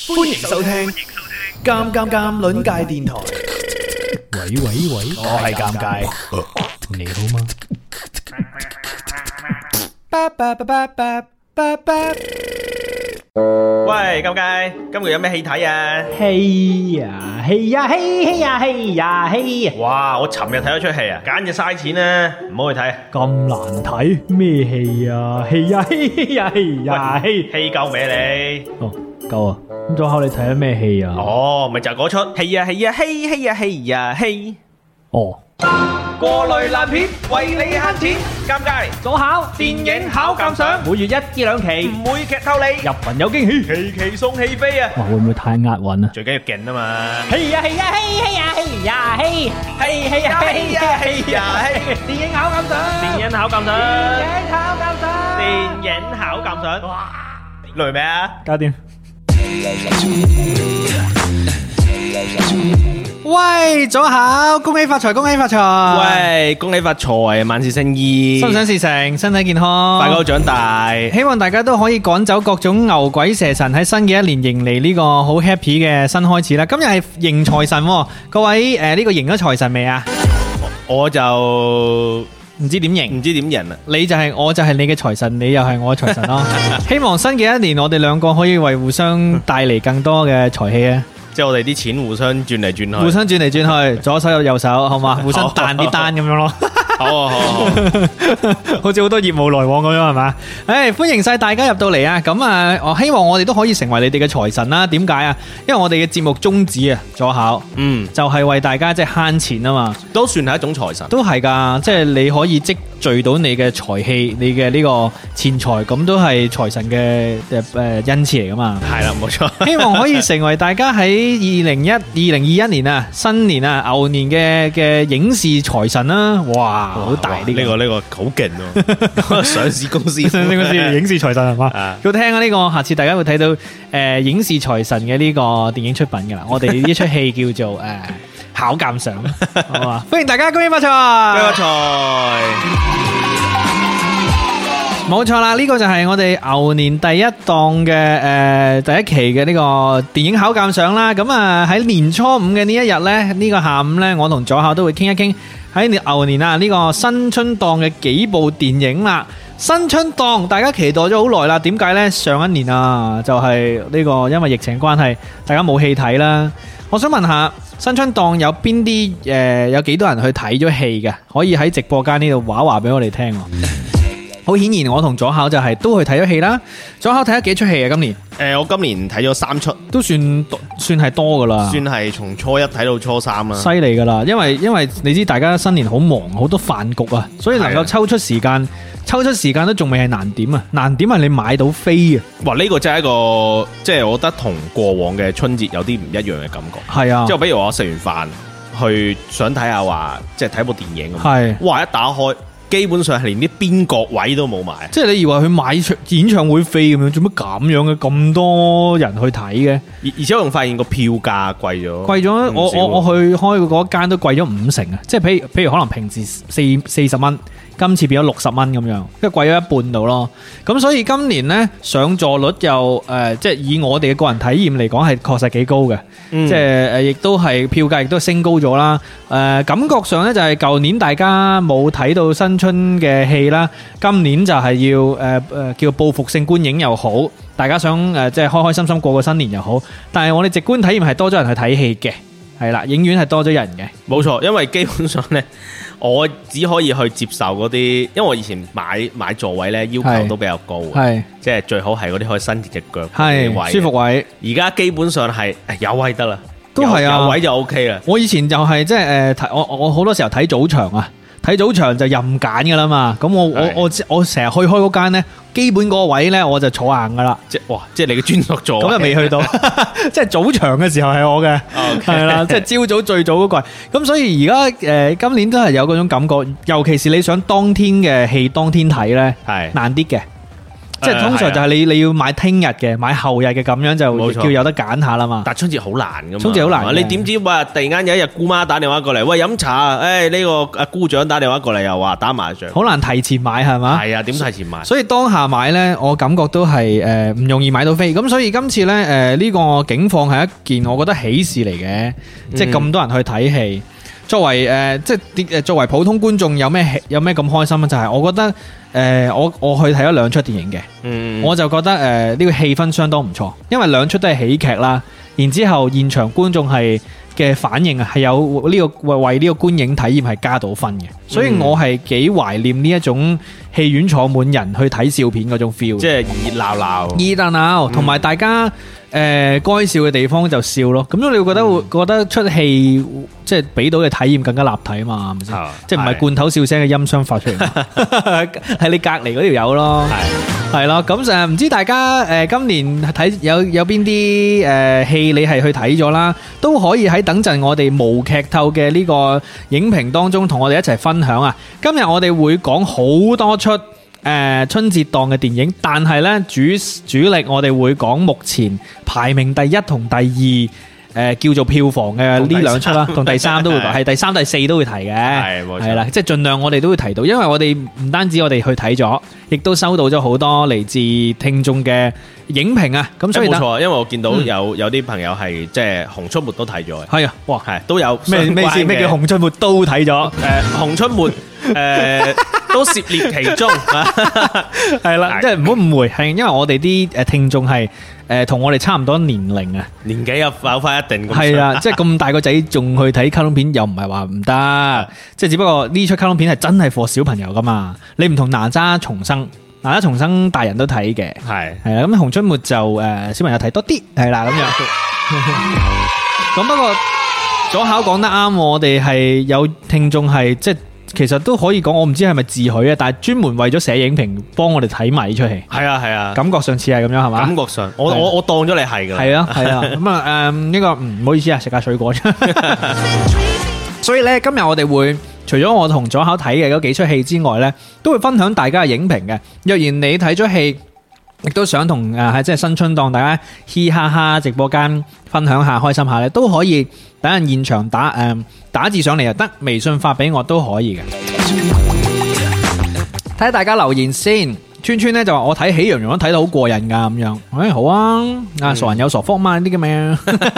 歡迎收聽《尷尷尷》鄰界電台。 喂， 我係尷尬， 你好嗎？ 喂，尷尬，今個月有咩戲睇啊？ 戲啊！ 哇，我尋日睇咗出戲啊，簡直嘥錢啊，唔好去睇。 咁難睇咩戲啊？戲！ 戲夠未你？ 哦，夠啊！咁左考你睇咗咩戲啊？ 哦，咪就係嗰出戲啊！ 哦， 過濾爛片，為你慳錢。尷尬， 左考電影考鑑賞， 每月1至2期， 唔會劇透你， 入群有驚喜。 期期送戲飛啊！ 哇，會唔會太押韻啊？ 最緊要勁啊嘛！ 戲啊！電影考鑑賞， 電影考鑑賞，哇！累未啊？ 搞掂。 喂，左考，恭喜發財！ 喂，恭喜發財，萬事勝意， 心想事成，身體健康， 大家都長大。 希望大家都可以趕走各種牛鬼蛇神，喺新嘅一年迎嚟呢個好 happy 嘅新開始啦！今日係迎財神喎，各位呢個迎咗財神未啊？ 我就唔知點迎， 唔知點贏啊！ 你就係我就係你嘅財神，你又係我嘅財神咯。希望新嘅一年我哋兩個可以為互相帶嚟更多嘅財氣啊！ 即係我哋啲錢互相轉嚟轉去， 互相轉嚟轉去，左手有右手，好嘛？互相彈啲單咁樣咯。 好， 好似好多業務來往咁樣係嘛？歡迎晒大家入到嚟啊！咁啊，我希望我哋都可以成為你哋嘅財神啦。點解啊？因為我哋嘅節目宗旨啊，左考，就係為大家即係慳錢啊嘛， 都算係一種財神， 都係噶，即係你可以積聚到你嘅財氣，你嘅呢個錢財，咁都係財神嘅恩賜嚟噶嘛。 係啦，冇錯。 希望可以成為大家喺2021年啊，新年啊，牛年嘅影視財神啦！哇！好大呢個好勁喎！上市公司， 影視財神係嘛？要聽啊呢個，下次大家會睇到影視財神嘅呢個電影出品噶啦。我哋呢出戲叫做考鑑賞，好嘛？歡迎大家，恭喜發財！ 恭喜發財！ 冇錯啦，呢個就係我哋牛年第一檔嘅第一期嘅呢個電影考鑑賞啦。咁啊喺年初五嘅呢一日呢，呢個下午呢，我同左考都會傾一傾喺牛年啊呢個新春檔嘅幾部電影啦。新春檔大家期待咗好耐啦，點解呢？上一年啊就係呢個因為疫情關係，大家冇戲睇啦。我想問下新春檔有邊啲有幾多人去睇咗戲嘅？可以喺直播間呢度話俾我哋聽。好顯然，我同左考就係都去睇咗戲啦。左考睇咗幾出戲啊？今年我今年睇咗3出， 都算係多噶啦， 算係從初一睇到初3啦， 犀利噶啦。因為你知大家新年好忙，好多飯局啊，所以能夠抽出時間都仲未係難點啊。難點係你買到飛啊！ 哇，呢個真係一個即係我覺得同過往嘅春節有啲唔一樣嘅感覺。 係啊， 即係比如我食完飯去想睇下話，即係睇部電影咁。 係， 哇！一打開，基本上係連啲邊角位都冇埋， 即係你以為去買演唱會飛咁樣，做乜咁樣嘅？咁多人去睇嘅， 而且我仲發現個票價貴咗， 我去開嗰間都貴咗50%啊！即係譬如可能平時40蚊，今次變咗60蚊咁樣，即係貴咗一半度咯。咁所以今年呢，上座率又即係以我哋嘅個人體驗嚟講係確實幾高嘅，即係亦都係票價亦都升高咗啦。感覺上呢，就係舊年大家冇睇到新春嘅戲啦，今年就係要叫報復性觀影又好，大家想即係開開心心過個新年又好。但係我哋直觀體驗係多咗人去睇戲嘅，係啦，影院係多咗人嘅， 冇錯。因為基本上呢，我只可以去接受嗰啲，因為我以前買座位呢，要求都比較高，係即係最好係嗰啲可以伸直隻腳嘅位，舒服位。而家基本上係有位得啦，都係啊，有位就 OK 啦。 我以前就係即係我好多時候睇早場啊。睇早場就任揀噶啦嘛，咁我成日去開嗰間呢，基本嗰個位呢，我就坐硬噶啦， 即係你嘅專屬座位， 咁又未去到，即係早場嘅時候係我嘅，係啦，即係朝早最早嗰個，咁所以而家今年都係有嗰種感覺，尤其是你想當天嘅戲當天睇呢，係難啲嘅。 即係通常就係你要買聽日嘅，買後日嘅，咁樣就叫有得揀下啦嘛。 但春節好難噶嘛， 春節好難， 你點知話突然間有一日姑媽打電話過嚟，喂飲茶，呢個阿姑丈打電話過嚟又話打麻將， 好難提前買係嘛？ 係啊，點提前買？ 所以當下買呢，我感覺都係唔容易買到飛。咁所以今次呢，呢個境況係一件我覺得喜事嚟嘅，即係咁多人去睇戲。作為作為普通觀眾有咩咁開心啊？就係我覺得我去睇咗2出電影嘅，我就覺得呢個氣氛相當唔錯，因為2出都係喜劇啦。然之後現場觀眾嘅反應係有為呢個觀影體驗係加到分嘅，所以我係幾懷念呢一種戲院坐滿人去睇笑片嗰種 feel， 即係熱鬧， 同埋大家該笑嘅地方就笑咯。咁樣你會覺得出戲即係俾到嘅體驗更加立體啊嘛，係咪先？即係唔係罐頭笑聲嘅音箱發出嚟，係你隔離嗰條友咯，係咯。咁唔知大家今年睇有邊啲戲你係去睇咗啦，都可以喺等陣我哋無劇透嘅呢個影評當中同我哋一齊分享啊！今日我哋會講好多出春節檔嘅電影，但係呢主力我哋會講目前排名第1同第2叫做票房嘅呢2出啦，同第3都會係第3、第4都會提嘅，係啦，即係盡量我哋都會提到，因為我哋唔單止我哋去睇咗，亦都收到咗好多嚟自聽眾嘅影評啊，咁所以冇錯， 因為我見到有啲朋友係即係《熊出沒》都睇咗， 係啊，哇， 係都有咩意思？咩叫《熊出沒》都睇咗？ 《熊出沒》都涉獵其中， 係啦，即係唔好誤會，係因為我哋啲聽眾係同我哋差唔多年齡啊， 年紀又有翻一定咁， 係啦，即係咁大個仔仲去睇卡通片，又唔係話唔得，即係只不過呢出卡通片係真係 for 小朋友噶嘛，你唔同哪吒重生大人都睇嘅，係啦，咁熊出沒就小朋友睇多啲，係啦咁樣。咁不過左考講得啱，我哋係有聽眾係即係。其實都可以講，我唔知係咪自許啊，但係專門為咗寫影評，幫我哋睇埋呢出戲。係啊，感覺上似係咁樣係嘛？感覺上，我當咗你係噶。係啊，咁啊，呢個唔好意思啊，食下水果。所以呢，今日我哋會除咗我同左考睇嘅嗰幾出戲之外呢，都會分享大家嘅影評嘅。若然你睇咗戲，亦都想同即係新春檔大家嘻哈哈直播間分享下開心下咧，都可以等陣現場打字上嚟又得，微信發俾我都可以嘅。睇下大家留言先。川川咧就話我睇喜羊羊都睇到好過癮噶咁樣，好啊，傻人有傻福嘛呢啲咁嘅。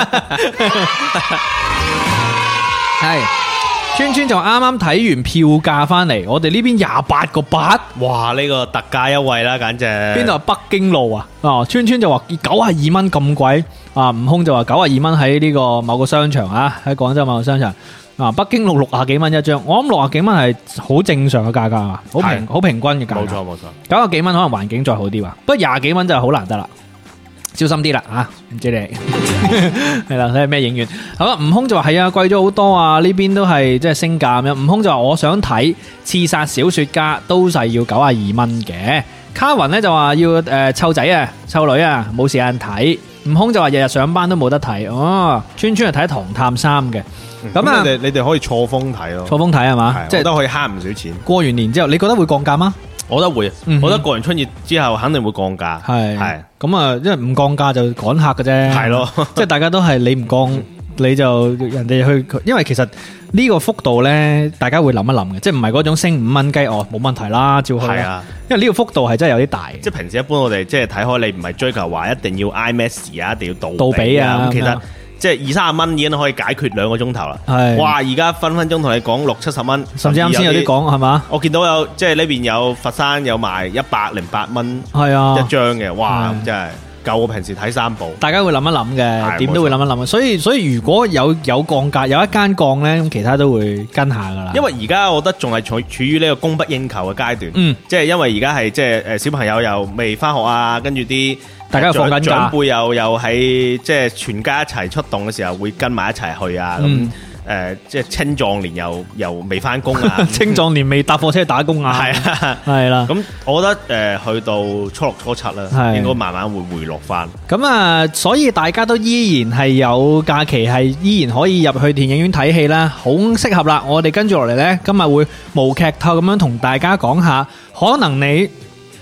係。川川就啱啱睇完票價翻嚟，我哋呢邊28個8， 哇！呢個特價優惠啦，簡直。邊度係北京路啊？川川就話92蚊咁貴，悟空就話92蚊喺呢個某個商場啊，喺廣州某個商場。北京路60幾蚊一張，我諗60幾蚊係好正常嘅價格啊，好平均嘅價格。冇錯，90幾蚊可能環境再好啲吧，不過20幾蚊就好難得啦。小心啲啦吓，唔知你係啦，睇下咩影院。好啦，悟空就話係啊，貴咗好多啊，呢邊都係即係升價咁樣。悟空就話我想睇《刺殺小說家》，都係要92蚊嘅。卡雲咧就話要湊仔啊，湊女啊，冇時間睇。悟空就話日日上班都冇得睇。哦，川川係睇《唐探3》嘅。咁啊， 你哋可以錯峰睇咯， 錯峰睇係嘛？ 即係都可以慳唔少錢。 過完年之後，你覺得會降價嗎？ 我覺得會，我覺得過完春節之後肯定會降價。係咁啊，因為唔降價就趕客嘅啫。係咯，即係大家都係你唔降，你就人哋去。因為其實呢個幅度咧，大家會諗一諗嘅，即係唔係嗰種升5蚊雞哦，冇問題啦，照去。係啊，因為呢個幅度係真係有啲大。 即係平時一般我哋即係睇開，你唔係追求話一定要 IMAX 啊，一定要杜比啊。咁其實即係20-30蚊已經可以解決2個鐘頭啦。係，哇！而家分分鐘同你講60-70蚊， 甚至啱先有啲講係嘛？ 我見到有即係呢邊有佛山有賣108蚊， 係啊一張嘅，哇！真係夠我平時睇3部。大家會諗一諗嘅， 點都會諗一諗。所以如果有降價，有一間降咧，咁其他都會跟下噶啦。 因為而家我覺得仲係處於呢個供不應求嘅階段。即係因為而家係即係小朋友又未翻學啊，跟住啲。大家放緊假，長輩又喺即係全家一齊出動嘅時候會跟埋一齊去啊，咁即係青壯年又未翻工啊， 青壯年未搭火車打工啊，係啦， 咁我覺得去到初6初7啦，應該慢慢會回落翻。 咁啊，所以大家都依然係有假期，係依然可以入去電影院睇戲啦，好適合啦。我哋跟住落嚟呢，今日會無劇透咁樣同大家講下，可能你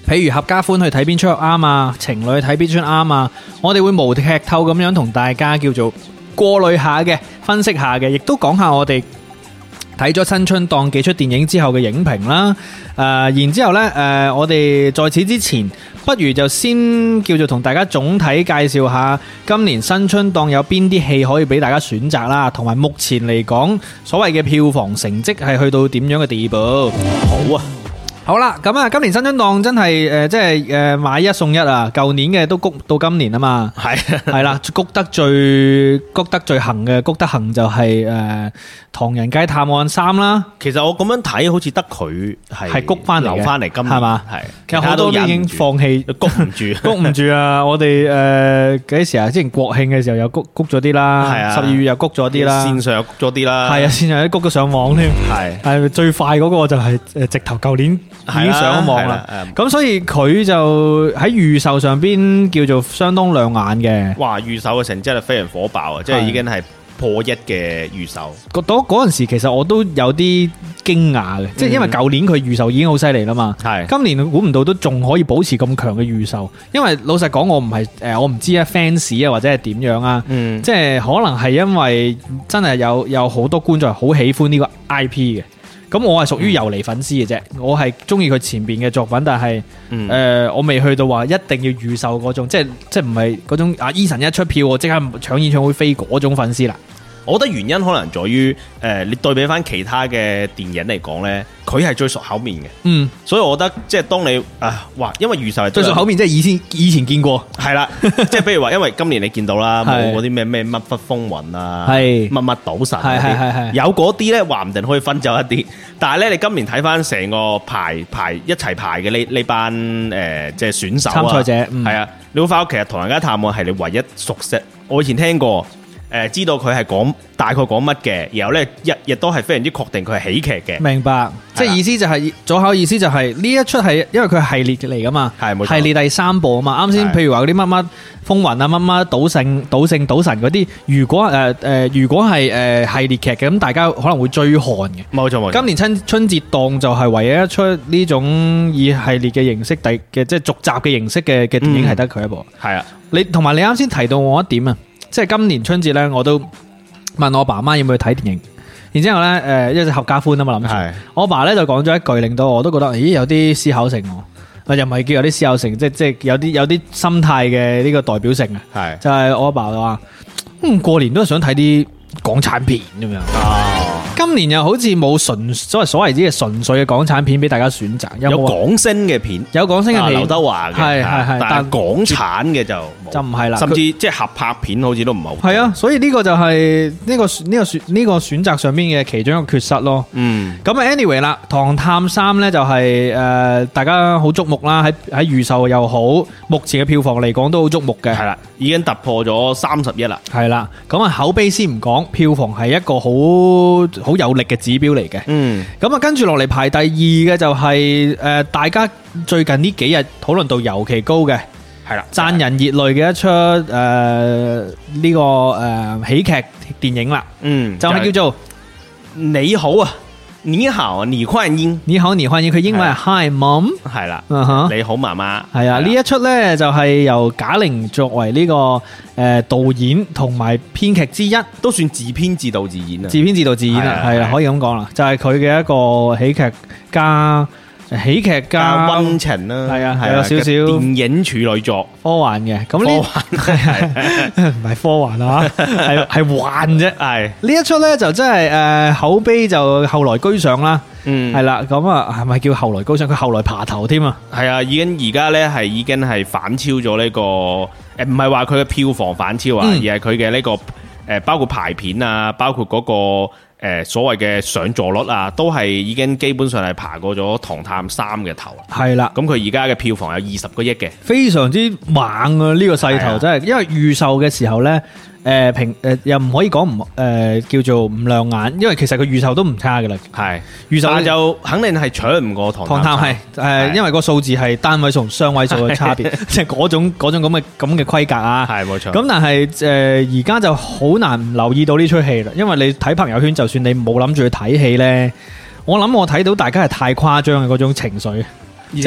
譬如合家歡去睇邊出啱啊，情侶去睇邊出啱啊，我哋會無劇透咁樣同大家叫做過濾下嘅，分析下嘅，亦都講下我哋睇咗新春檔幾出電影之後嘅影評啦。然之後呢，我哋在此之前，不如就先叫做同大家總體介紹下今年新春檔有邊啲戲可以俾大家選擇啦，同埋目前嚟講所謂嘅票房成績係去到點樣嘅地步。 好啊！ 好啦，咁啊，今年新春檔真係即係買一送一啊！舊年嘅都谷到今年啊嘛，係啦，谷得最行嘅，谷得行就係《唐人街探案3》啦。 其實我咁樣睇，好似得佢係谷翻嚟， 留翻嚟今年係嘛？係，其實好多都已經放棄， 谷唔住， 谷唔住啊！我哋幾時啊？之前國慶嘅時候又谷咗啲啦，係啊，12月又谷咗啲啦， 線上又谷咗啲啦， 係啊，線上都谷咗上網添，係最快嗰個就係直頭舊年已經上咗網啦，咁所以佢就喺預售上邊叫做相當亮眼嘅。 哇！預售嘅成績係非常火爆啊，即係已經係破1嘅預售。 嗰陣時其實我都有啲驚訝嘅，即係因為舊年佢預售已經好犀利啦嘛，今年估唔到都仲可以保持咁強嘅預售。因為老實講，我唔係我唔知啊 fans 啊或者係點樣啊，即係可能係因為真係有好多觀眾係好喜歡呢個 IP 嘅。咁我係屬於遊離粉絲嘅啫，我係中意佢前邊嘅作品，但係我未去到話一定要預售嗰種，即係唔係嗰種Eason 一出票我即刻搶演唱會飛嗰種粉絲啦。 我覺得原因可能在於你對比翻其他嘅電影嚟講呢，佢係最熟口面嘅。所以我覺得即係當你因為預售係最熟口面，即係以前見過，係啦， 即係譬如話，因為今年你見到啦，冇嗰啲咩乜乜風雲啊，乜乜賭神嗰啲，有嗰啲呢話唔定可以分走一啲。但係呢，你今年睇翻成個排一齊排嘅呢班即係選手參賽者， 係啊，你會發覺其實《唐人街探案》係你唯一熟悉。我以前聽過。知道佢係大概講乜嘅，然後咧亦都係非常之確定佢係喜劇嘅。明白，即係意思就係左口意思就係呢一出係因為佢係系列嚟噶嘛，係冇錯，系列第3部啊嘛。啱先譬如話嗰啲乜乜風雲啊、乜乜賭聖、賭神嗰啲，如果係系列劇嘅，咁大家可能會追看嘅。冇錯冇錯。今年春節檔就係唯一一出呢種以系列嘅形式即係續集嘅形式嘅電影係得佢一部。係啊，你同埋你啱先提到我一點啊。即係今年春節咧，我都問我爸媽要唔要去睇電影，然之後咧，一隻合家歡啊嘛諗住，我爸咧就講咗一句，令到我都覺得，咦有啲思考性喎，又唔係叫有啲思考性，即係有啲心態嘅呢個代表性啊，就係我阿爸就話，過年都係想睇啲港產片咁樣。今年又好似冇所謂之嘅純粹嘅港產片俾大家選擇，有港星嘅片，有港星嘅片，劉德華嘅，係，但係港產嘅就唔係啦，甚至即係合拍片好似都唔係好。係啊，所以呢個就係呢個選擇上邊嘅其中一個缺失咯。咁 anyway 啦，《唐探3》咧就係大家好矚目啦，喺預售又好，目前嘅票房嚟講都好矚目嘅。係啦，已經突破咗30億啦。係啦，咁啊口碑先唔講，票房係一個好有力嘅指標嚟嘅，咁啊跟住落嚟排第2嘅就係大家最近呢幾日討論度尤其高嘅，係啦，賺人熱淚嘅一出呢個喜劇電影啦，就係叫做你好啊，你好，你歡迎，你好，你歡迎，佢英文係 Hi Mom， 係啦，你好媽媽，係啊，呢一出呢就係由賈玲作為呢個導演同埋編劇之一，都算自編自導自演啊，自編自導自演啊，係啊，可以咁講啦，就係佢嘅一個喜劇加溫情啦，係啊，係有少少電影處女作，科幻嘅，咁科幻係唔係科幻啊？係幻啫，係呢一出咧就真係口碑就後來居上啦，係啦，咁啊係咪叫後來居上？佢後來爬頭添啊，係啊，而家咧係已經係反超咗呢個唔係話佢嘅票房反超啊，而係佢嘅呢個包括排片啊，包括嗰個。所謂嘅上座率啊，都係已經基本上係爬過咗《唐探3》嘅頭。係啦，咁佢而家嘅票房有20個億嘅，非常之猛啊！呢個勢頭真係，因為預售嘅時候呢，又唔可以講叫做唔亮眼，因為其實佢預售都唔差噶啦。係預售就肯定係搶唔過《唐探》係因為個數字係單位數同雙位數嘅差別，即係嗰種咁嘅規格啊。係冇錯。咁但係而家就好難唔留意到呢出戲啦，因為你睇朋友圈，就算你冇諗住去睇戲呢，我諗我睇到大家係太誇張嘅嗰種情緒，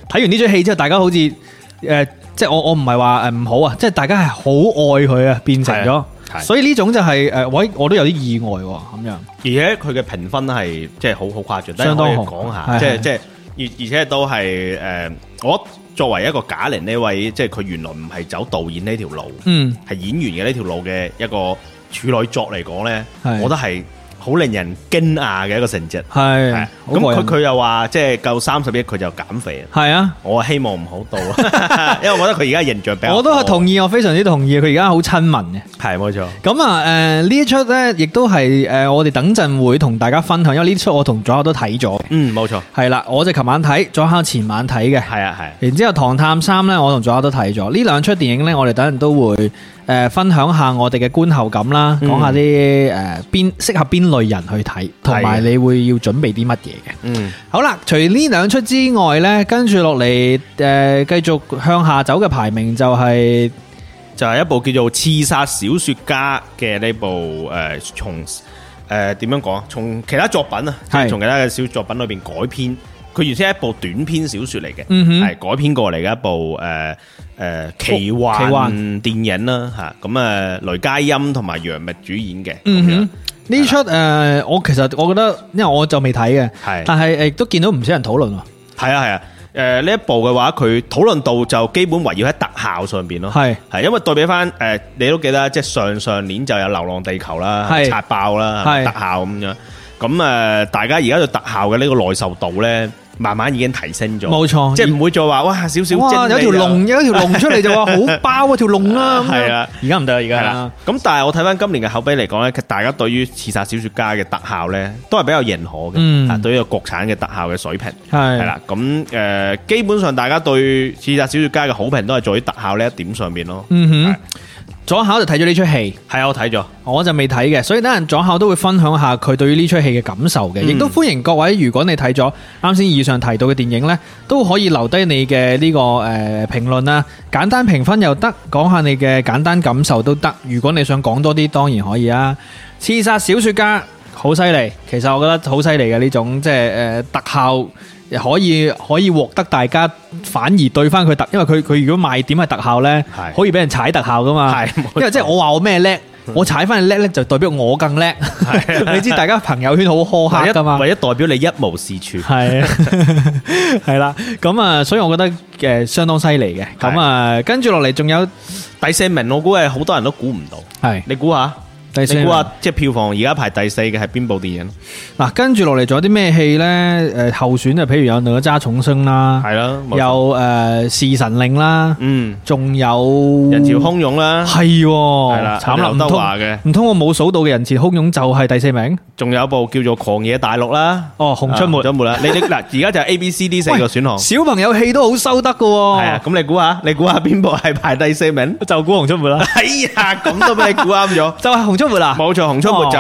睇完呢出戲之後，大家好似即係我唔係話唔好啊，即係大家係好愛佢啊，變成咗。所以呢種就係我都有啲意外喎咁樣。 而且佢嘅評分係即係好誇張， 相當好。 講下，即係而且都係我作為一個賈玲呢位，即係佢原來唔係走導演呢條路，係演員嘅呢條路嘅一個處女作嚟講咧，我覺得係好令人驚訝嘅一個成績。係咁佢又話即係夠30億佢就減肥。係啊，我希望唔好到，因為我覺得佢而家形象比較，我都係同意，我非常之同意，佢而家好親民嘅。係冇錯。咁啊呢一出咧，亦都係我哋等陣會同大家分享，因為呢出我同左考都睇咗。冇錯。係啦，我就琴晚睇，左考前晚睇嘅。係啊係。然之後《唐探3》咧，我同左考都睇咗。呢兩出電影咧，我哋等陣都會分享下我哋嘅觀後感啦，講下啲邊適合邊類人去睇，同埋你會要準備啲乜嘢嘅。好啦，除呢兩出之外呢，跟住落嚟繼續向下走嘅排名就係一部叫做《刺殺小說家》嘅呢部從點樣講啊？從其他作品啊，即係從其他嘅小作品裏邊改編。佢原先係一部短篇小說嚟嘅，係改編過嚟嘅一部奇幻電影啦吓。咁雷佳音同埋楊冪主演嘅。呢出我其實我覺得，因為我就未睇嘅，但係亦都見到唔少人討論。係啊，呢一部嘅話，佢討論度就基本圍繞喺特效上邊咯。係因為對比翻你都記得，即係上年就有《流浪地球》啦，刷爆啦，特效咁樣。咁大家而家對特效嘅呢個耐受度咧，慢慢已經提升咗。冇錯，即係唔會再話哇少少，哇有條龍出嚟就話好爆條龍啦。係啊，而家唔得，而家係啦。咁但係我睇翻今年嘅口碑嚟講咧，大家對於《刺殺小說家》嘅特效咧，都係比較認可嘅。對於個國產嘅特效嘅水平係啦。咁基本上大家對《刺殺小說家》嘅好評都係在於特效呢一點上面咯。左考就睇咗呢出戲，係我睇咗，我就未睇嘅，所以等陣左考都會分享下佢對於呢出戲嘅感受嘅，亦都歡迎各位，如果你睇咗啱先以上提到嘅電影呢，都可以留低你嘅呢個評論啦，簡單評分又得，講下你嘅簡單感受都得。如果你想講多啲，當然可以啊。刺殺小說家好犀利，其實我覺得好犀利嘅呢種即係特效。可以獲得大家反而對翻佢因為佢如果賣點係特效呢，可以俾人踩特效噶嘛。因為即係我話我咩叻，我踩翻你叻呢，就代表我更叻。你知大家朋友圈好苛刻噶嘛，為咗代表你一無是處。係啦，咁啊，所以我覺得相當犀利嘅。咁啊，跟住落嚟仲有第4名，我估係好多人都估唔到。係，你估下？你估下，即係票房而家排第4嘅係邊部電影？嗱，跟住落嚟仲有啲咩戲咧？候選就譬如有哪吒重生啦，係啦，有侍神令啦，仲有人潮洶湧啦，係啦，慘啦，劉德華嘅，唔通我冇數到嘅人潮洶湧就係第4名？仲有一部叫做《狂野大陸》啦，熊出沒啦，你嗱而家就係 A、B、C、D 4個選項，小朋友戲都好收得㗎喎，係啊，咁你估下邊部係排第4名？就估熊出沒啦，哎呀，咁都俾你估啱咗，就係熊出沒啦，冇錯，熊出沒就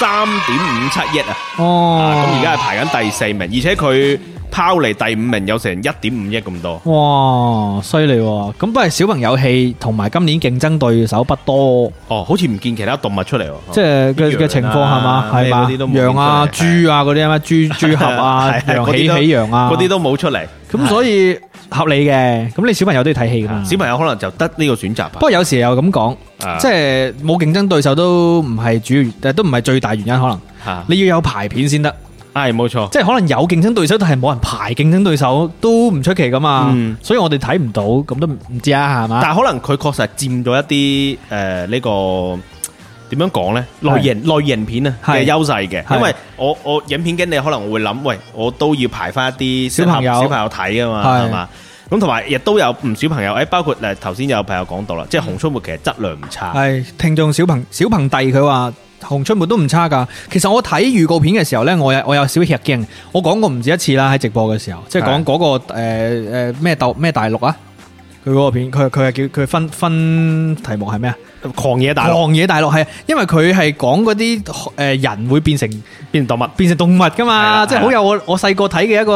3.57億啊，咁而家係排緊第4名，而且佢拋離第5名有成1.5億咁多，哇，犀利喎！咁不過小朋友戲同埋今年競爭對手不多，好似唔見其他動物出嚟喎，即係嘅情況係嘛？係嘛？羊啊、豬啊嗰啲啊，豬俠啊、羊喜羊啊，嗰啲都冇出嚟，咁所以合理嘅。咁你小朋友都要睇戲噶嘛？小朋友可能就得呢個選擇。不過有時又咁講，即係冇競爭對手都唔係主要，都唔係最大原因，可能你要有排片先得。係冇錯，即係可能有競爭對手，但係冇人排競爭對手都唔出奇噶嘛。所以我哋睇唔到，咁都唔知啊，係嘛？但係可能佢確實係佔咗一啲呢個點樣講呢？類型片啊嘅優勢嘅，因為我影片經理可能會諗，喂，我都要排翻一啲小朋友睇啊嘛，係嘛？咁同埋亦都有唔少朋友，包括頭先有朋友講到啦，即係《熊出沒》其實質量唔差。係聽眾小鵬弟佢話。熊出沒都唔差噶，其實我睇預告片嘅時候呢，我有少吃驚，我講過唔止一次啦，喺直播嘅時候，即係講嗰個咩大陸啊，佢嗰個片，佢係叫佢分題目係咩啊？狂野大陸係，因為佢係講嗰啲人會變成動物噶嘛，即係好有我細個睇嘅一個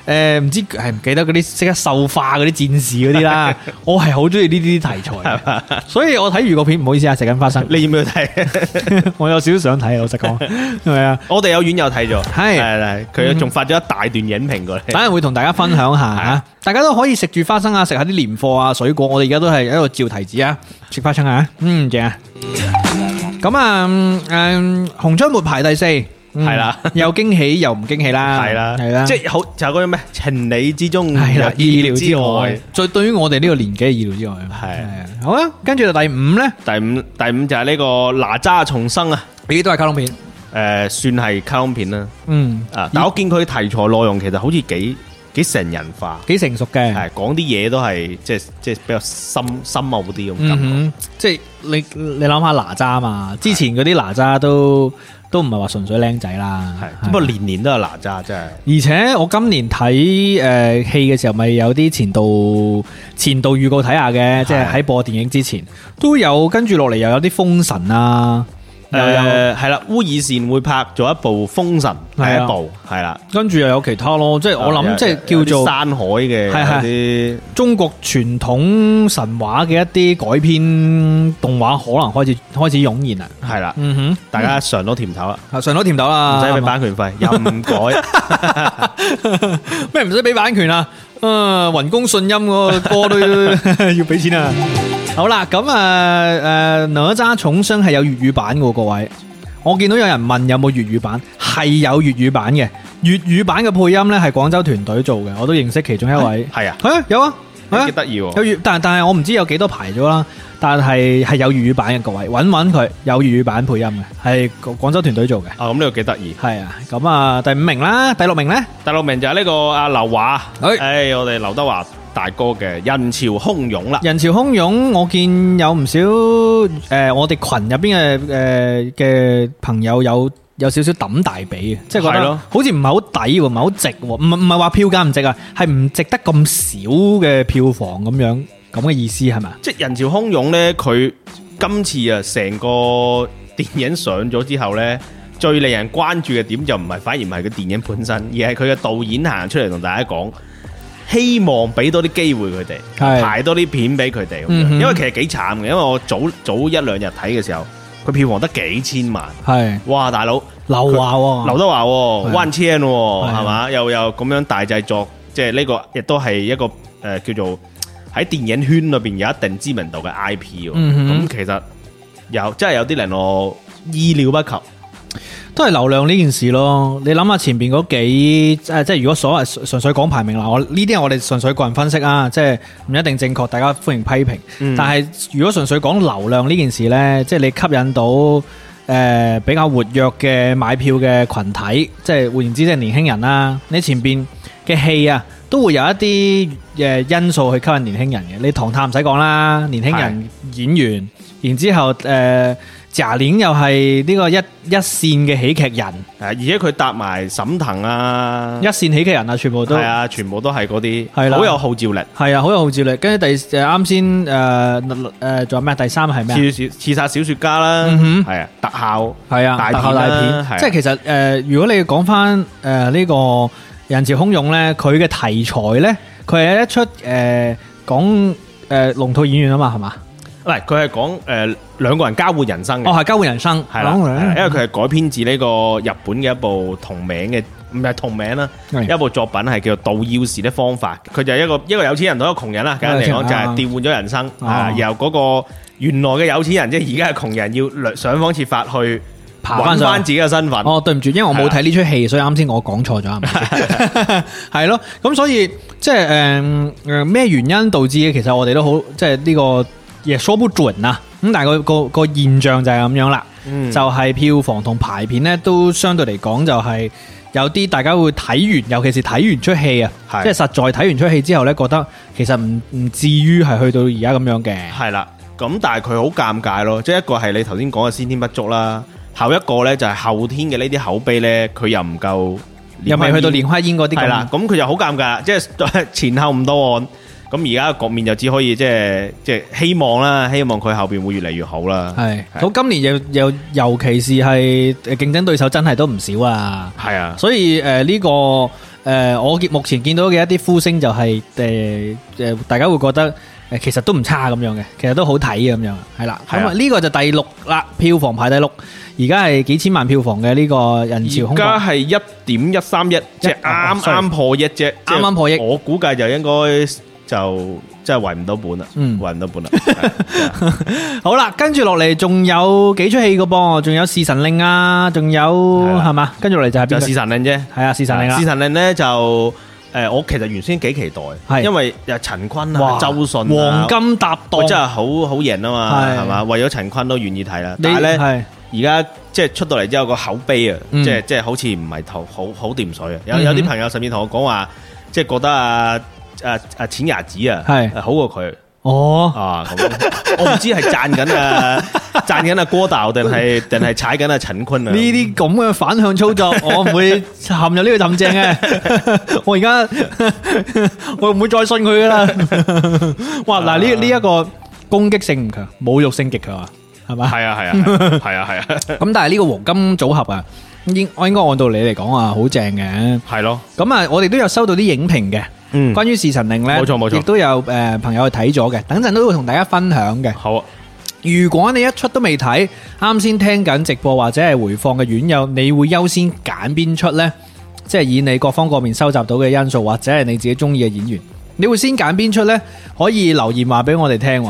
唔知係唔記得嗰啲識得獸化嗰啲戰士嗰啲啦，我係好中意呢啲題材，所以我睇預告片唔好意思啊，食緊花生， 你要唔要睇？ 我有少少想睇，老實講，係咪啊？ 我哋有院友睇咗， 係佢仲發咗一大段影評過嚟， 等陣會同大家分享下吓，大家都可以食住花生啊，食下啲年貨啊、水果，我哋而家都係喺度照提子啊，食花生啊，正啊！咁啊，紅窗沒排第4。係啦，又驚喜又唔驚喜啦， 係啦， 係啦， 即係好就係嗰種咩情理之中， 係啦，意料之外。再對於我哋呢個年紀嘅意料之外，係好啊。跟住就第5咧，第五就係呢個哪吒重生啊，呢啲都係卡通片， 算係卡通片啦。但我見佢題材內容其實好似幾成人化，幾成熟嘅，係講啲嘢都係即係比較深奧啲咁感覺。 即係你諗下哪吒嘛，之前嗰啲哪吒都唔係話純粹靚仔啦， 係不過年年都有哪吒真係。 而且我今年睇戲嘅時候，咪有啲前導預告睇下嘅，即係喺播電影之前都有，跟住落嚟又有啲封神啊。 係啦，烏爾善會拍咗一部《封神》第一部，係啦， 跟住又有其他咯，即係我諗即係叫做山海嘅啲中國傳統神話嘅一啲改編動畫，可能開始湧現啦，係啦，大家嘗到甜頭啦，嘗到甜頭啦， 唔使俾版權費，又唔改， 咩唔使俾版權啊？雲公信音個歌都要俾錢啊！好啦，咁哪吒重生係有粵語版嘅，各位。我見到有人問有冇粵語版，係有粵語版嘅。粵語版嘅配音呢係廣州團隊做嘅，我都認識其中一位。係啊，有啊， 幾得意。有但係我唔知有幾多排咗啦。但係有粵語版嘅，各位揾佢有粵語版配音嘅，係廣州團隊做嘅。 咁呢個幾得意。係啊， 咁啊第5名啦，第6名呢？第6名就係呢個阿劉華，我哋劉德華大哥嘅人潮洶湧啦。人潮洶湧，我見有唔少我哋群入邊嘅朋友有少少抌大髀嘅，即係覺得好似唔係好抵，唔係好值，唔係話票價唔值啊，係唔值得咁少嘅票房咁樣。咁嘅意思係咪？ 即係人潮洶湧呢，佢今次啊成個電影上咗之後呢，最令人關注嘅點就反而唔係個電影本身，而係佢嘅導演行出嚟同大家講，希望俾多啲機會佢哋，排多啲片俾佢哋。因為其實幾慘嘅，因為我早1-2日睇嘅時候，佢票房得幾千萬。係，哇大佬，劉德華萬千係嘛，又咁樣大製作，即係呢個亦都係一個叫做。喺電影圈裏邊有一定知名度嘅 IP，咁其實真係有啲令我意料不及， 都係流量呢件事咯。你諗下前邊嗰幾即係如果所謂純粹講排名啦，呢啲係我哋純粹個人分析啊，即係唔一定正確，大家歡迎批評。但係如果純粹講流量呢件事呢，即係你吸引到比較活躍嘅買票嘅群體，即係換言之即係年輕人啦。你前邊嘅戲啊，都會有一啲因素去吸引年輕人嘅。你唐探唔使講啦，年輕人演員，然之後賈玲又係呢個一線嘅喜劇人， 而且佢搭埋沈騰啊， 一線喜劇人啊，全部都係啊， 全部都係嗰啲，係啦，好有號召力，係啊， 好有號召力。跟住啱先仲有咩？第3係咩？ 刺殺小說家啦，係啊，特效係啊， 特效大片，即係其實如果你講翻呢個人潮洶湧咧，佢嘅題材咧，佢係一出講龍套演員啊嘛，係嘛？ 喂，佢係講兩個人交換人生嘅。 係交換人生，係啦， 因為佢係改編自呢個日本嘅一部同名嘅，唔係同名啦，一部作品係叫做《盜鑰匙的方法》。佢就係一個有錢人同一個窮人啦，簡單嚟講就係調換咗人生，然後嗰個原來嘅有錢人，即係而家嘅窮人，要想方設法去揾翻自己嘅身份。 對唔住，因為我冇睇呢出戲，所以啱先我講錯咗，係咪？係咯，咁所以即係咩原因導致嘅？其實我哋都好，即係呢個也說不準啊。咁但係個現象就係咁樣啦，就係票房同排片咧都相對嚟講就係有啲大家會睇完，尤其是睇完出戲啊，即係實在睇完出戲之後咧，覺得其實唔至於係去到而家咁樣嘅。 係啦，咁但係佢好尷尬咯，即係一個係你頭先講嘅先天不足啦，後一個咧就係後天嘅呢啲口碑咧，佢又唔夠， 又未去到蓮花煙嗰啲。 係啦，咁佢就好尷尬，即係前後唔到岸。咁而家個局面就只可以即係希望啦，希望佢後邊會越嚟越好啦。係， 咁今年又尤其是係競爭對手真係都唔少啊。係啊，所以呢個我目前見到嘅一啲呼聲就係大家會覺得其實都唔差咁樣嘅，其實都好睇咁樣，係啦。咁啊呢個就第6啦，票房排第6，而家係幾千萬票房嘅呢個人潮空而家係1.131，即係啱破億啫， 啱啱破億。 我估計就應該就真係圍唔到本啦，圍唔到本啦。 好啦，跟住落嚟仲有幾出戲嘅噃，仲有《侍神令》啊，仲有係嘛？跟住落嚟就係邊個？ 就《侍神令》啫， 係啊，《侍神令》啦， 《侍神令》咧就我其實原先幾期待，因為又陳坤啊、周迅黃金搭檔， 真係好型啊嘛，係嘛？為咗陳坤都願意睇啦。但係咧，而家即係出到嚟之後個口碑啊，即係好似唔係好掂水啊。有啲朋友甚至同我講話，即係覺得錢牙子啊，係好過佢。咁我唔知係讚緊阿郭導定係踩緊阿陳坤啊？呢啲咁嘅反向操作，我唔會陷入呢個陷阱嘅。我而家我唔會再信佢噶啦。哇！嗱，呢一個攻擊性唔強，侮辱性極強啊，係嘛？係啊。 咁但係呢個黃金組合啊，我應該按道理嚟講啊，好正嘅。 係咯。 咁啊，我哋都有收到啲影評嘅。關於《侍神令》咧，冇錯，亦都有朋友去睇咗嘅，等陣都會同大家分享嘅。 好啊！ 如果你一出都未睇，啱先聽緊直播或者係回放嘅院友，你會優先揀邊出呢？即係以你各方各面收集到嘅因素，或者係你自己中意嘅演員，你會先揀邊出呢？可以留言話俾我哋聽。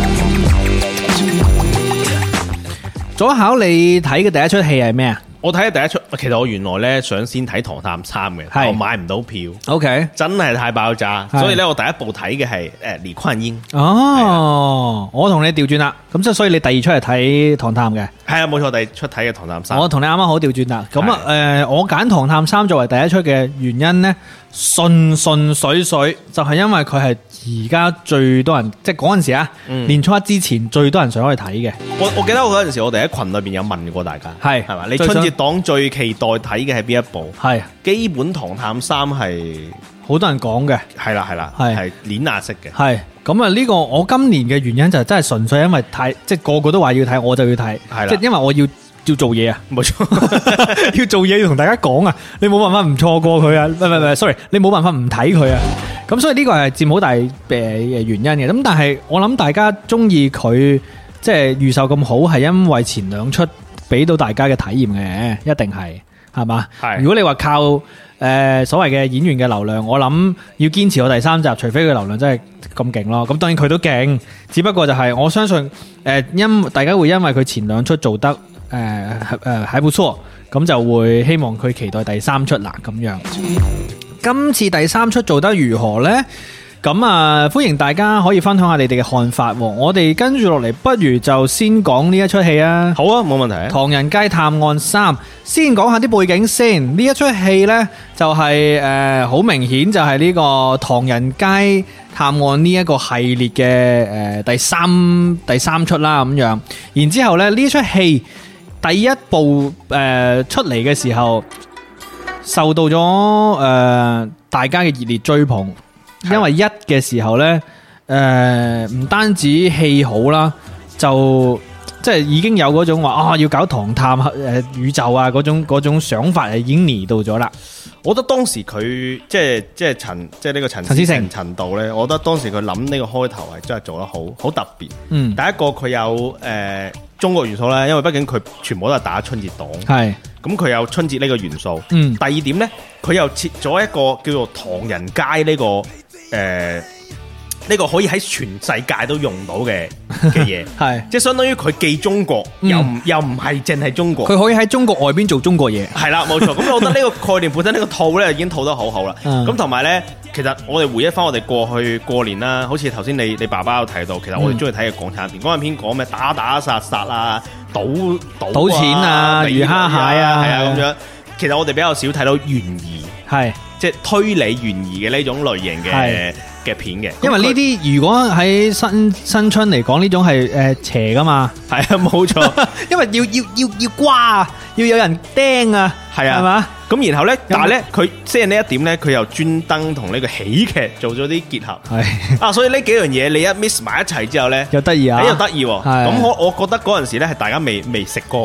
左考你睇嘅第一出戲係咩啊？ 我睇嘅第一出，其實我原來咧想先睇《唐探3》嘅，我買唔到票。OK， 真係太爆炸，所以咧我第一部睇嘅係李煥英。哦， 我同你調轉啦，咁即係所以你第二出係睇《唐探》嘅。 係啊，冇錯，第二出睇嘅《唐探3》。 我同你啱啱好調轉啦。咁啊，我揀《唐探3》作為第一出嘅原因咧，順水，就係因為佢係而家最多人，即係嗰陣時啊，年初一之前最多人想去睇嘅。 我記得我嗰陣時，我哋喺群裏邊有問過大家，係嘛？你春節檔最期待睇嘅係邊一部？係基本《唐探3》係好多人講嘅， 係啦，係碾壓式嘅。係咁啊！呢個我今年嘅原因就真係純粹因為太，即係個個都話要睇，我就要睇。係啦，即係因為我要做嘢啊，冇錯，要做嘢要同大家講啊，你冇辦法唔錯過佢啊，唔係，sorry，你冇辦法唔睇佢啊。咁所以呢個係佔好大原因嘅。咁但係我諗大家中意佢，即係預售咁好，係因為前兩出俾到大家嘅體驗嘅，一定係嘛？係。如果你話靠所謂嘅演員嘅流量，我諗要堅持到第3集，除非佢流量真係咁勁咯。咁當然佢都勁，只不過就係我相信大家會因為佢前兩出做得還不錯，咁就會希望佢期待第3出啦咁樣。今次第3出做得如何呢？咁啊，歡迎大家可以分享下你哋嘅看法。我哋跟住落嚟，不如就先講呢一出戲啊。 好啊，冇問題。《 唐人街探案3》先講下啲背景先。呢一出戲呢，就係好明顯就係呢個《唐人街探案》呢一個系列嘅第三出啦咁樣。然之後呢，呢出戲第一部出嚟嘅時候，受到咗大家嘅熱烈追捧。因為一嘅時候呢，唔單止戲好啦，就即係已經有嗰種話要搞唐探宇宙啊嗰種想法已經嚟到咗啦。 我覺得當時佢即係呢個陳思誠陳導呢，我覺得當時佢諗呢個開頭係真係做得好特別。第一個佢有中國元素啦，因為畢竟佢全部都係打春節檔，係咁佢有春節呢個元素。第二點呢，佢又設咗一個叫做唐人街呢個。呢個可以喺全世界都用到嘅嘢，係即係相當於佢既中國，又唔係淨係中國， 佢可以喺中國外邊做中國嘢， 係啦，冇錯。咁我覺得呢個概念本身呢個套呢已經套得好好啦。咁同埋呢，其實我哋回憶翻我哋過去過年啦，好似頭先你爸爸有提到，其實我哋中意睇嘅港產片，港產片講咩打殺啊，賭錢啊，魚蝦蟹啊， 係啊咁樣。其實我哋比較少睇到懸疑，係即係推理懸疑嘅呢種類型嘅片嘅。因為呢啲如果喺新春嚟講，呢種係邪噶嘛，係啊冇錯。因為要瓜啊，要有人釘啊，係啊，係嘛。咁然後咧，但係咧佢即係呢一點咧，佢又專登同呢個喜劇做咗啲結合，係所以呢幾樣嘢你一 mix 埋一齊之後咧，又得意啊，又得意。咁我覺得嗰陣時咧係大家未食過。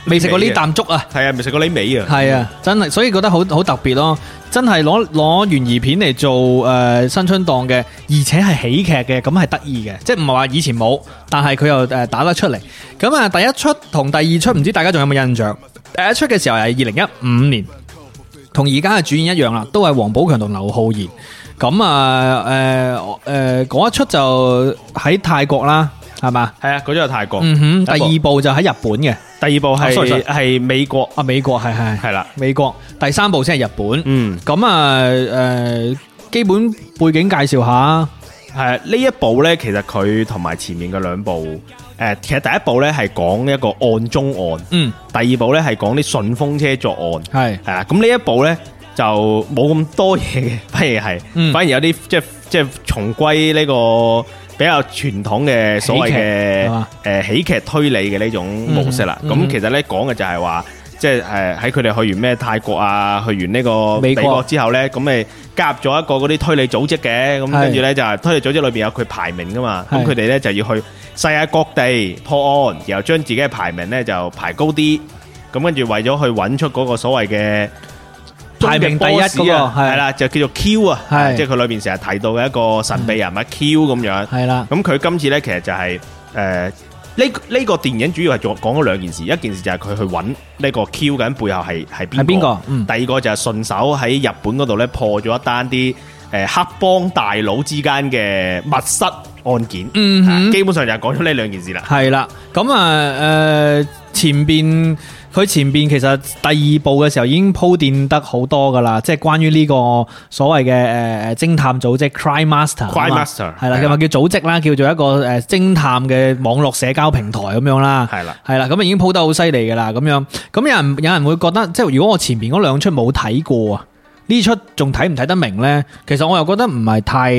未食過呢啖粥啊， 係啊，未食過呢味啊， 係啊，真係，所以覺得好特別咯，真係攞懸疑片嚟做新春檔嘅，而且係喜劇嘅，咁係得意嘅，即係唔係話以前冇，但係佢又打得出嚟。咁啊，第一出同第二出唔知大家仲有冇印象？第一出嘅時候係2015年，同而家嘅主演一樣啦，都係王寶強同劉浩然。咁啊嗰一出就喺泰國啦，係嘛？係啊，嗰出係泰國。 第二部就喺日本嘅， 第二部係美國啊，美國係啦，美國。第三部先係日本。咁啊基本背景介紹下。 係呢一部呢，其實佢同埋前面嘅兩部，其實第一部呢係講一個案中案，第二部呢係講啲順風車作案，係啊。咁呢一部呢就冇咁多嘢嘅，反而有啲即係重歸呢個比較傳統嘅所謂嘅喜劇推理嘅呢種模式啦。咁其實呢講嘅就係話，即係喺佢哋去完咩泰國啊，去完呢個美國之後呢，咁咪加入咗一個嗰啲推理組織嘅，咁跟住呢，就係推理組織裏邊有佢排名噶嘛，咁佢哋呢就要去世界各地破案，然後將自己嘅排名呢就排高啲，咁跟住為咗去揾出嗰個所謂嘅排名第一嗰個係啦，就叫做 Q 啊，即係佢裏邊成日提到嘅一個神秘人物 Q 咁樣，係啦。咁佢今次呢，其實就係呢個電影主要係講咗兩件事，一件事就係佢去揾呢個 Q 緊背後係邊個，第二個就係順手喺日本嗰度咧破咗一單啲黑幫大佬之間嘅密室案件，基本上就係講咗呢兩件事啦。係啦，咁啊佢前邊其實第二部嘅時候已經鋪墊得好多噶啦，即係關於呢個所謂嘅偵探組織 Crime Master 係啦，咁啊叫組織啦，叫做一個偵探嘅網絡社交平台咁樣啦，係啦，咁啊已經鋪得好犀利噶啦，咁樣，咁有人會覺得，即係如果我前邊嗰兩出冇睇過啊，呢出仲睇唔睇得明呢？其實我又覺得唔係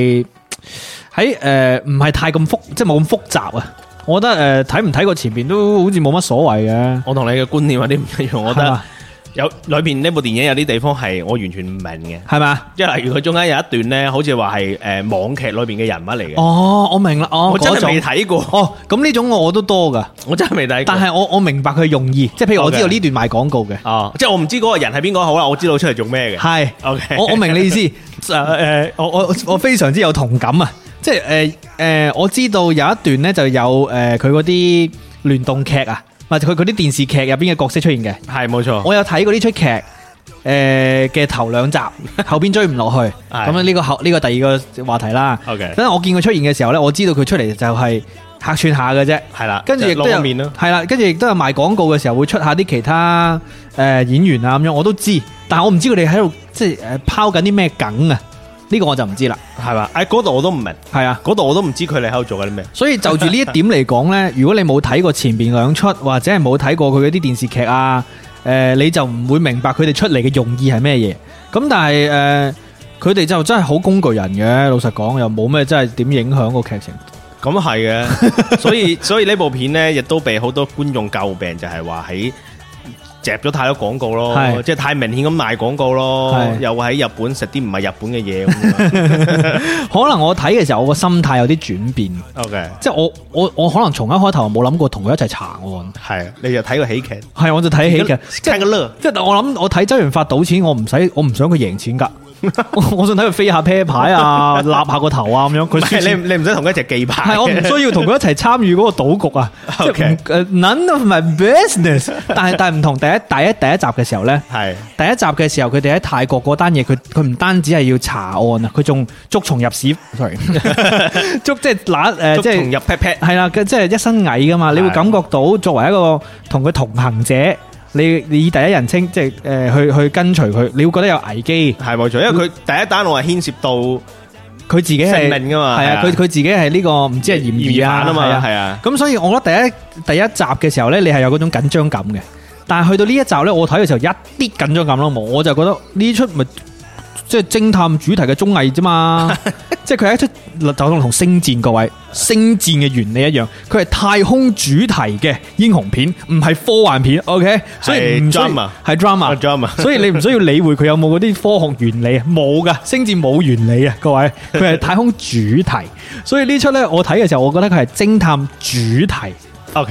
太咁即係冇咁複雜啊。我覺得睇唔睇過前邊都好似冇乜所謂嘅。我同你嘅觀念有啲唔一樣，我覺得有裏邊呢部電影有啲地方係我完全唔明嘅，係嘛？即係例如佢中間有一段咧，好似話係網劇裏邊嘅人物嚟嘅。哦，我明啦，我真係未睇過。哦，咁呢種我都多噶，我真係未睇過。但係我明白佢用意，即係譬如我知道呢段賣廣告嘅。哦，即係我唔知嗰個人係邊個好啦，我知道出嚟做咩嘅。係 ，OK， 我明你意思。我非常之有同感啊！即係我知道有一段咧就有佢嗰啲聯動劇啊，或者佢嗰啲電視劇入邊嘅角色出現嘅，係冇錯。我有睇過呢出劇嘅頭兩集，後邊追唔落去。咁呢個第二個話題啦。OK，等我見佢出現嘅時候咧，我知道佢出嚟就係客串下嘅啫。係啦，跟住亦都有面咯。係啦，跟住亦都有賣廣告嘅時候會出下啲其他演員啊咁樣，我都知。但係我唔知佢哋喺度即係拋緊啲咩梗啊。呢個我就唔知啦，係嘛？嗰度我都唔明，係啊，嗰度我都唔知佢哋喺度做緊啲咩。所以就住呢一點嚟講呢，如果你冇睇過前邊兩出，或者係冇睇過佢嗰啲電視劇啊，你就唔會明白佢哋出嚟嘅用意係咩嘢。咁但係佢哋就真係好工具人嘅，老實講又冇咩真係點影響個劇情。咁係嘅，所以呢部片呢，亦都被好多觀眾詬病，就係話喺夾咗太多廣告咯，即係太明顯咁賣廣告咯，又喺日本食啲唔係日本嘅嘢咁。可能我睇嘅時候，我個心態有啲轉變。OK， 即係我可能從一開頭冇諗過同佢一齊查案。係，你就睇個喜劇。係，我就睇喜劇，即係我諗我睇周潤發賭錢，我唔想佢贏錢噶。我想睇佢飛下啤牌啊，立下個頭啊咁樣。佢你唔使同佢一齊記牌。係，我唔需要同佢一齊參與嗰個賭局啊。Okay. 即係 none of my business 但係唔同第一集嘅時候咧，係第一集嘅時候，佢哋喺泰國嗰單嘢，佢唔單止係要查案啊，佢仲捉蟲入屎 ，sorry， 捉即係捉蟲入 pat pat，係啦，即係一身蟻噶嘛，你會感覺到作為一個同佢同行者。你以第一人稱即係去跟隨佢，你會覺得有危機。係冇錯，因為佢第一單我係牽涉到佢自己係性命噶嘛。係啊，佢自己係呢個唔知係嫌疑犯啊嘛。係啊，咁所以我覺得第一集嘅時候咧，你係有嗰種緊張感嘅。但係去到呢一集咧，我睇嘅時候一啲緊張感都冇，我就覺得呢出咪即係偵探主題嘅綜藝啫嘛。即係佢係一出就同星戰各位星戰嘅原理一樣，佢係太空主題嘅英雄片，唔係科幻片。OK， 所以唔需要係 drama， 所以你唔需要理會佢有冇嗰啲科學原理啊，冇噶，星戰冇原理啊，各位，佢係太空主題。所以呢出咧，我睇嘅時候，我覺得佢係偵探主題。OK，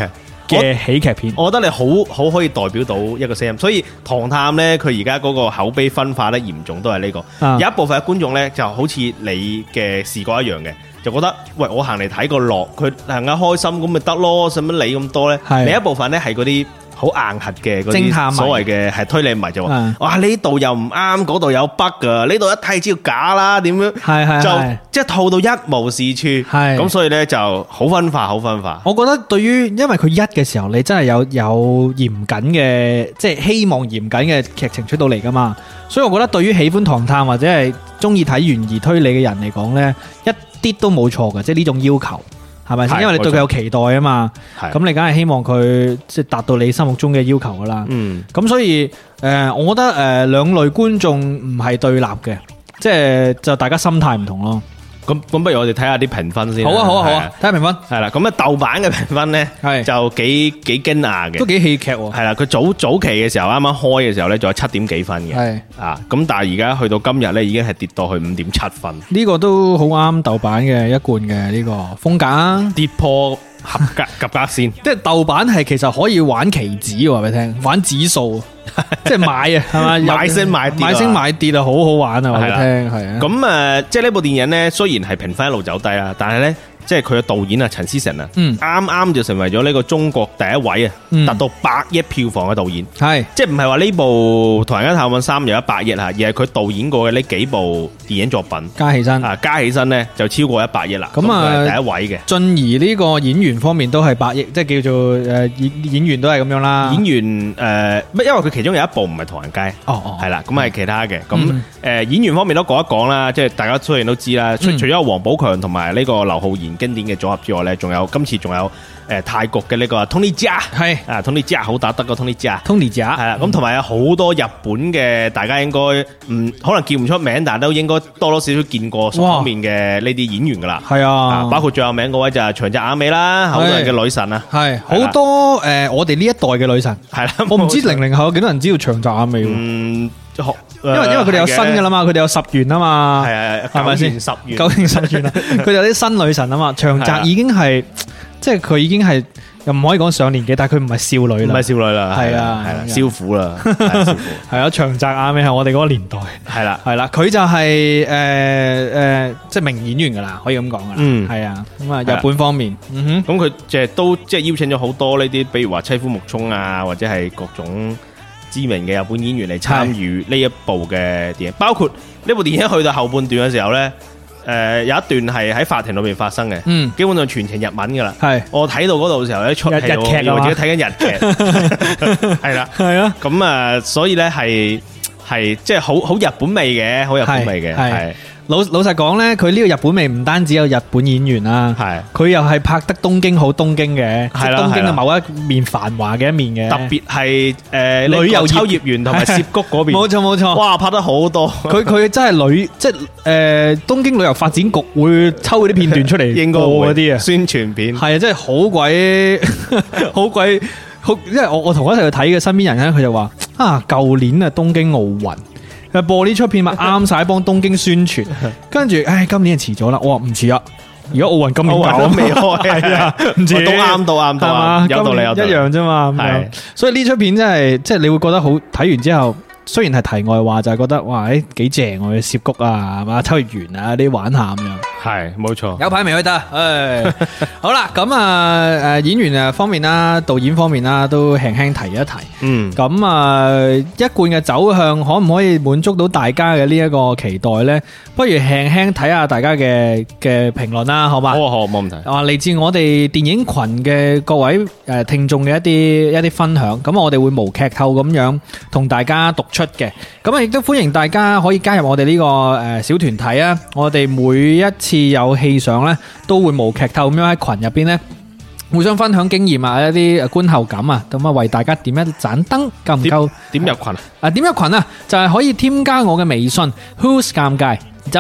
嘅喜劇片。 我覺得你好可以代表到一個聲音，所以《唐探》呢，佢而家嗰個口碑分化得嚴重都係呢個。有一部分嘅觀眾呢，就好似你嘅視覺一樣嘅，就覺得喂，我行嚟睇個樂，佢行下開心咁咪得咯，使乜理咁多呢？另一部分呢，係嗰啲好硬核嘅嗰啲所謂嘅係推理迷就話，哇呢度又唔啱，嗰度有 bug 噶，呢度一睇知道假啦，點樣？就即係套到一無是處，咁所以呢就好分化，好分化。 我覺得對於因為佢一嘅時候，你真係有嚴謹嘅，即係希望嚴謹嘅劇情出到嚟噶嘛，所以我覺得對於喜歡唐探或者係中意睇懸疑推理嘅人嚟講呢，一啲都冇錯嘅，即係呢種要求。係咪先？因為你對佢有期待啊嘛，咁你梗係希望佢即係達到你心目中嘅要求噶啦。咁所以我覺得兩類觀眾唔係對立嘅，即係就大家心態唔同咯。 咁不如我哋睇下啲評分先。 好啊，睇下評分。 係啦，咁啊豆瓣嘅評分咧就幾驚訝嘅， 都幾戲劇喎。 係啦，佢早期嘅時候，啱啱開嘅時候咧，仲有7點幾分嘅。係啊，咁但係而家去到今日咧，已經係跌到去5.7分。呢個都好啱豆瓣嘅一貫嘅呢個風格啊， 跌破合格及格線。 即係豆瓣係其實可以玩期指，話俾你聽，玩指數。即係買啊，係嘛？ 買升買跌啊，好好玩啊！我哋聽係啊。 咁即係呢部電影咧，雖然係評分一路走低啦，但係咧，即係佢嘅導演啊，陳思誠啊，啱啱就成為咗呢個中國第一位啊，達到100億票房嘅導演。係，即係唔係話呢部《唐人街探案3》有100億吓，而係佢導演過嘅呢幾部電影作品加起身咧就超過100億啦。咁啊，第一位嘅。 進而呢個演員方面都係100億，即係叫做演員都係咁樣啦。 演員因為佢其中有一部唔係《唐人街》，係啦，咁係其他嘅。咁演員方面都講一講啦，即係大家雖然都知啦，除咗王寶強同埋呢個劉浩然經典嘅組合之外咧，今次仲有泰國嘅呢個 Tony Jaa， 係啊 Tony Jaa 好打得個 Tony Jaa 係啦，咁同埋有好多日本嘅，大家應該可能叫唔出名，但係都應該多多少少見過方面嘅呢啲演員噶啦。係啊，包括最有名嗰位就係長澤雅美啦，好多人嘅女神啊，係好多我哋呢一代嘅女神係啦。我唔知00後有幾多人知道長澤雅美，因為佢哋有新噶啦嘛，佢哋有十元啊嘛，係咪先？9年10元啦，佢哋有啲新女神啊嘛，長澤已經係。即係佢已經係又唔可以講上年紀，但係佢唔係少女啦， 唔係少女啦， 係啊， 少婦啦， 係啊，長澤雅美係我哋嗰個年代，係啦，佢就係即係名演員噶啦，可以咁講噶啦，係啊，咁啊日本方面， 咁佢即係都即係邀請咗好多呢啲，比如話妻夫木聰啊，或者係各種知名嘅日本演員嚟參與呢一部嘅電影，包括呢部電影去到後半段嘅時候咧。有一段係喺法庭裏面發生嘅，基本上全程日文噶啦。係我睇到嗰度嘅時候咧，出戲我以為自己睇緊日劇，係啦，係啊。咁所以咧係即係好日本味嘅，好日本味嘅。係老實講咧，佢呢個日本味唔單止有日本演員啦，係佢又係拍得東京好東京嘅，係啦，東京嘅某一面繁華嘅一面嘅，特別係旅遊秋葉原同埋涉谷嗰邊，冇錯，哇，拍得好多，佢真係即係東京旅遊發展局會抽嗰啲片段出嚟，應該嗰啲啊宣傳片，係啊，真係好鬼，因為我同我一齊去睇嘅身邊人咧，佢就話舊年啊東京奧運。播呢出片咪啱晒幫東京宣傳，跟住今年就遲咗啦。我話唔遲啊，而家奧運今年搞都未開，係啊，唔遲都啱，有道理，一樣啫嘛。係，所以呢出片真係即係你會覺得好，睇完之後。雖然係題外話，就係覺得哇，幾正喎！涉谷啊，係嘛，秋葉原啊啲玩下咁樣，係冇錯。有排未去得，好啦，咁演員方面啦，導演方面啦，都輕輕提一提。咁一貫嘅走向可唔可以滿足到大家嘅呢一個期待呢？不如輕輕睇下大家嘅評論啦，好嘛？好，冇問題。嚟自我哋電影群嘅各位聽眾嘅一啲分享，咁我哋會無劇透咁樣同大家讀出嘅，咁亦都歡迎大家可以加入我哋呢個小團體啊！我哋每一次有戲上呢，都會無劇透咁樣喺群入邊呢，互相分享經驗啊，一啲觀後感啊，咁為大家點一盞燈，夠唔夠？點入群啊？點入群啊？就係可以添加我嘅微信 Who's 尷尬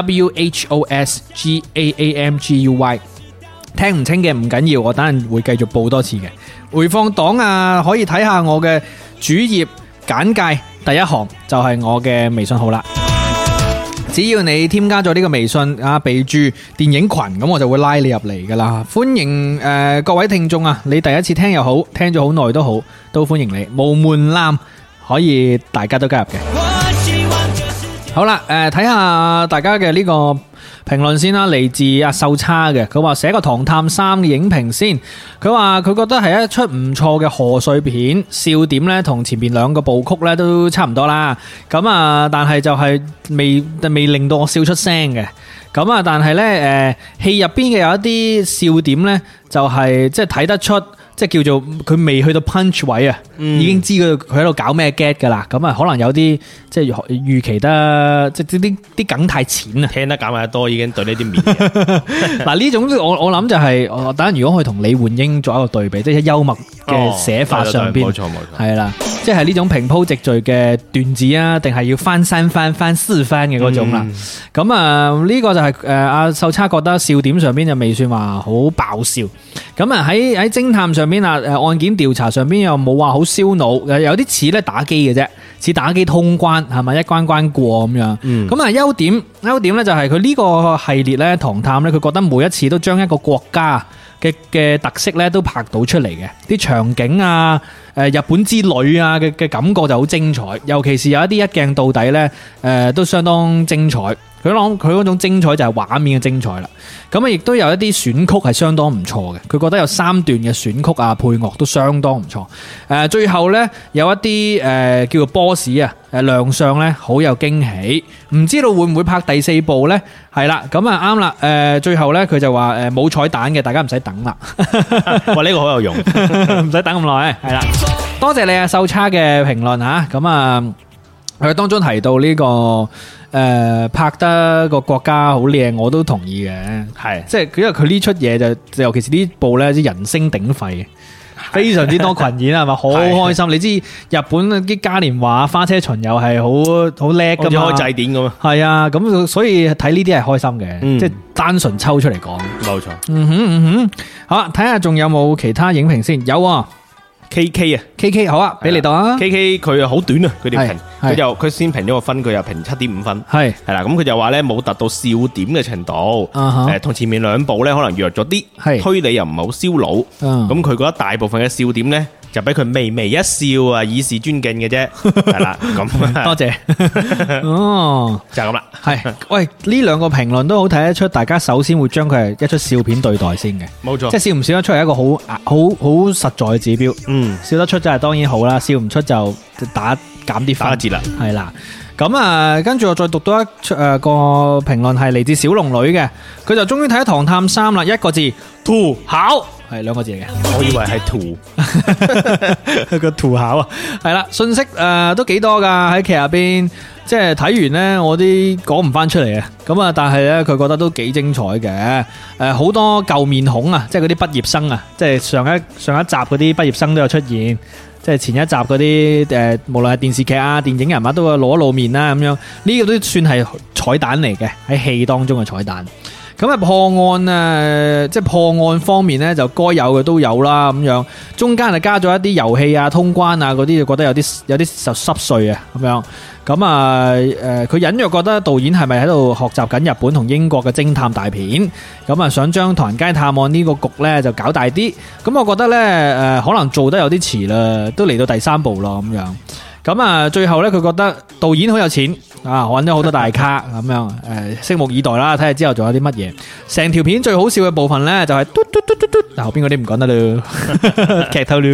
WHOSGAAMGUY， 聽唔清嘅唔緊要，我等陣會繼續報多次嘅。回放檔啊，可以睇下我嘅主頁簡介。第一行就係我嘅微信號啦。 只要你添加咗呢個微信啊，備注電影群，咁我就會拉你入嚟噶啦。歡迎各位聽眾啊，你第一次聽又好，聽咗好耐都好，都歡迎你，無門檻，可以大家都加入嘅。好啦，睇下大家嘅呢個評論先啦，嚟自阿秀叉嘅，佢話寫個《唐探3》嘅影評先，佢話佢覺得係一出唔錯嘅賀歲片，笑點呢同前面兩個部曲呢都差唔多啦，咁啊但係就係未令到我笑出聲嘅，咁啊但係呢戲入邊嘅有一啲笑點呢，就係即係睇得出。即係叫做佢未去到 punch 位啊，已經知佢喺度搞咩 get 噶啦，咁啊可能有啲即係預期得即係啲梗太淺啊， 聽得減得多已經對呢啲面。 嗱呢種我諗就係等陣如果可以同李煥英做一個對比，即係幽默嘅寫法上邊，冇錯係啦，即係呢種平鋪直敘嘅段子啊，定係要翻三番翻四番嘅嗰種啦。咁啊呢個就係阿秀叉覺得笑點上邊就未算話好爆笑，咁啊喺偵探上邊啊，案件調查上邊又冇話好燒腦，有啲似咧打機嘅啫，似打機通關係咪一關關過咁樣。咁啊優點咧就係佢呢個系列咧唐探咧，佢覺得每一次都將一個國家嘅特色咧都拍到出嚟嘅，啲場景啊，日本之旅啊嘅感覺就好精彩，尤其是有一啲一鏡到底咧，都相當精彩。佢嗰種精彩就係畫面嘅精彩啦。咁啊，亦都有一啲選曲係相當唔錯嘅。佢覺得有3段嘅選曲啊，配樂都相當唔錯。最後呢，有一啲叫做 boss 啊，亮相呢好有驚喜。唔知道會唔會拍第4部呢？係啦，咁啊啱啦。最後呢，佢就話冇彩蛋嘅，大家唔使等啦。 哇，呢個好有用， 唔使等咁耐。係啦，多謝你啊秀叉嘅評論吓。咁啊，佢當中提到呢個。拍得個國家好靚，我都同意嘅，係即係因為佢呢出嘢就尤其是呢部咧，啲人聲鼎沸，非常之多群演係咪？好開心！你知日本啲嘉年華、花車巡遊係好叻噶嘛？ 好似開祭典咁啊！ 係啊，咁所以睇呢啲係開心嘅，即係單純抽出嚟講， 冇錯。 好啦，睇下仲有冇其他影評先，有啊。 KK 啊 ，KK 好啊，俾你讀啊。 KK 佢好短啊，佢條評，佢先評咗個分，佢又評7.5分，係啦，咁佢就話咧冇達到笑點嘅程度，同前面2部咧可能弱咗啲，推理又唔係好燒腦，咁佢覺得大部分嘅笑點咧就俾佢微微一笑啊，以示尊敬嘅啫，係啦，咁多謝，哦，就係咁啦，係，喂，呢2個評論都好睇得出，大家首先會將佢係一出笑片對待先嘅，冇錯，即係笑唔笑得出係一個好實在嘅指標，笑得出就係當然好啦，笑唔出就減啲分節啦，係啦。咁啊，跟住我再讀多一個評論，係嚟自小龍女嘅，佢就終於睇咗《唐探3》啦，一個字土考，係2個字嚟嘅， 我以為係土， 個土考啊，係啦，信息都幾多噶喺劇入邊，即係睇完呢，我啲講唔翻出嚟啊，咁啊，但係呢，佢覺得都幾精彩嘅，好多舊面孔啊，即係嗰啲畢業生啊，即係上一集嗰啲畢業生都有出現。即係前一集嗰啲無論係電視劇啊、電影人物都會露一露面啦，咁樣呢個都算係彩蛋嚟嘅，喺戲當中嘅彩蛋。咁啊破案啊，即係破案方面呢，就該有嘅都有啦，咁樣中間就加咗一啲遊戲啊、通關啊嗰啲，就覺得有啲濕碎啊，咁樣。咁啊，佢隱約覺得導演係咪喺度學習緊日本同英國嘅偵探大片？咁啊，想將唐人街探案呢個局呢就搞大啲。咁我覺得呢，可能做得有啲遲啦，都嚟到第3部咯，咁樣。咁啊，最後呢，佢覺得導演好有錢啊，揾咗好多大咖咁樣。拭目以待啦，睇下之後仲有啲乜嘢。成條片最好笑嘅部分呢，就係嘟嘟嘟嘟嘟，後邊嗰啲唔講得啦，劇透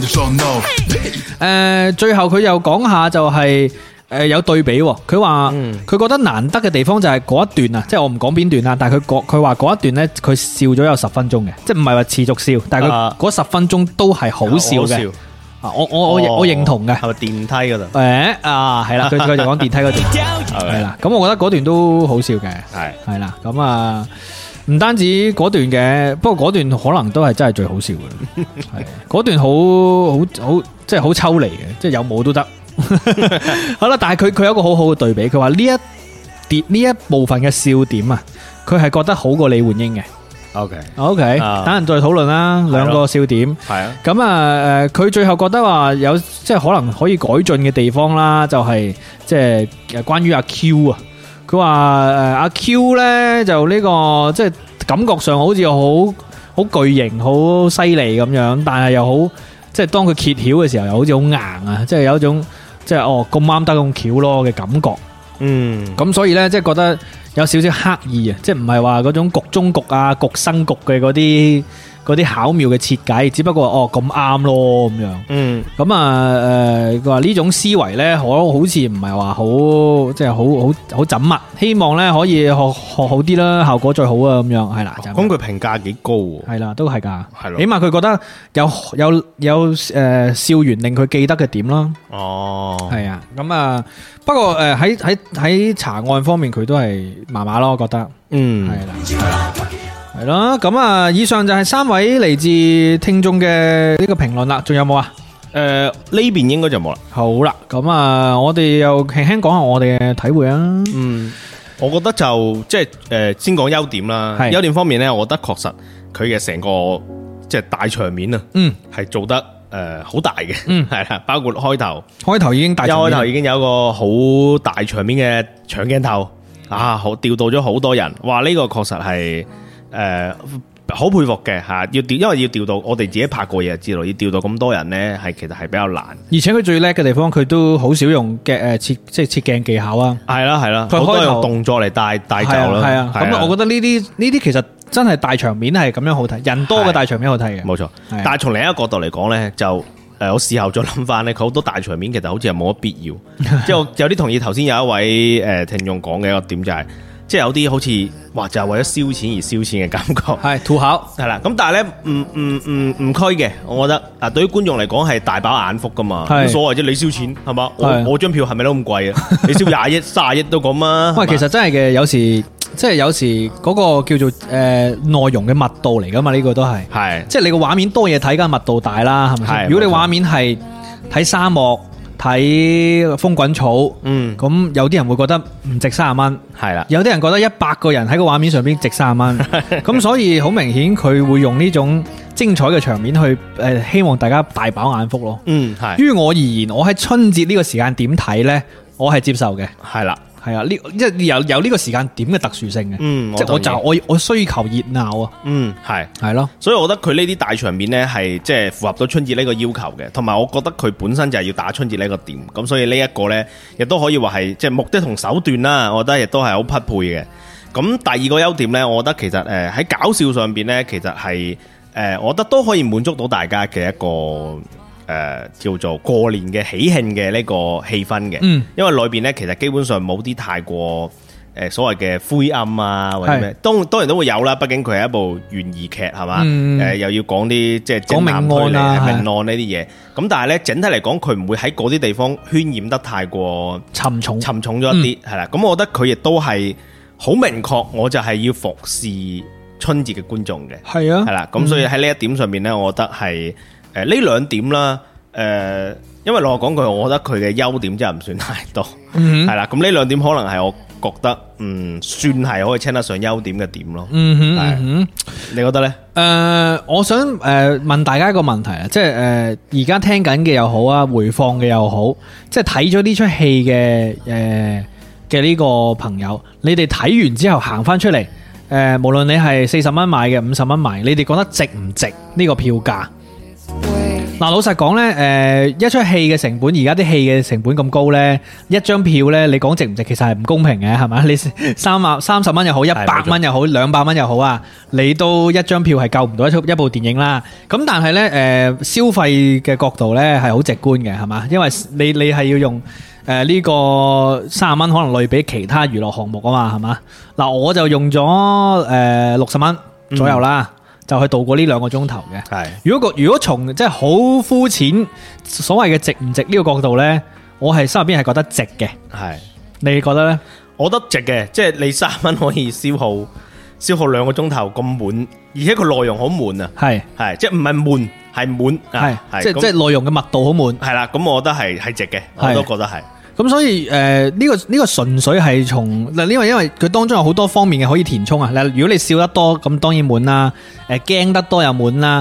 啦。最後佢又講下就係。有對比，佢話佢覺得難得嘅地方就係嗰一段啊，即係我唔講邊段啦，但係佢話嗰一段呢，佢笑咗有10分鐘嘅，即係唔係話持續笑，但係佢嗰10分鐘都係好笑嘅。我認同嘅。 係咪電梯嗰度？ 係啦，佢就講電梯嗰段，係啦。咁我覺得嗰段都好笑嘅，係啦。咁啊，唔單止嗰段嘅，不過嗰段可能都係真係最好笑嘅。係嗰段好即係好抽離嘅，即係有冇都得。好啦，但係佢有一個好好嘅對比，佢話呢一部分嘅笑點啊，佢係覺得好過李煥英嘅。OK，等陣再討論啦。2個笑點係啊，咁啊，佢最後覺得話有即係可能可以改進嘅地方啦，就係即係關於阿 Q 啊。 佢話阿 Q 咧就呢個即係感覺上好似好巨型、好犀利咁樣，但係又好即係當佢揭曉嘅時候，又好似好硬啊！即係有一種即係咁啱得咁巧咯嘅感覺。咁所以咧即係覺得有少少刻意啊，即係唔係話嗰種局中局啊、局生局嘅嗰啲巧妙嘅設計，只不過咁啱咯咁樣。咁佢話呢種思維咧，好似唔係話好即係好縝密，希望咧可以學好啲啦，效果最好啊咁樣係啦。 咁佢評價幾高喎？ 係啦，都係㗎， 係咯。 起碼佢覺得有笑完令佢記得嘅點啦。係啊。咁不過喺查案方面佢都係麻麻咯，我覺得。係啦。係咯，咁以上就係3位嚟自聽眾嘅呢個評論啦，仲有冇啊？ 呢邊應該就冇啦。 好啦，咁我哋又輕輕講下我哋嘅體會啊。 我覺得就即係先講優點啦。優點方面呢，我覺得確實佢嘅成個即係大場面啊，係做得好大嘅，係啦，包括開頭已經大場面，一開頭已經有一個好大場面嘅搶鏡頭啊，好調到咗好多人，哇！呢個確實係。好佩服嘅吓，因為要調到我哋自己拍過嘢就知道，要調到咁多人呢，其實係比較難。而且佢最叻嘅地方，佢都好少用嘅即係切鏡技巧啊。係啦，佢好多用動作嚟帶走啦。係啊，咁我覺得呢啲其實真係大場面係咁樣好睇，人多嘅大場面好睇嘅。冇錯，但係從另一個角度嚟講呢，就我事後再諗翻呢，佢好多大場面其實好似係冇乜必要。即係我有啲同意頭先有一位聽眾講嘅一個點就係。即係有啲好似話就係為咗燒錢而燒錢嘅感覺，係土豪係啦。咁但係咧唔區嘅，我覺得對於觀眾嚟講係大飽眼福噶嘛，冇所謂啫。你燒錢係嘛？我張票係咪都咁貴啊？你燒20億、30億都咁啊？喂，其實真係嘅，有時即係有時嗰個叫做內容嘅密度嚟噶嘛，呢個都係即係你個畫面多嘢睇，梗係密度大啦，係咪先？如果你畫面係睇沙漠。睇風滾草，咁有啲人會覺得唔值30蚊，係啦。有啲人覺得100個人喺個畫面上邊值30蚊，咁所以好明顯佢會用呢種精彩嘅場面去希望大家大飽眼福咯。係。於我而言，我喺春節呢個時間點睇呢，我係接受嘅。係啦。係啊，即係有呢個時間點嘅特殊性嘅，即係我需求熱鬧啊，係咯，所以我覺得佢呢啲大場面呢係即係符合到春節呢個要求嘅，同埋我覺得佢本身就係要打春節呢個點，咁所以呢一個呢亦都可以話係即係目的同手段啦，我覺得亦都係好匹配嘅。咁第二個優點呢，我覺得其實喺搞笑上邊呢，其實係我覺得都可以滿足到大家嘅一個。叫做過年嘅喜慶嘅呢個氣氛嘅，因為裏邊呢其實基本上冇啲太過所謂嘅灰暗啊或者咩，當然都會有啦，畢竟佢係一部懸疑劇係嘛，又要講啲即係講命案呢啲嘢，咁但係呢，整體嚟講佢唔會喺嗰啲地方渲染得太過沉重咗一啲，係啦，咁我覺得佢亦都係好明確，我就係要服侍春節嘅觀眾嘅，係啊，係啦，咁所以喺呢一點上面呢，我覺得係。呢兩點啦，因為老實講句，我覺得佢嘅優點真係唔算太多，係啦。咁呢兩點可能係我覺得算係可以稱得上優點嘅點咯。你覺得呢？我想問大家一個問題啊，即係而家聽緊嘅又好啊，回放嘅又好，即係睇咗呢出戲嘅呢個朋友，你哋睇完之後行翻出嚟，無論你係40蚊買嘅、50蚊買，你哋覺得值唔值呢個票價？嗱，老實講呢，一出戲嘅成本，而家啲戲嘅成本咁高呢，一張票呢，你講值唔值，其實係唔公平嘅，係咪？你30蚊又好，100蚊又好，200蚊又好啊，你都一張票係救唔到一部電影啦。咁但係呢，消費嘅角度呢係好直觀嘅，係嘛？因為你係要用呢個30蚊可能類比其他娛樂項目啊嘛，係嘛？嗱，我就用咗60蚊左右啦。就去度過呢2個鐘頭嘅。係如果從即係好膚淺所謂嘅值唔值呢個角度呢，我係心入邊係覺得值嘅。係你覺得呢？我覺得值嘅，即係你3蚊可以消耗2個鐘頭咁滿，而且佢內容好滿啊。係即係唔係悶，係滿。係即係內容嘅密度好滿。係啦，咁我覺得係值嘅，我都覺得係。咁所以呢個純粹係從嗱，因為佢當中有好多方面嘅可以填充啊。如果你笑得多，咁當然滿啦；驚得多又滿啦；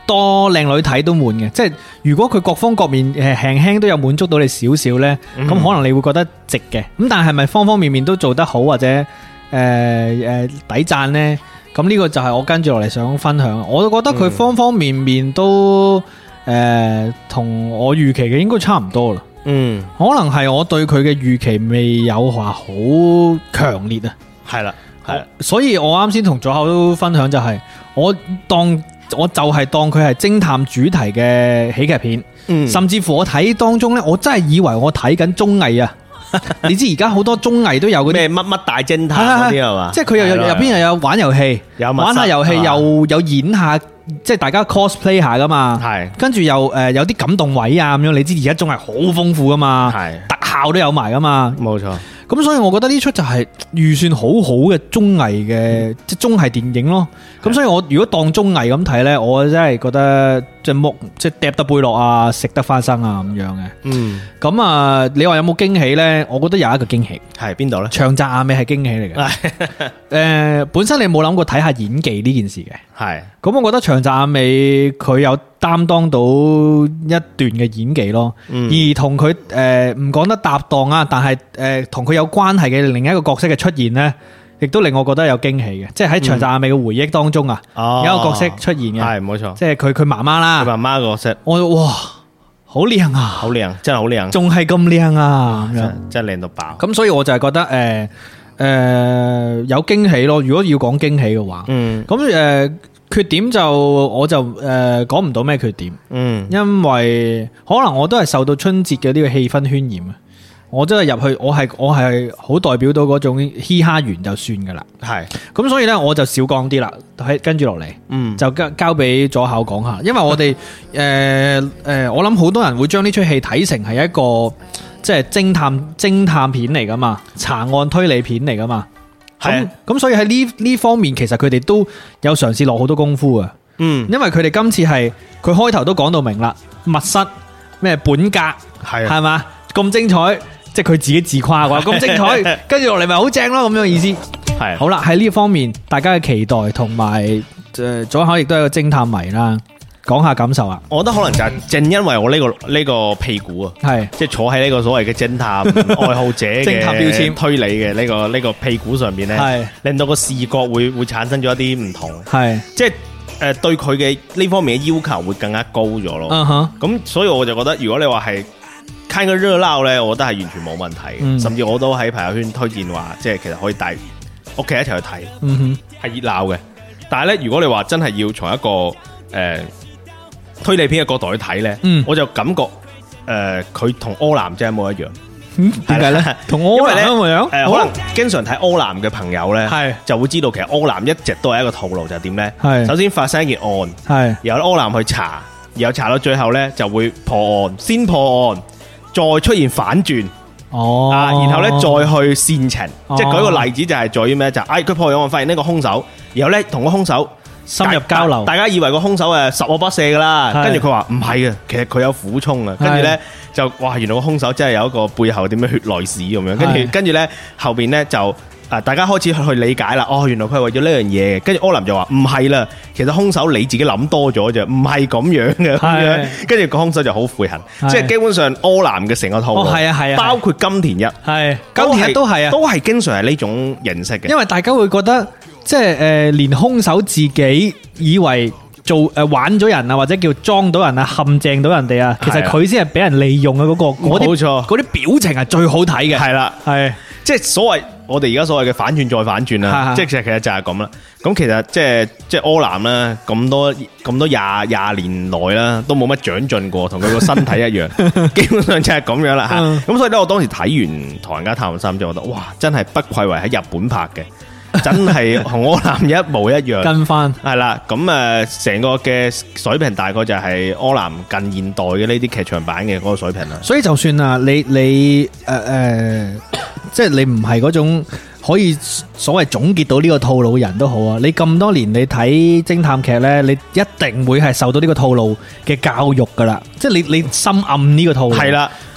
多靚女睇都悶嘅，即係如果佢各方各面輕輕都有滿足到你少少呢，咁可能你會覺得值嘅。咁但係咪方方面面都做得好或者抵讚呢？咁呢個就係我跟住落嚟想分享。我都覺得佢方方面面都同我預期嘅應該差唔多啦。可能係我對佢嘅預期未有話好強烈啊。 係啦， 所以我啱先同左口都分享就係我就係當佢係偵探主題嘅喜劇片，甚至乎我睇當中呢，我真係以為我睇緊綜藝啊！你知而家好多綜藝都有嗰啲咩乜乜大偵探嗰啲係嘛？ 即係佢入邊又有玩遊戲，玩下遊戲又有演下，即係大家 cosplay 下噶嘛。係，跟住又有啲感動位啊咁樣。你知而家綜藝好豐富噶嘛，特效都有埋噶嘛。冇錯。咁所以我覺得呢出就係預算好好嘅綜藝嘅即係綜藝電影咯。咁所以我如果當綜藝咁睇呢，我真係覺得即係嗒得背落啊，食得花生啊咁樣嘅。咁啊，你話有冇驚喜呢？我覺得有一個驚喜，係邊度呢？長澤雅美係驚喜嚟嘅。本身你冇諗過睇下演技呢件事嘅。係。咁我覺得長澤雅美佢有擔當到一段嘅演技咯。而同佢唔講得搭檔啊，但係同佢有關係嘅另一個角色嘅出現呢，亦都令我覺得有驚喜嘅。即係喺長澤雅美嘅回憶當中啊，有一個角色出現嘅，係冇錯，即係佢媽媽啦，佢媽媽個角色，哇，好靚啊，好靚，真係好靚，仲係咁靚啊，真係靚到爆。咁所以我就係覺得有驚喜咯。如果要講驚喜嘅話，咁缺點我就講唔到咩缺點，因為可能我都係受到春節嘅呢個氣氛渲染啊。我真係入去，我係好代表到嗰種嘻哈完就算噶啦。係咁，所以呢，我就少講啲啦。跟住落嚟，就交俾左口講下。因為我哋我諗好多人會將呢出戲睇成係一個即係偵探片嚟噶嘛，查案推理片嚟噶嘛。咁所以喺呢方面，其實佢哋都有嘗試落好多功夫啊。因為佢哋今次係佢開頭都講到明啦，密室咩本格係嘛咁精彩。即係佢自己自誇啩，咁精彩，跟住落嚟咪好正咯，咁樣意思。係好啦，喺呢方面，大家嘅期待同埋左口亦都係個偵探迷啦，講下感受啊。我覺得可能就係正因為我呢個屁股啊，係即係坐喺呢個所謂嘅偵探愛好者嘅偵探標籤推理嘅呢個屁股上邊咧，係令到個視覺會產生咗一啲唔同，係即係對佢嘅呢方面嘅要求會更加高咗咯。咁所以我就覺得，如果你話係看個熱鬧咧，我覺得係完全冇問題，甚至我都喺朋友圈推薦話，即係其實可以帶屋企一齊去睇，係熱鬧嘅。但係咧，如果你話真係要從一個推理片嘅角度去睇咧，我就感覺佢同柯南真係冇一樣。點解咧？同柯南一模一樣？可能經常睇柯南嘅朋友咧，就會知道其實柯南一直都係一個套路，就係點咧？首先發生一件案，然後柯南去查，然後查到最後咧就會破案，先破案。再出現反轉，然後咧再去煽情，即係舉個例子就係在於咩？就佢破咗案，發現呢個兇手，然後咧同個兇手深入交流，大家以為個兇手十惡不赦噶啦，跟住佢話唔係嘅，其實佢有苦衷啊，跟住咧就哇，原來個兇手真係有一個背後點樣血淚史咁樣，跟住咧後邊咧就。大家開始去理解啦，原來佢係為咗呢樣嘢，跟住柯南就話唔係啦，其實兇手你自己諗多咗啫，唔係咁樣嘅，跟住個兇手就好悔恨，即係基本上柯南嘅成個套路，包括金田一，金田一都係啊，都係經常係呢種形式嘅，因為大家會覺得即係連兇手自己以為做玩咗人啊，或者叫裝到人啊，陷阱到人哋啊，其實佢先係俾人利用嘅嗰個，冇錯，嗰啲表情係最好睇嘅，係啦，係即係所謂。我哋而家所謂嘅反轉再反轉啦，即係其實就係咁啦。咁其實即係柯南啦，咁多廿年來啦，都冇乜長進過，同佢個身體一樣，基本上就係咁樣啦吓。咁所以咧，我當時睇完《唐人街探案3》就覺得，哇，真係不愧為喺日本拍嘅，真係同柯南一模一樣。跟翻係啦，咁成個嘅水平大概就係柯南近現代嘅呢啲劇場版嘅嗰個水平啦。所以就算啊，你即係你唔係嗰種可以所謂總結到呢個套路嘅人都好啊！你咁多年你睇偵探劇呢，你一定會係受到呢個套路嘅教育噶啦，即係你深諳呢個套路係啦。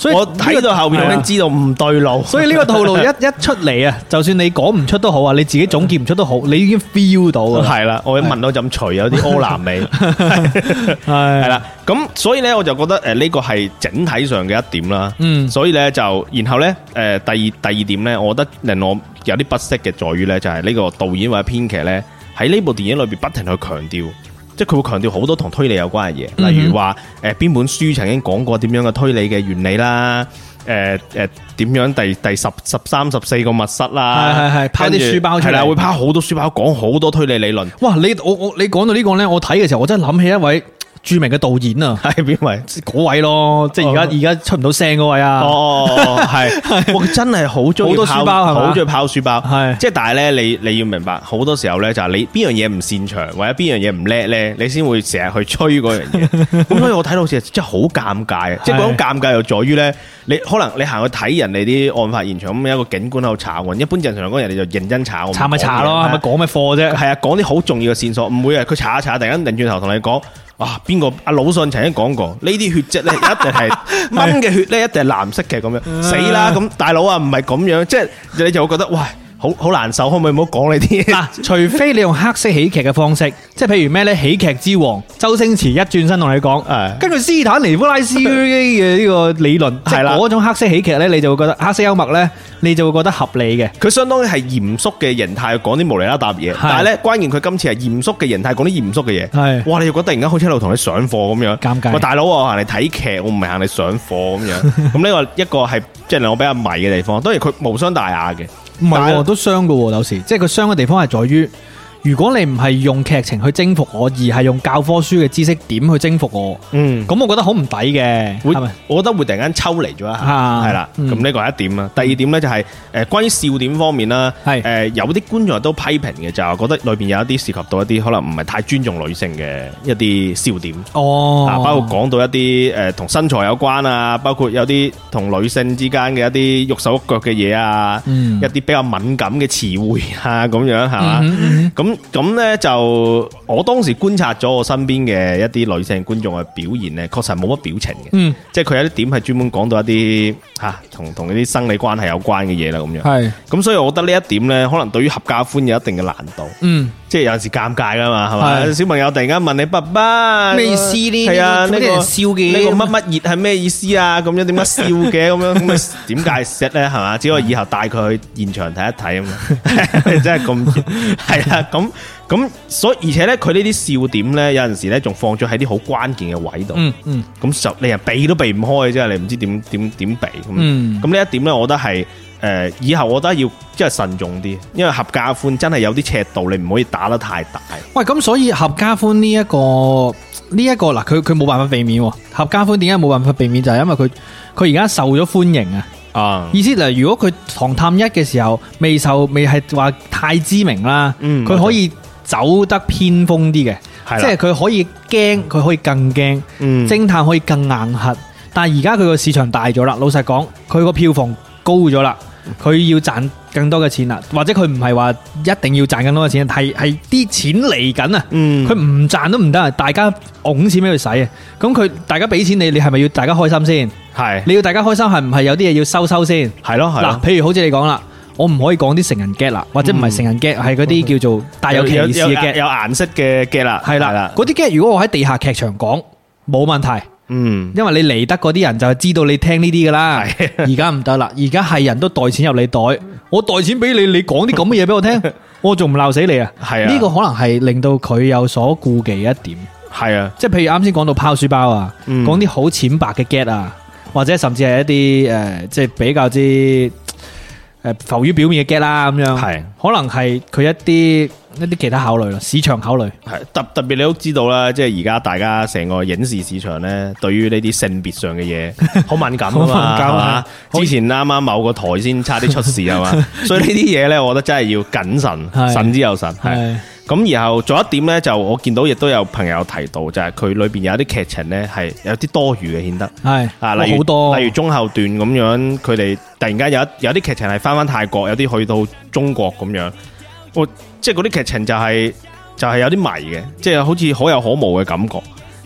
所以我睇到後邊我已經知道唔對路。 所以呢個套路一出嚟啊，就算你講唔出都好啊，你自己總結唔出都好，你已經 feel 到啊。 係啦，我一聞到陣除有啲柯南味，係啦。咁所以咧，我就覺得呢個係整體上嘅一點啦。所以咧就然後咧第二點咧，我覺得令我有啲不適嘅在於咧，就係呢個導演或者編劇咧喺呢部電影裏邊不停去強調。即係佢會強調好多同推理有關嘅嘢，例如話邊本書曾經講過點樣嘅推理嘅原理啦，點樣第13、14個密室啦， 係拋啲書包出嚟， 係啦，會拋好多書包講好多推理理論。 哇！你講到呢個咧，我睇嘅時候我真係諗起一位著名嘅導演啊， 係邊位？ 嗰位咯，即係而家出唔到聲嗰位啊。 係，佢真係好中意好多書包， 好中意拋書包。 係， 即係但係咧，你要明白，好多時候咧就係你邊樣嘢唔擅長或者邊樣嘢唔叻咧，你先會成日去吹嗰樣嘢。咁所以我睇到好似真係好尷尬啊！即係嗰種尷尬又在於咧，你可能你行去睇人哋啲案發現場咁，有一個警官喺度查案，一般正常嚟講人哋就認真查。 查咪查咯，係咪講咩課啫？ 係啊，講啲好重要嘅線索，唔會啊！佢查一查，突然間擰轉頭同你講。哇！邊個阿魯迅曾經講過呢啲血跡咧，一定係蚊嘅血咧，一定係藍色嘅咁樣，死啦！咁大佬啊，唔係咁樣，即係你就會覺得喂，好難受，可唔可以唔好講呢啲嘢？ 嗱，除非你用黑色喜劇嘅方式，即係譬如咩咧，喜劇之王周星馳一轉身同你講，根據斯坦尼夫拉斯嘅呢個理論，係啦，嗰種黑色喜劇咧，你就會覺得黑色幽默咧，你就會覺得合理嘅。佢相當於係嚴肅嘅形態講啲無厘啦搭嘢，但係咧關鍵佢今次係嚴肅嘅形態講啲嚴肅嘅嘢，係哇！你就覺得突然間好似喺度同你上課咁樣，尷尬。喂，大佬，我行嚟睇劇，我唔係行嚟上課咁樣。咁呢個一個係即係令我比較迷嘅地方。當然佢無傷大雅嘅。 唔係，都傷噶，有時即係佢傷嘅地方係在於，如果你唔係用劇情去征服我，而係用教科書嘅知識點去征服我，咁我覺得好唔抵嘅，係咪？我覺得會突然間抽離咗一下，係啦。咁呢個係一點啦。第二點咧就係關於笑點方面啦，有啲觀眾都批評嘅，就係覺得裏邊有一啲涉及到一啲可能唔係太尊重女性嘅一啲笑點。包括講到一啲同身材有關啊，包括有啲同女性之間嘅一啲喐手喐腳嘅嘢啊，一啲比較敏感嘅詞彙啊，咁樣係嘛？咁咧就我當時觀察咗我身邊嘅一啲女性觀眾嘅表現咧，確實冇乜表情嘅，即係佢有啲點係專門講到一啲同一啲生理關係有關嘅嘢啦，咁樣。係咁，所以我覺得呢一點咧，可能對於合家歡有一定嘅難度。即係有陣時尷尬噶嘛，係嘛？小朋友突然間問你爸爸咩意思呢？ 係啊，呢個笑嘅呢個乜乜熱係咩意思啊？咁樣點解笑嘅？咁樣咁啊點解釋咧？係嘛？只可以以後帶佢去現場睇一睇啊嘛！真係咁熱，係啊咁，所以而且咧，佢呢啲笑點咧，有陣時咧仲放咗喺啲好關鍵嘅位度。咁就令人避都避唔開，即係你唔知點避。咁呢一點咧，我覺得係。以後我覺得要即係慎重啲，因為合家歡真係有啲尺度，你唔可以打得太大。 喂，咁所以合家歡呢一個嗱，佢冇辦法避免。合家歡點解冇辦法避免？就係因為佢而家受咗歡迎啊。意思嗱，如果佢唐探一嘅時候未係話太知名啦，佢可以走得偏鋒啲嘅，即係佢可以驚，佢可以更驚，偵探可以更硬核。但係而家佢個市場大咗啦，老實講，佢個票房高咗啦。佢要賺更多嘅錢啦，或者佢唔係話一定要賺更多嘅錢，係啲錢嚟緊啊！佢唔賺都唔得啊！大家拱錢俾佢使啊！咁佢大家俾錢你係咪要大家開心先？係你要大家開心，係唔係有啲嘢要收先？係咯，嗱，譬如好似你講啦，我唔可以講啲成人 get 啦，或者唔係成人 get，係嗰啲叫做帶有歧視嘅 get，有顏色嘅 get 啦，係啦，嗰啲 get 如果我喺地下劇場講冇問題。因為你嚟得嗰啲人就係知道你聽呢啲噶啦，而家唔得啦，而家係人都袋錢入你袋，我袋錢俾你，你講啲咁嘅嘢俾我聽，我仲唔鬧死你啊？係啊，呢個可能係令到佢有所顧忌嘅一點。係啊，即係譬如啱先講到拋書包啊，講啲好淺白嘅 get 啊，或者甚至係一啲即係比較之浮於表面嘅 get 啦，咁樣係，可能係佢一啲其他考慮咯，市場考慮係特別你都知道啦，即係而家大家成個影視市場咧，對於呢啲性別上嘅嘢好敏感啊嘛，係嘛？之前啱啱某個台先差啲出事啊嘛，所以呢啲嘢咧，我覺得真係要謹慎，慎之又慎。係咁，然後仲有一點咧，就我見到亦都有朋友提到，就係佢裏邊有啲劇情咧係有啲多餘嘅顯得係啊，例如中後段咁樣，佢哋突然間有啲劇情係翻泰國，有啲去到中國咁樣。即係嗰啲劇情就係有啲迷嘅，即係好似可有可無嘅感覺。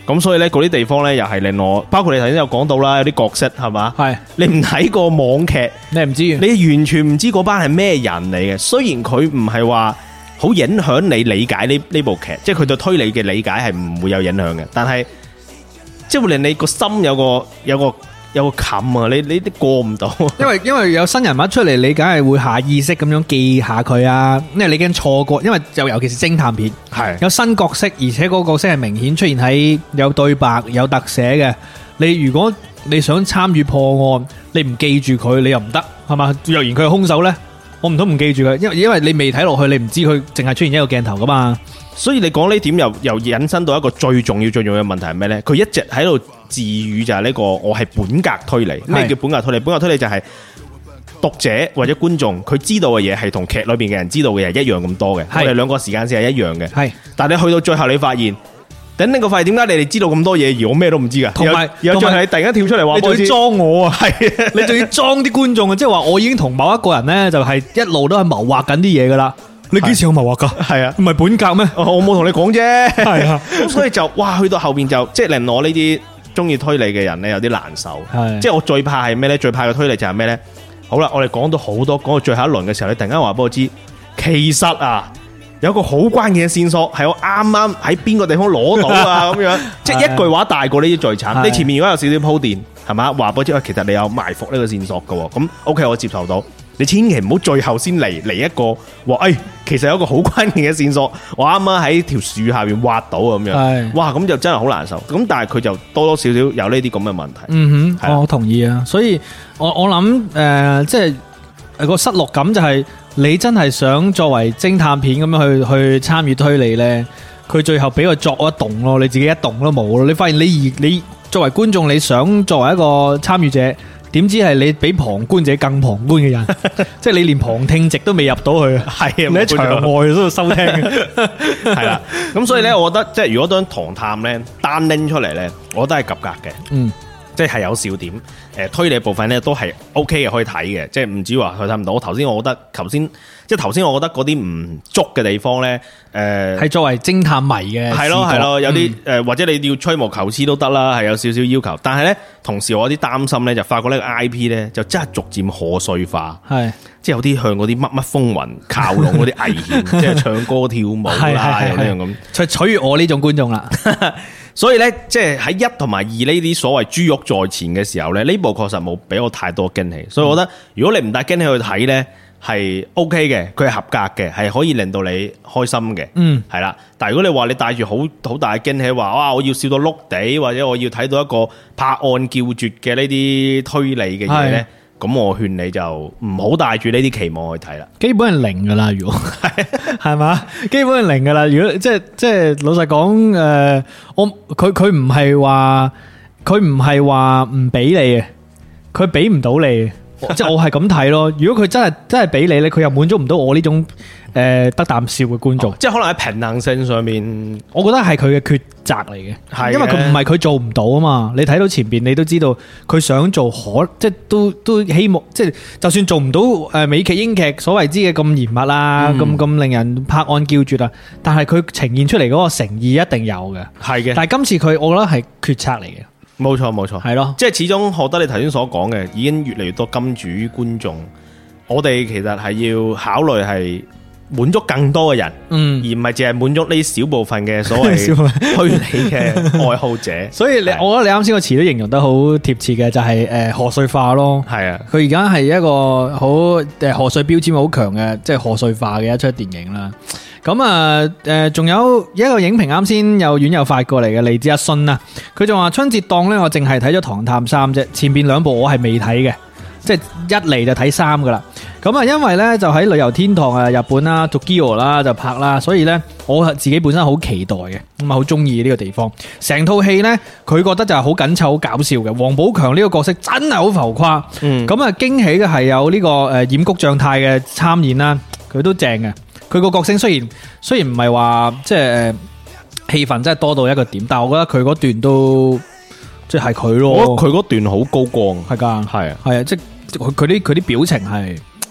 咁所以咧嗰啲地方咧又係令我，包括你頭先有講到啦，有啲角色係嘛， 係你唔睇過網劇， 你唔知， 你完全唔知嗰班係咩人嚟嘅。雖然佢唔係話好影響你理解呢部劇，即係佢對推理嘅理解係唔會有影響嘅，但係即係會令你個心有個冚啊！你都過唔到， 因為有新人物出嚟，你梗係會下意識咁樣記下佢啊，因為你驚錯過，因為尤其是偵探片， 係有新角色，而且嗰個角色係明顯出現喺有對白、有特寫嘅。你如果你想參與破案，你唔記住佢，你又唔得，係嘛？若然佢係兇手呢，我唔通唔記住佢，因為你未睇落去，你唔知佢淨係出現一個鏡頭噶嘛。 所以你講呢點又引申到一個最重要嘅問題係咩呢？佢一直喺度自語就係呢個我係本格推理。咩叫本格推理？本格推理就係讀者或者觀眾佢知道嘅嘢係同劇裏邊嘅人知道嘅嘢一樣咁多嘅。我哋兩個時間線係一樣嘅。係，但係你去到最後你發現，等你個發現點解你哋知道咁多嘢而我咩都唔知㗎？同埋最後你突然間跳出嚟話，你仲要裝我啊？係，你仲要裝啲觀眾啊？即係話我已經同某一個人呢，就係一路都係謀劃緊啲嘢噶啦。你幾時有謀劃噶？係啊，唔係本格咩？我冇同你講啫。係啊，咁所以就哇，去到後邊就即係令我呢啲中意推理嘅人咧有啲難受。係，即係我最怕係咩咧？最怕嘅推理就係咩咧？好啦，我哋講到好多，講到最後一輪嘅時候，你突然間話俾我知，其實啊有個好關鍵嘅線索係我啱啱喺邊個地方攞到啊咁樣，即係一句話大過呢啲最慘。你前面如果有少少鋪墊，係嘛？話俾我知，其實你有埋伏呢個線索嘅，咁 OK， 我接受到。你千祈唔好最後先嚟一個話，其實有一個好關鍵嘅線索，我啱啱喺條樹下邊挖到咁樣，哇，咁就真係好難受。咁但係佢就多多少少有呢啲咁嘅問題。嗯哼，我同意啊。所以我諗即係個失落感就係你真係想作為偵探片咁樣去參與推理呢，佢最後俾佢作一動咯，你自己一動都冇咯。你發現你作為觀眾，你想作為一個參與者。點知係你比旁觀者更旁觀嘅人，即係你連旁聽席都未入到去，係你喺場外嗰度收聽，係啦。咁所以咧，我覺得即係如果當唐探咧單拎出嚟咧，我覺得係及格嘅，嗯，即係有笑點。推理部分咧都係 OK 嘅，可以睇嘅，即係唔止話佢睇唔到。我頭先我覺得頭先我覺得嗰啲唔足嘅地方咧，係作為偵探迷嘅，係咯，有啲或者你要吹毛求疵都得啦，係有少少要求。但係咧，同時我有啲擔心咧，就發覺呢個 IP 咧就真係逐漸賀歲化，係即係有啲向嗰啲乜乜風雲靠攏嗰啲危險，即係唱歌跳舞啦，有呢樣咁，取悦我呢種觀眾啦。所以咧，即係喺1同埋2呢啲所謂豬肉在前嘅時候咧，呢部確實冇俾我太多驚喜。所以我覺得，如果你唔帶驚喜去睇咧，係 OK 嘅，佢係合格嘅，係可以令到你開心嘅。嗯，係啦。但係如果你話你帶住好大嘅驚喜，話哇我要笑到碌地，或者我要睇到一個拍案叫絕嘅呢啲推理嘅嘢咧，咁我勸你就唔好帶住呢啲期望去睇啦。基本係零噶啦，如果係嘛，基本係零噶啦。如果即係老實講，佢唔係話唔俾你嘅，佢俾唔到你。即係我係咁睇咯。如果佢真係俾你咧，佢又滿足唔到我呢種得啖笑嘅觀眾。即係可能喺平衡性上面，我覺得係佢嘅抉擇嚟嘅。係，因為佢唔係佢做唔到啊嘛。你睇到前邊，你都知道佢想做即係都希望，即係就算做唔到美劇英劇所謂之嘅咁嚴密啦，咁令人拍案叫絕啊。但係佢呈現出嚟嗰個誠意一定有嘅。係嘅。但係今次佢，我覺得係決策嚟嘅。冇錯，係咯，即係始終學得你頭先所講嘅，已經越嚟越多金主觀眾，我哋其實係要考慮係滿足更多嘅人，而唔係淨係滿足呢小部分嘅所謂推理嘅愛好者。所以我覺得你啱先個詞都形容得好貼切嘅，就係賀歲化咯。係啊，佢而家係一個好賀歲標籤好強嘅，即係賀歲化嘅一出電影啦。咁啊，仲有一個影評啱先有院友發過嚟嘅，嚟自阿信啊，佢就話春節檔呢，我淨係睇咗《唐探3》啫，前邊2部我係未睇嘅，即係一嚟就睇3噶啦。咁啊，因為呢，就喺旅遊天堂啊，日本啦，Tokyo 啦就拍啦，所以呢，我自己本身好期待嘅，咁啊好中意呢個地方。成套戲呢，佢覺得就係好緊湊、好搞笑嘅。王寶強呢個角色真係好浮誇，咁啊驚喜嘅係有呢個染谷將太嘅參演啦，佢都正嘅。佢個角色雖然唔係話即係戲份真係多到一個點，但係我覺得佢嗰段都即係佢咯。我覺得佢嗰段好高光，係噶，係啊，即係佢啲表情係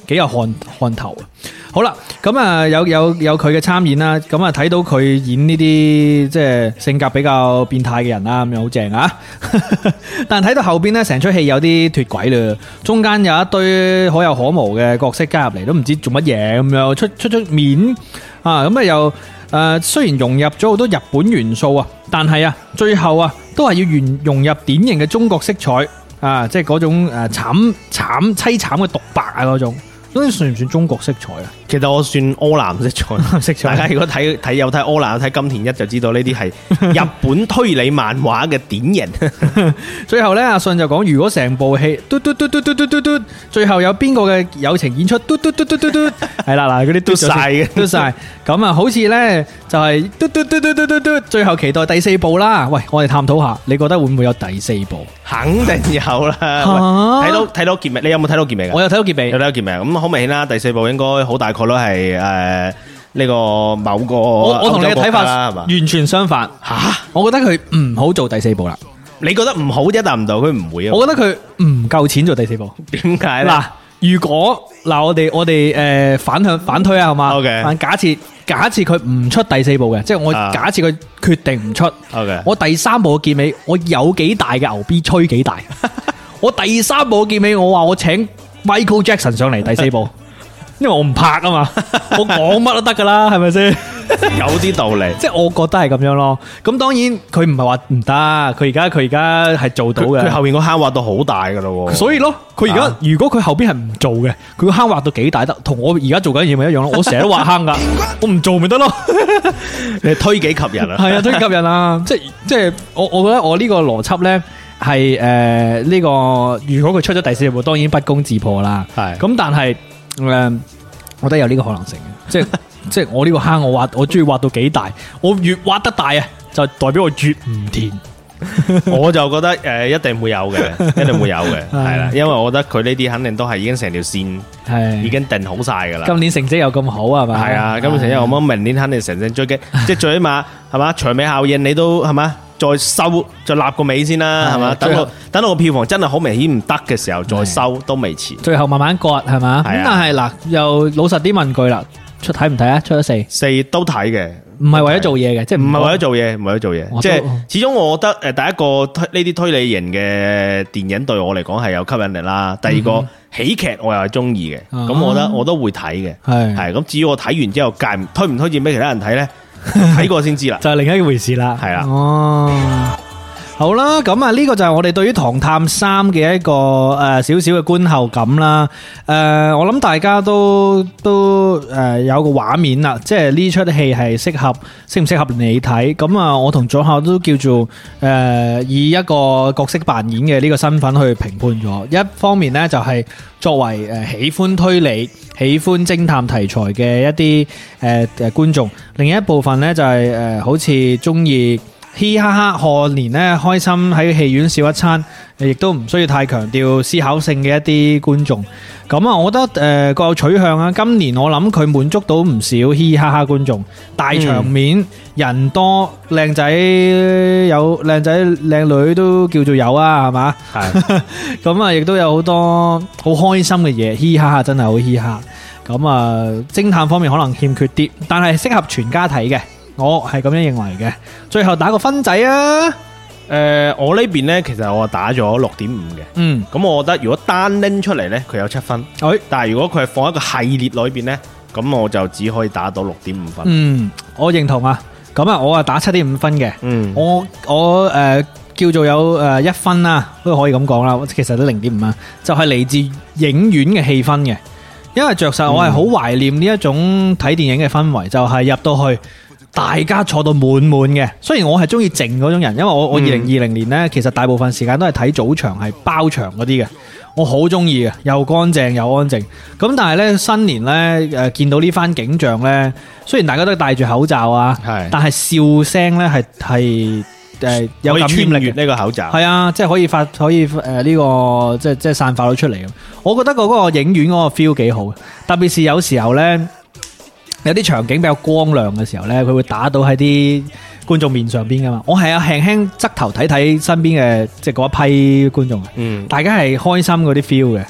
幾有看頭。好啦，咁啊有佢嘅參演啦，咁啊睇到佢演呢啲即係性格比較變態嘅人啦，咁樣好正啊！但睇到後邊咧，成出戲有啲脫軌啦，中間有一堆可有可無嘅角色加入嚟，都唔知做乜嘢咁樣出面啊！咁啊又雖然融入咗好多日本元素啊，但係啊最後啊都係要融入典型嘅中國色彩啊，即係嗰種淒慘嘅獨白啊嗰種。咁算唔算中國色彩啊？ 其實我算柯南色彩。大家如果有睇柯南，有睇金田一就知道呢啲係日本推理漫畫嘅典型。 最後咧，阿信就講：如果成部戲嘟，最後有邊個嘅友情演出嘟，係啦嗱，嗰啲嘟晒嘅，嘟晒。咁啊，好似咧就係嘟，最後期待第4部啦。喂，我哋探討下，你覺得會唔會有第4部？ 肯定有啦。睇到結尾，你有冇睇到結尾？ 我有睇到結尾， 咁好明顯啦，第4部應該好大概率係呢個某個我同你嘅睇法完全相反。我覺得佢唔好做第4部啦。 你覺得唔好啫，但唔到佢唔會啊。 我覺得佢唔夠錢做第4部。 點解咧？ 嗱，如果我哋反推啊，係嘛？Okay. 假設佢唔出第4部嘅，即係我假設佢決定唔出。 Okay. 我第3部嘅結尾，我有幾大嘅牛逼吹幾大？我第3部嘅結尾，我話我請 Michael Jackson 上嚟第4部，因為我唔拍啊嘛，我講乜都得噶啦，係咪先？ 有啲道理， 即係我覺得係咁樣咯。咁當然佢唔係話唔得，佢而家係做到嘅。 佢後面個坑挖到好大噶咯， 所以咯，佢而家如果佢後邊係唔做嘅，佢個坑挖到幾大得，同我而家做緊嘢咪一樣咯。我成日都挖坑噶，我唔做咪得咯。 你推己及人啊？ 係啊，推己及人啊！即係我覺得我呢個邏輯咧係呢個，如果佢出咗第4部，當然不攻自破啦。係咁，但係我覺得有呢個可能性嘅，即係我呢個坑我中意挖到幾大，我越挖得大啊，就代表我越唔甜。 我就覺得一定會有嘅，一定會有嘅，係啦，因為我覺得佢呢啲肯定都係已經成條線係已經定好晒噶啦。 今年成績又咁好係嘛？ 係啊，今年成績又咁，明年肯定成績追擊，即係最起碼係嘛，長尾效應你都係嘛，再收再立個尾先啦，係嘛，等到個票房真係好明顯唔得嘅時候再收都未遲。最後慢慢割係嘛？咁但係嗱，又老實啲問句啦。睇唔睇啊？出咗4 都睇嘅， 唔係為咗做嘢嘅，即係唔係為咗做嘢， 唔係為咗做嘢，即係始終我覺得第一個呢啲推理型嘅電影對我嚟講係有吸引力啦。第二個喜劇我又係中意嘅，咁我覺得我都會睇嘅，係咁。至於我睇完之後推唔推薦俾其他人睇咧，睇過先知啦， 就係另一回事啦。 係啦， 哦。好啦，咁啊呢個就係我哋對於《唐探3》嘅一個少少嘅觀後感啦。我諗大家都有個畫面啦，即係呢出戲係適唔適合你睇？咁啊，我同左校都叫做以一個角色扮演嘅呢個身份去評判咗。一方面呢，就係作為喜歡推理、喜歡偵探題材嘅一啲觀眾，另一部分呢，就係好似中意嘻嘻哈哈賀年咧，開心喺戲院笑一餐，亦都唔需要太強調思考性嘅一啲觀眾。咁啊，我覺得各有取向啊。今年我諗佢滿足到唔少嘻嘻哈哈觀眾，大場面、人多、靚仔有靚仔靚女都叫做有啊，係嘛？係。咁啊，亦都有好多好開心嘅嘢，嘻嘻哈哈真係好嘻哈。咁啊，偵探方面可能欠缺啲，但係適合全家睇嘅。我係咁樣認為嘅，最後打個分仔啊！ 我呢邊呢，其實我打咗6.5嘅，咁我覺得如果單拎出嚟呢，佢有7分，但係如果佢係放一個系列裏邊呢，咁我就只可以打到6.5分。 我認同啊，咁啊，我啊打7.5分嘅，我叫做有1分啦，都可以咁講啦，其實都0.5啊，就係嚟自影院嘅氣氛嘅，因為着實我係好懷念呢一種睇電影嘅氛圍，就係入到去。大家坐到滿滿嘅，雖然我係中意靜嗰種人，因為我2020年呢，其實大部分時間都係睇早場係包場嗰啲嘅，我好中意嘅，又乾淨又安靜。咁但係呢，新年呢，見到呢番景象呢，雖然大家都戴住口罩啊，但係笑聲呢係有感染力呢個口罩， 係啊，即係可以呢個即係散發到出嚟。我覺得嗰個影院嗰個 feel 幾好，特別是有時候呢。有啲場景比較光亮嘅時候呢，佢會打到喺啲觀眾面上邊噶嘛。我係輕輕側頭睇身邊嘅即係嗰一批觀眾，大家係開心嗰啲 feel 嘅。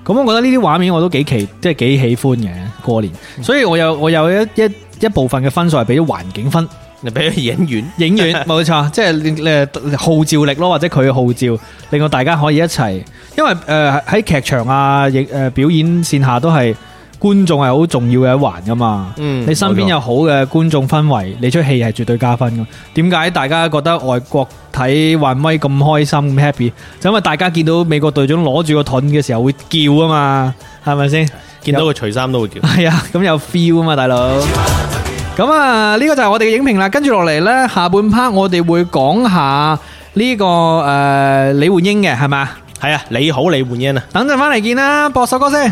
咁我覺得呢啲畫面我都幾喜歡嘅過年，所以我有一部分嘅分數係俾咗環境分。 你俾咗影院冇錯，即係號召力咯，或者佢嘅號召，令到大家可以一齊。因為喺劇場啊，表演線下都係觀眾係好重要嘅一環噶嘛。你身邊有好嘅觀眾氛圍，你出戲係絕對加分噶。點解大家覺得外國睇漫威咁開心咁 happy？就因為大家見到美國隊長攞住個盾嘅時候會叫啊嘛，係咪先？ 見到佢除衫都會叫。 係啊，咁有 feel 啊嘛，大佬。咁啊，呢個就係我哋嘅影評啦。跟住落嚟呢，下半 part 我哋會講下呢個李煥英嘅，係咪？ 係啊，你好李煥英啊！ 等陣翻嚟見啦，播首歌先。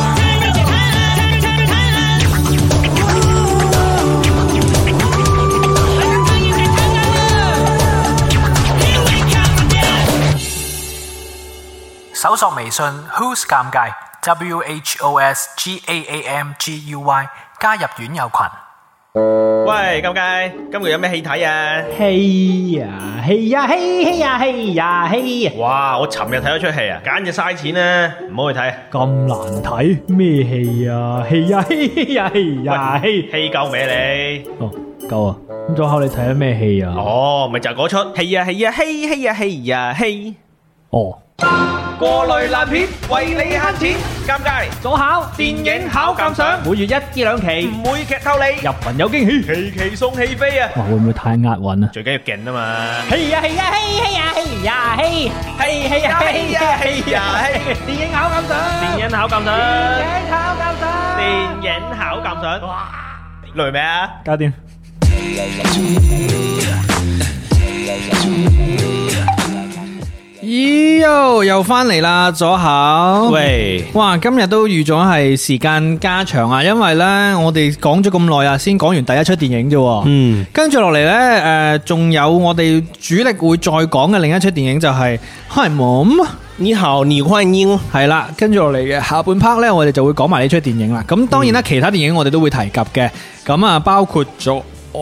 搜索微信 Who's 尷尬 WHOSGAAMGUY 加入院友群。 喂，尷尬，今日有咩戲睇啊？ 戲呀！ 哇！我尋日睇咗出戲啊，簡直嘥錢啊，唔好去睇。 咁難睇咩戲啊？戲夠未你？ 哦，夠啊！咁左口你睇咗咩戲啊？ 哦，咪就係嗰出戲。 哦。 過濾爛片，為你慳錢，尷尬。 左考電影考鑑賞， 每月1至2期， 唔會劇透你， 入群有驚喜， 期送戲飛啊！ 哇，會唔會太押韻啊？ 最緊要勁啊嘛！ 電影考鑑賞， 哇！累未啊？ 搞掂。 咦又翻嚟啦，左口。 喂， 哇，今日都預咗係時間加長啊，因為呢，我哋講咗咁耐啊，先講完第一出電影啫。跟住落嚟呢，仲有我哋主力會再講嘅另一出電影就係《Hi Mom》。 你好，你歡迎。 係啦，跟住落嚟嘅下半 part 呢，我哋就會講埋呢出電影啦。咁當然啦，其他電影我哋都會提及嘅。咁啊，包括咗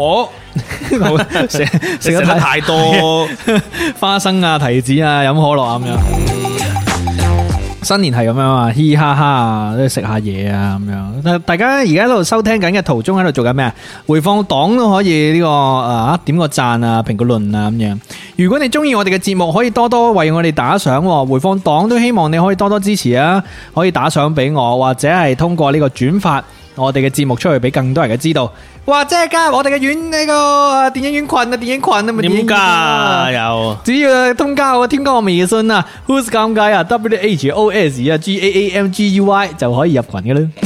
食得太多花生啊、提子啊、飲可樂啊咁樣。新年係咁樣啊，嘻嘻哈哈啊，食下嘢啊咁樣。大家而家喺度收聽緊嘅途中喺度做緊咩啊？回放檔都可以呢個點個讚啊、評個論啊咁樣。如果你中意我哋嘅節目，可以多多為我哋打賞。回放檔都希望你可以多多支持啊，可以打賞俾我，或者係通過呢個轉發我哋嘅節目出去俾更多人嘅知道。或者係加入我哋嘅院呢個電影院群啊，電影群啊，咪點加有？ 只要添加我微信啊 ，Who's 尷尬啊 ，WHOS 啊 GAAMGUY 就可以入群嘅啦。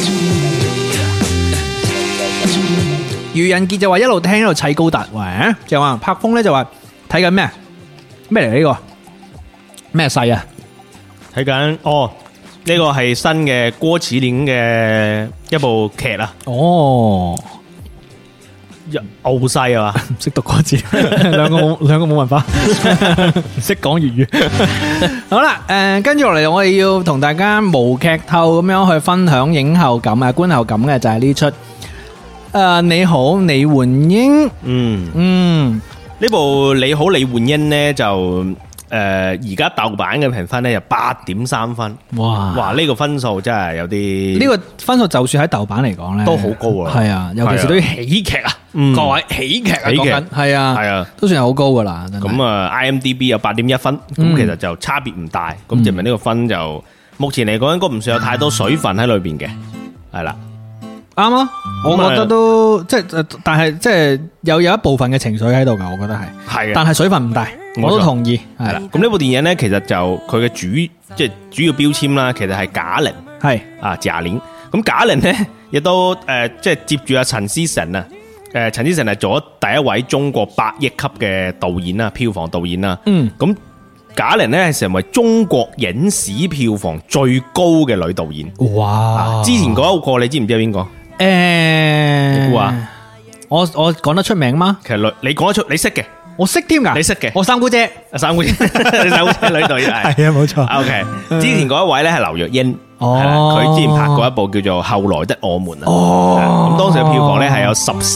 愚人傑就話一路聽一路砌高達，喂，就話柏峰咧就話睇緊咩？咩嚟呢個？咩勢啊？ 睇緊哦，呢個係新嘅郭麒麟嘅一部劇啊。 哦。 傲西啊嘛， 唔識讀嗰字，兩個冇文化，唔識講粵語。好啦，跟住落嚟，我哋要同大家無劇透咁樣去分享影後感啊、觀後感嘅就係呢出你好李煥英。 呢部你好李煥英呢就而家豆瓣嘅評分呢就8.3分。哇！呢個分數真係有啲， 呢個分數就算喺豆瓣嚟講咧， 都好高啊。 係啊，尤其是對於喜劇啊，各位喜劇啊，講緊係啊，都算係好高噶啦。 咁啊 ，IMDB 有8.1分，咁其實就差別唔大。咁證明呢個分就目前嚟講應該唔算有太多水分喺裏邊嘅，係啦。 啱啊，我覺得都即係，但係即係有一部分嘅情緒喺度噶，我覺得係，但係水分唔大，我都同意係啦。 咁呢部電影咧，其實就佢嘅即係主要標籤啦，其實係賈玲，係啊賈玲。咁賈玲咧亦都即係接住阿陳思誠啊，陳思誠係做咗第一位中國8億級嘅導演啦，票房導演啦。咁賈玲咧係成為中國影史票房最高嘅女導演。哇！之前嗰一個你知唔知係邊個？你估啊？ 我講得出名嗎？ 其實你講得出，你識嘅， 我識添噶， 你識嘅， 我三姑姐， 三姑姐，你三姑姐女導演係啊，冇錯。 OK，之前嗰一位咧係劉若英， 佢之前拍過一部叫做《後來的我們》咁當時嘅票房咧係有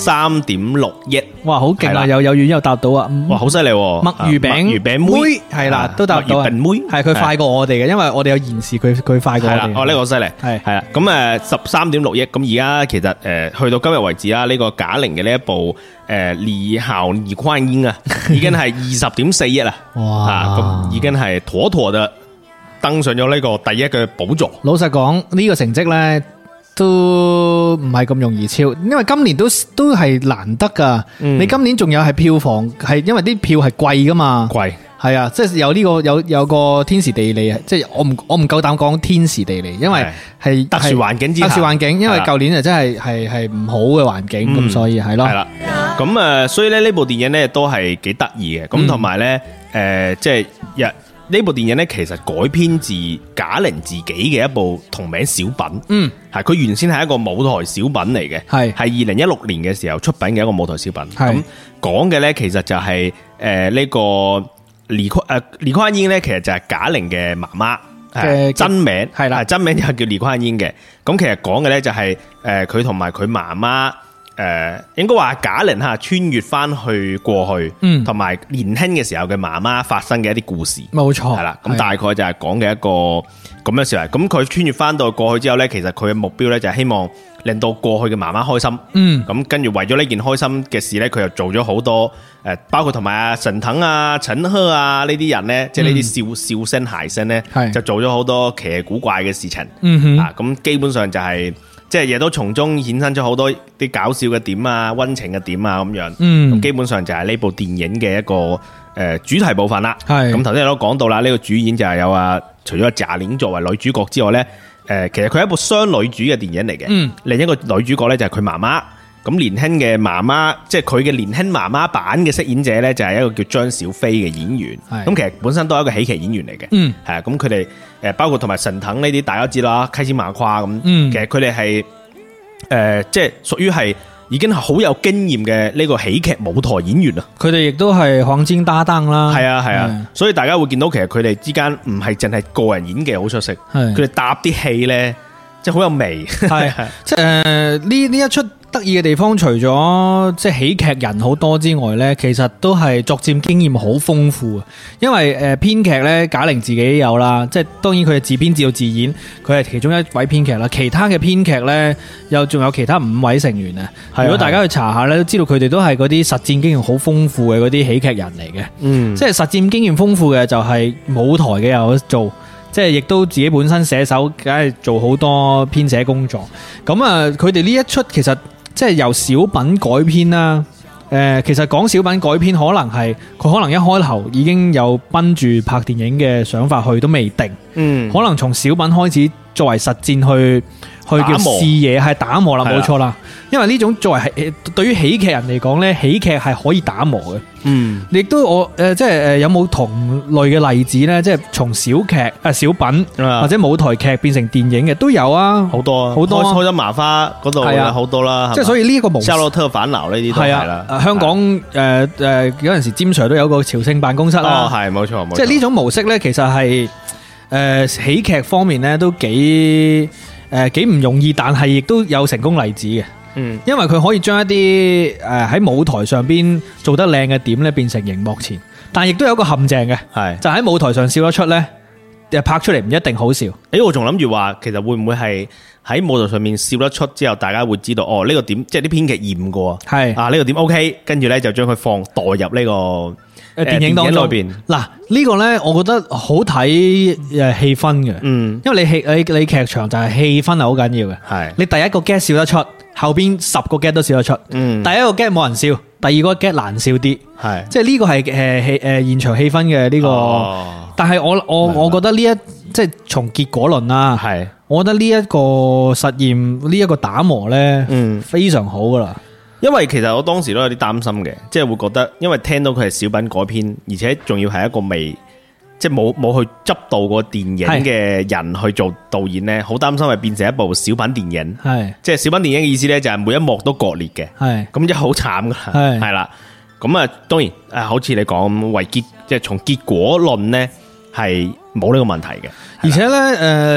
13.6億， 哇，好勁啊！有遠又答到啊！ 哇，好犀利！ 墨魚餅妹係啦，都答到啊！ 妹係佢快過我哋嘅，因為我哋有延時，佢快過我哋。 哦，呢個好犀利，係啦。咁13.6億，咁而家其實去到今日為止啦，呢個賈玲嘅呢一部你好，倪匡英啊，已經係20.4億啦，哇！咁已經係妥妥嘅登上咗呢個第一嘅寶座。 老實講，呢個成績呢都唔係咁容易超，因為今年都係難得噶。你今年仲有係票房係因為啲票係貴噶嘛？貴係啊，即係有呢個有個天時地利啊！即係我唔夠膽講天時地利，因為係特殊環境之下， 特殊環境，因為舊年啊真係唔好嘅環境，咁所以係咯。係啦， 咁所以咧呢部電影咧都係幾得意嘅，咁同埋咧即係呢部電影咧，其實改編自賈玲自己嘅一部同名小品。係佢原先係一個舞台小品嚟嘅，係2016年嘅時候出品嘅一個舞台小品。咁講嘅咧，其實就係呢個倪匡英咧，其實就係賈玲嘅媽媽真名係啦，真名就係叫倪匡英嘅。咁其實講嘅咧就係佢同埋佢媽媽。應該話賈玲穿越翻去過去，同埋年輕嘅時候嘅媽媽發生嘅一啲故事，冇錯係啦。咁大概就係講嘅一個咁嘅事嚟。咁佢穿越翻到過去之後呢，其實佢嘅目標呢就係希望令到過去嘅媽媽開心。咁跟住為咗呢件開心嘅事呢，佢又做咗好多包括同埋阿沈騰啊、陳赫啊呢啲人呢，即係呢啲笑聲諧聲呢，就做咗好多奇奇古怪嘅事情。咁基本上就係。即係亦都從中衍生咗好多啲搞笑嘅點啊、溫情嘅點啊咁樣，咁基本上就係呢部電影嘅一個主題部分啦。咁頭先都講到啦，呢個主演就係有除咗賈玲作為女主角之外呢，其實佢係一部雙女主嘅電影嚟嘅。另一個女主角呢，就係佢媽媽。咁年輕嘅媽媽，即係佢嘅年輕媽媽版嘅飾演者呢，就係一個叫張小斐嘅演員。咁其實本身都係一個喜劇演員嚟嘅。係啊，咁佢哋包括同埋沈騰呢啲大家知啦，開心麻花咁。其實佢哋係即係屬於係已經係好有經驗嘅呢個喜劇舞台演員啊。佢哋亦都係黃金搭檔啦。係啊，所以大家會見到其實佢哋之間唔係淨係個人演技好出色，佢哋搭啲戲呢，即係好有味。係即係呢一出。得意嘅地方，除咗即係喜劇人好多之外呢，其實都係作戰經驗好豐富啊！因為編劇呢，賈玲自己有啦，即係當然佢係自編自導自演，佢係其中一位編劇啦。其他嘅編劇呢，又仲有其他5位成員啊。如果大家去查下呢，都知道佢哋都係嗰啲實戰經驗好豐富嘅嗰啲喜劇人嚟嘅。即係實戰經驗豐富嘅就係舞台嘅有得做。即係亦都自己本身寫手，梗係做好多編寫工作。咁啊，佢哋呢一出其實即係由小品改編啦。其實講小品改編，可能係佢可能一開頭已經有奔住拍電影嘅想法去，都未定。可能從小品開始作為實戰去叫試嘢，係打磨啦，冇錯啦。因為呢種作為係對於喜劇人嚟講呢，喜劇係可以打磨嘅。亦都我即係有冇同類嘅例子呢？即係從小品或者舞台劇變成電影嘅都有啊，好多啊，好多。開心麻花嗰度有好多啦，即係所以呢一個模式。夏洛特煩惱呢啲都係啦。香港有陣時詹 Sir 都有個朝聖辦公室啦。係冇錯，即係呢種模式呢，其實係喜劇方面呢都幾唔容易，但係亦都有成功例子嘅。因為佢可以將一啲喺舞台上邊做得靚嘅點咧，變成熒幕前，但亦都有一個陷阱嘅，係就喺舞台上笑得出咧，拍出嚟唔一定好笑。我仲諗住話，其實會唔會係喺舞台上面笑得出之後，大家會知道哦呢個點，即係啲編劇驗過，係呢個點 OK，跟住咧就將佢代入呢個電影當中邊。嗱呢個咧，我覺得好睇氣氛嘅，因為你劇場就係氣氛係好緊要嘅，係你第一個 get 笑得出。後邊10個 get 都笑得出，第一個 get 冇人笑，第二個 get 難笑啲，係即係呢個係現場氣氛嘅呢個。但係我覺得呢即係從結果論啦，係我覺得呢一個實驗呢一個打磨咧，非常好噶啦。因為其實我當時都有啲擔心嘅，即係會覺得，因為聽到佢係小品改編，而且仲要係一個即係冇去執導過電影嘅人去做導演呢，好擔心係變成一部小品電影。係即係小品電影嘅意思呢，就係每一幕都割裂嘅。係咁即係好慘噶，係啦。咁啊，當然好似你講為結，即係從結果論呢，係冇呢個問題嘅。而且呢，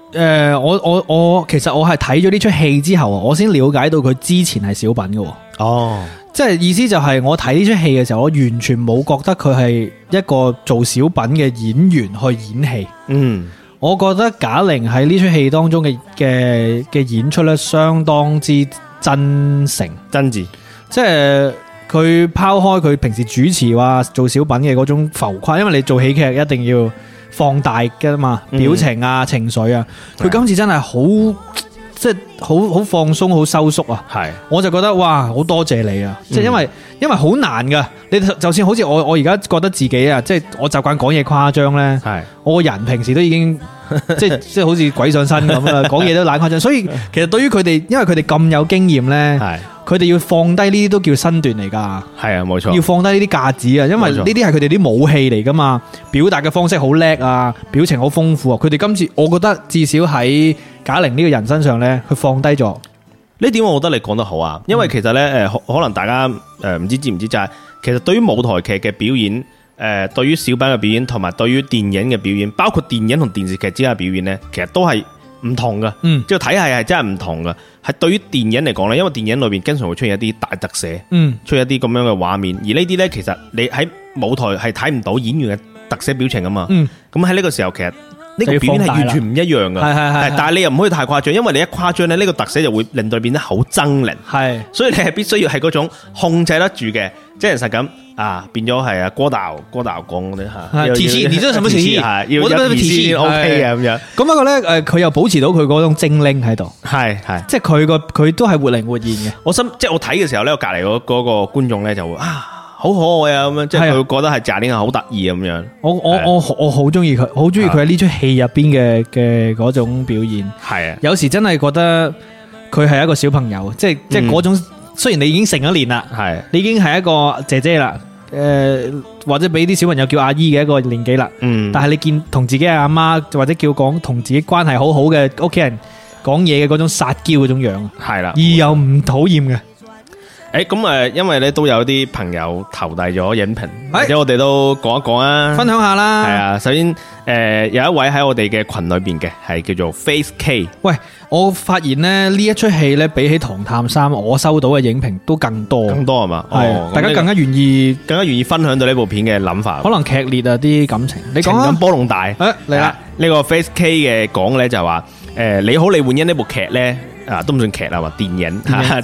我其實我係睇咗呢出戲之後，我先了解到佢之前係小品嘅。 哦， 即係意思就係我睇呢出戲嘅時候，我完全冇覺得佢係一個做小品嘅演員去演戲。 嗯， 我覺得賈玲喺呢出戲當中嘅演出咧，相當之真誠真摯。 即係佢拋開佢平時主持或做小品嘅嗰種浮誇，因為你做喜劇一定要放大嘅嘛，表情啊、情緒啊，佢今次真係好。即係好放鬆，好收縮啊！係，我就覺得哇，好多謝你啊！即係因為好難噶，你就算好似我而家覺得自己啊，即係我習慣講嘢誇張咧，係我個人平時都已經即係好似鬼上身咁啊，講嘢都懶誇張。所以其實對於佢哋，因為佢哋咁有經驗咧，係佢哋要放低呢啲都叫身段嚟噶。係啊，冇錯，要放低呢啲架子啊，因為呢啲係佢哋啲武器嚟噶嘛，表達嘅方式好叻啊，表情好豐富啊。佢哋今次我覺得至少喺賈玲呢個人身上咧，佢放低咗呢點，我覺得你講得好啊！因為其實咧，可能大家唔知唔知就係，其實對於舞台劇嘅表演，對於小品嘅表演，同埋對於電影嘅表演，包括電影同電視劇之間嘅表演咧，其實都係唔同噶。即係體系係真係唔同噶。係對於電影嚟講咧，因為電影裏邊經常會出現一啲大特寫，出現一啲咁樣嘅畫面，而呢啲咧其實你喺舞台係睇唔到演員嘅特寫表情啊嘛。咁喺呢個時候，其實呢個表演係完全唔一樣噶，但係你又唔可以太誇張，因為你一誇張咧，呢個特寫就會令到變得好猙獰。係，所以你係必須要係嗰種控制得住嘅，即係實咁啊，變咗係啊郭導講嗰啲吓。 體系，你知道什麼體系？ 我都體系 OK 啊咁樣。 咁不過咧，佢又保持到佢嗰種精靈喺度，係，即係佢都係活靈活現嘅。 即係我睇嘅時候咧，我隔籬嗰個觀眾咧就會啊。好可愛啊！咁樣，即係佢覺得係賈玲係好得意咁樣。我好中意佢，好中意佢喺呢出戲入邊嘅嗰種表現。係啊，有時真係覺得佢係一個小朋友，即係嗰種。雖然你已經成咗年啦，係你已經係一個姐姐啦，或者俾啲小朋友叫阿姨嘅一個年紀啦。但係你見同自己阿媽或者叫講同自己關係好好嘅屋企人講嘢嘅嗰種撒嬌嗰種樣，係啦，而又唔討厭嘅。 咁因為咧都有啲朋友投遞咗影評，或者我哋都講一講啊， 分享下啦。係啊，首先有一位喺我哋嘅群裏邊嘅係叫做 Face K。 喂，我發現咧呢一出戲咧比起《唐探三》，我收到嘅影評都更多係嘛？係，大家更加願意分享到呢部片嘅諗法， 可能劇烈啊啲感情。你講啊， 情感波動大。 嚟啦， 呢個 Face K 嘅講咧就話你好李煥英呢部劇咧都唔算劇啦，話電影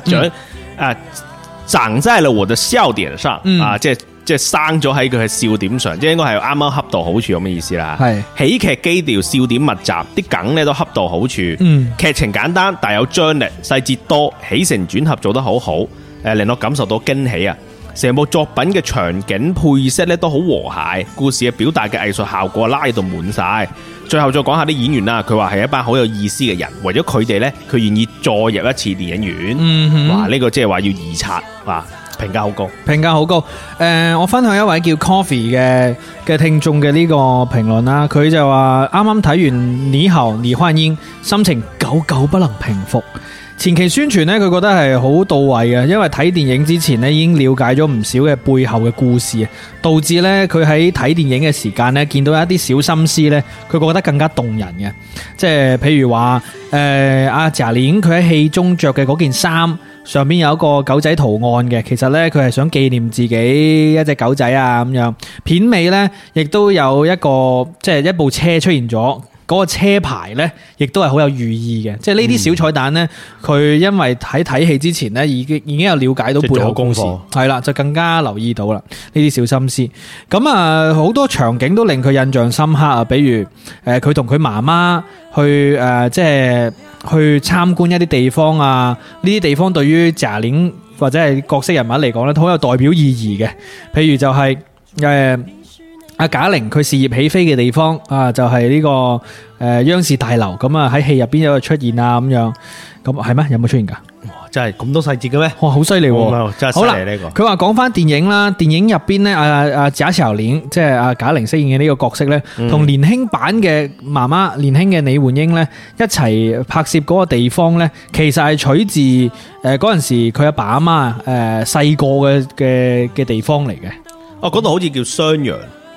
長在了我的笑點上，即係生咗喺佢嘅笑點上，即係應該係啱啱恰到好處咁嘅意思啦。係喜劇基調，笑點密集，啲梗咧都恰到好處。劇情簡單，但有張力，細節多，起承轉合做得好好，令我感受到驚喜啊！成部作品嘅場景配色咧都好和諧，故事嘅表達嘅藝術效果拉到滿晒。最後再講下啲演員啦，佢話係一班好有意思嘅人，為咗佢哋呢，佢願意再入一次電影院。哇！呢個即係話要二刷，哇！評價好高， 評價好高。我分享一位叫 Coffee 嘅聽眾嘅呢個評論啦，佢就話啱啱睇完《你好，李煥英》，心情久久不能平復。前期宣傳呢，佢覺得係好到位嘅，因為睇電影之前呢，已經了解咗唔少嘅背後嘅故事啊，導致呢，佢喺睇電影嘅時間呢，見到一啲小心思呢，佢覺得更加動人嘅。即係譬如話阿賈玲佢喺戲中着嘅嗰件衫上邊有一個狗仔圖案嘅，其實呢，佢係想紀念自己一隻狗仔啊咁樣。片尾呢，亦都有一個即係一部車出現咗。嗰個車牌呢，亦都係好有寓意嘅，即係呢啲小彩蛋呢，佢因為喺睇戲之前呢，已經有了解到背後功課，係啦，就更加留意到啦呢啲小心思。咁啊，好多場景都令佢印象深刻啊，比如佢同佢媽媽去即係去參觀一啲地方啊，呢啲地方對於賈玲或者係角色人物嚟講呢，都好有代表意義嘅。譬如就係阿賈玲佢事業起飛嘅地方啊，就係呢個央視大樓咁啊，喺戲入邊有出現啊咁樣，咁係咩？有冇出現噶？ 哇，真係咁多細節嘅咩？哇， 好犀利喎！ 真係犀利呢個。 佢話講翻電影啦，電影入邊咧，阿賈小玲即係阿賈玲飾演嘅呢個角色咧，同年輕版嘅媽媽，年輕嘅李煥英咧一齊拍攝嗰個地方咧，其實係取自嗰陣時佢阿爸阿媽細個嘅地方嚟嘅。 哦，嗰度好似叫襄陽。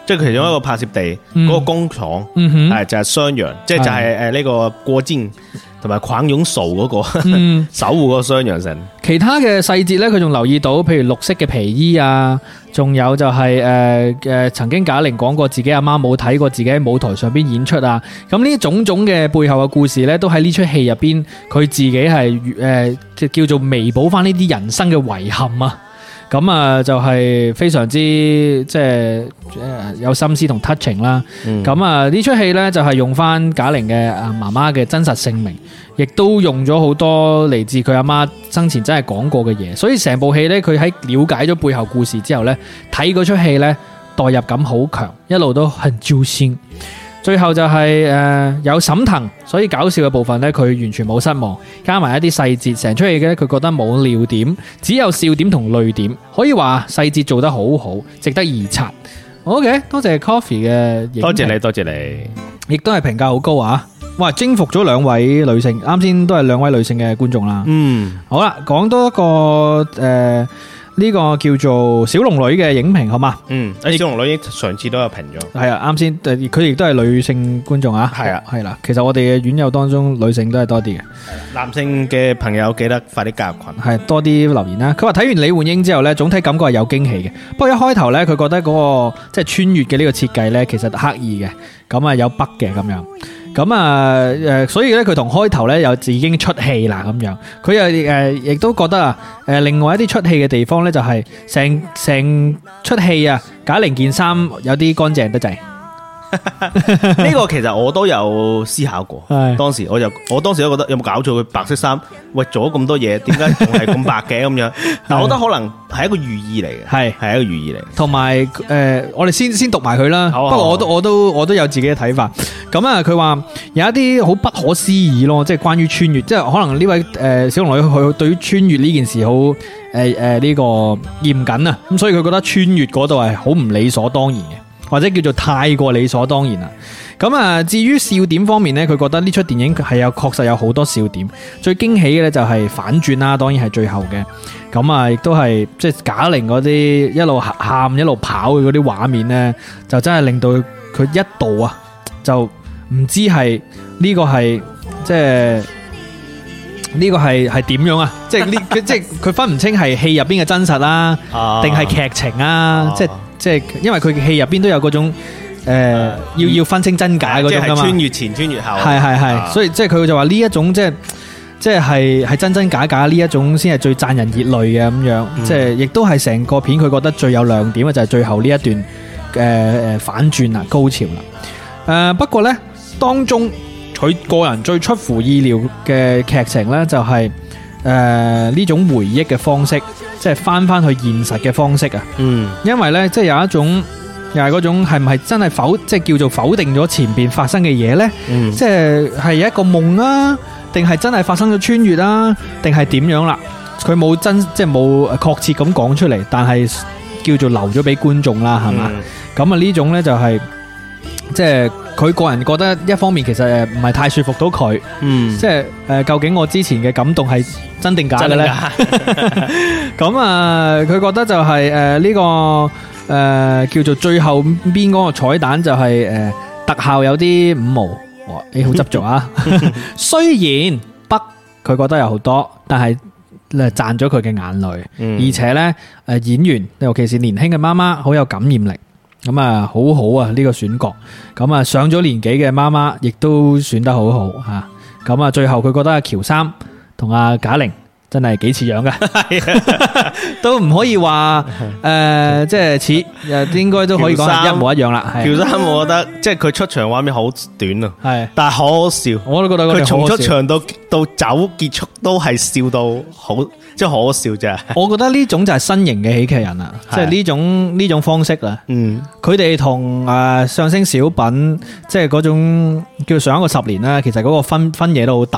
即係其中一個拍攝地嗰個工廠，係就係襄陽，即係就係呢個過肩同埋狂湧數嗰個守護嗰個襄陽城。 其他嘅細節呢，佢仲留意到，譬如綠色嘅皮衣啊，仲有就係曾經賈玲講過自己阿媽冇睇過自己喺舞台上邊演出啊。咁呢種種嘅背後嘅故事呢，都喺呢出戲入邊，佢自己係叫做彌補翻呢啲人生嘅遺憾啊。咁啊，就係非常之即係有心思同 touching 啦。咁啊，呢出戲呢，就係用翻賈玲嘅媽媽嘅真實姓名，亦都用咗好多嚟自佢阿媽生前真係講過嘅嘢。所以成部戲呢，佢喺了解咗背後故事之後呢，睇嗰出戲呢，代入感好強，一路都很揪心。最後就係有沈騰，所以搞笑嘅部分呢，佢完全冇失望，加埋一啲細節，成出戲嘅佢覺得冇尿點，只有笑點同淚點，可以話細節做得好好，值得一刷。OK， 多謝 Coffee 嘅， 多謝你，多謝你， 亦都係評價好高啊！哇，征服咗兩位女性，啱先都係兩位女性嘅觀眾啦。好啦，講多一個呢個叫做小龍女嘅影評好嘛？ 小龍女上次都有評咗。 係啊，啱先佢亦都係女性觀眾啊。係啊，係啦。其實我哋嘅院友當中女性都係多啲嘅。 男性嘅朋友記得快啲加入群。係多啲留言啦。佢話睇完李煥英之後呢，總體感覺係有驚喜嘅。不過一開頭呢，佢覺得嗰個即係穿越嘅呢個設計呢，其實刻意嘅，咁啊有北嘅咁樣。咁啊，所以咧佢同開頭咧又已經出戲啦咁樣，佢又亦都覺得啊，另外一啲出戲嘅地方咧就係成出戲啊，賈玲件衫有啲乾淨得滯。 呢個其實我都有思考過，當時我當時都覺得有冇搞錯，佢白色衫，喂做咗咁多嘢，點解仲係咁白嘅咁樣？但我覺得可能係一個寓意嚟嘅，係一個寓意嚟。同埋我哋先讀埋佢啦。不過我都有自己嘅睇法。咁啊，佢話有一啲好不可思議咯，即係關於穿越，即係可能呢位小龍女佢對於穿越呢件事好呢個嚴謹啊，咁所以佢覺得穿越嗰度係好唔理所當然嘅，或者叫做太過理所當然啦。咁啊，至於笑點方面呢，佢覺得呢出電影係確實有好多笑點，最驚喜嘅呢就係反轉啦，當然係最後嘅。咁啊，亦都係即係賈玲嗰啲一路喊一路跑嘅嗰啲畫面呢，就真係令到佢一度啊就唔知係呢個係即係呢個係點樣啊？即係即係佢分唔清係戲入邊嘅真實啦，定係劇情啊？即係因為佢戲入邊都有嗰種要分清真假嗰種噶嘛， 穿越前穿越後， 係，所以即係佢就話呢一種即係真假假呢一種先係最賺人熱淚嘅咁樣，即係亦都係成個片佢覺得最有亮點嘅就係最後呢一段反轉啦，高潮啦。不過呢，當中佢個人最出乎意料嘅劇情呢，就係呢種回憶嘅方式，即係翻去現實嘅方式啊。因為呢，即係有一種又係嗰種係唔係真係即係叫做否定咗前邊發生嘅嘢呢？即係一個夢啊，定係真係發生咗穿越啊，定係點樣啦？佢冇即係冇確切咁講出嚟，但係叫做留咗俾觀眾啦，係嘛？咁啊呢種呢，就係即係佢個人覺得一方面其實唔係太說服到佢，即係究竟我之前嘅感動係真定假嘅呢？咁啊，佢覺得就係呢個叫做最後邊嗰個彩蛋就係特效有啲五毛，你好執着啊！雖然北佢覺得有好多，但係賺咗佢嘅眼淚，而且呢演員尤其是年輕嘅媽媽好有感染力。咁啊，好好啊！呢個選角，咁啊上咗年紀嘅媽媽亦都選得好好吓。咁啊，最後佢覺得阿喬三同阿賈玲真係幾似樣嘅，都唔可以話即係似，應該都可以講係一模一樣啦。 喬三我覺得即係佢出場畫面好短啊，係，但係好好笑。我都覺得佢從出場到走結束都係笑到好。即係可笑啫， 我覺得呢種就係新型嘅喜劇人啦，即係呢種方式啦。佢哋同相聲小品，即係嗰種叫上一個10年啦，其實嗰個分野都好大嘅。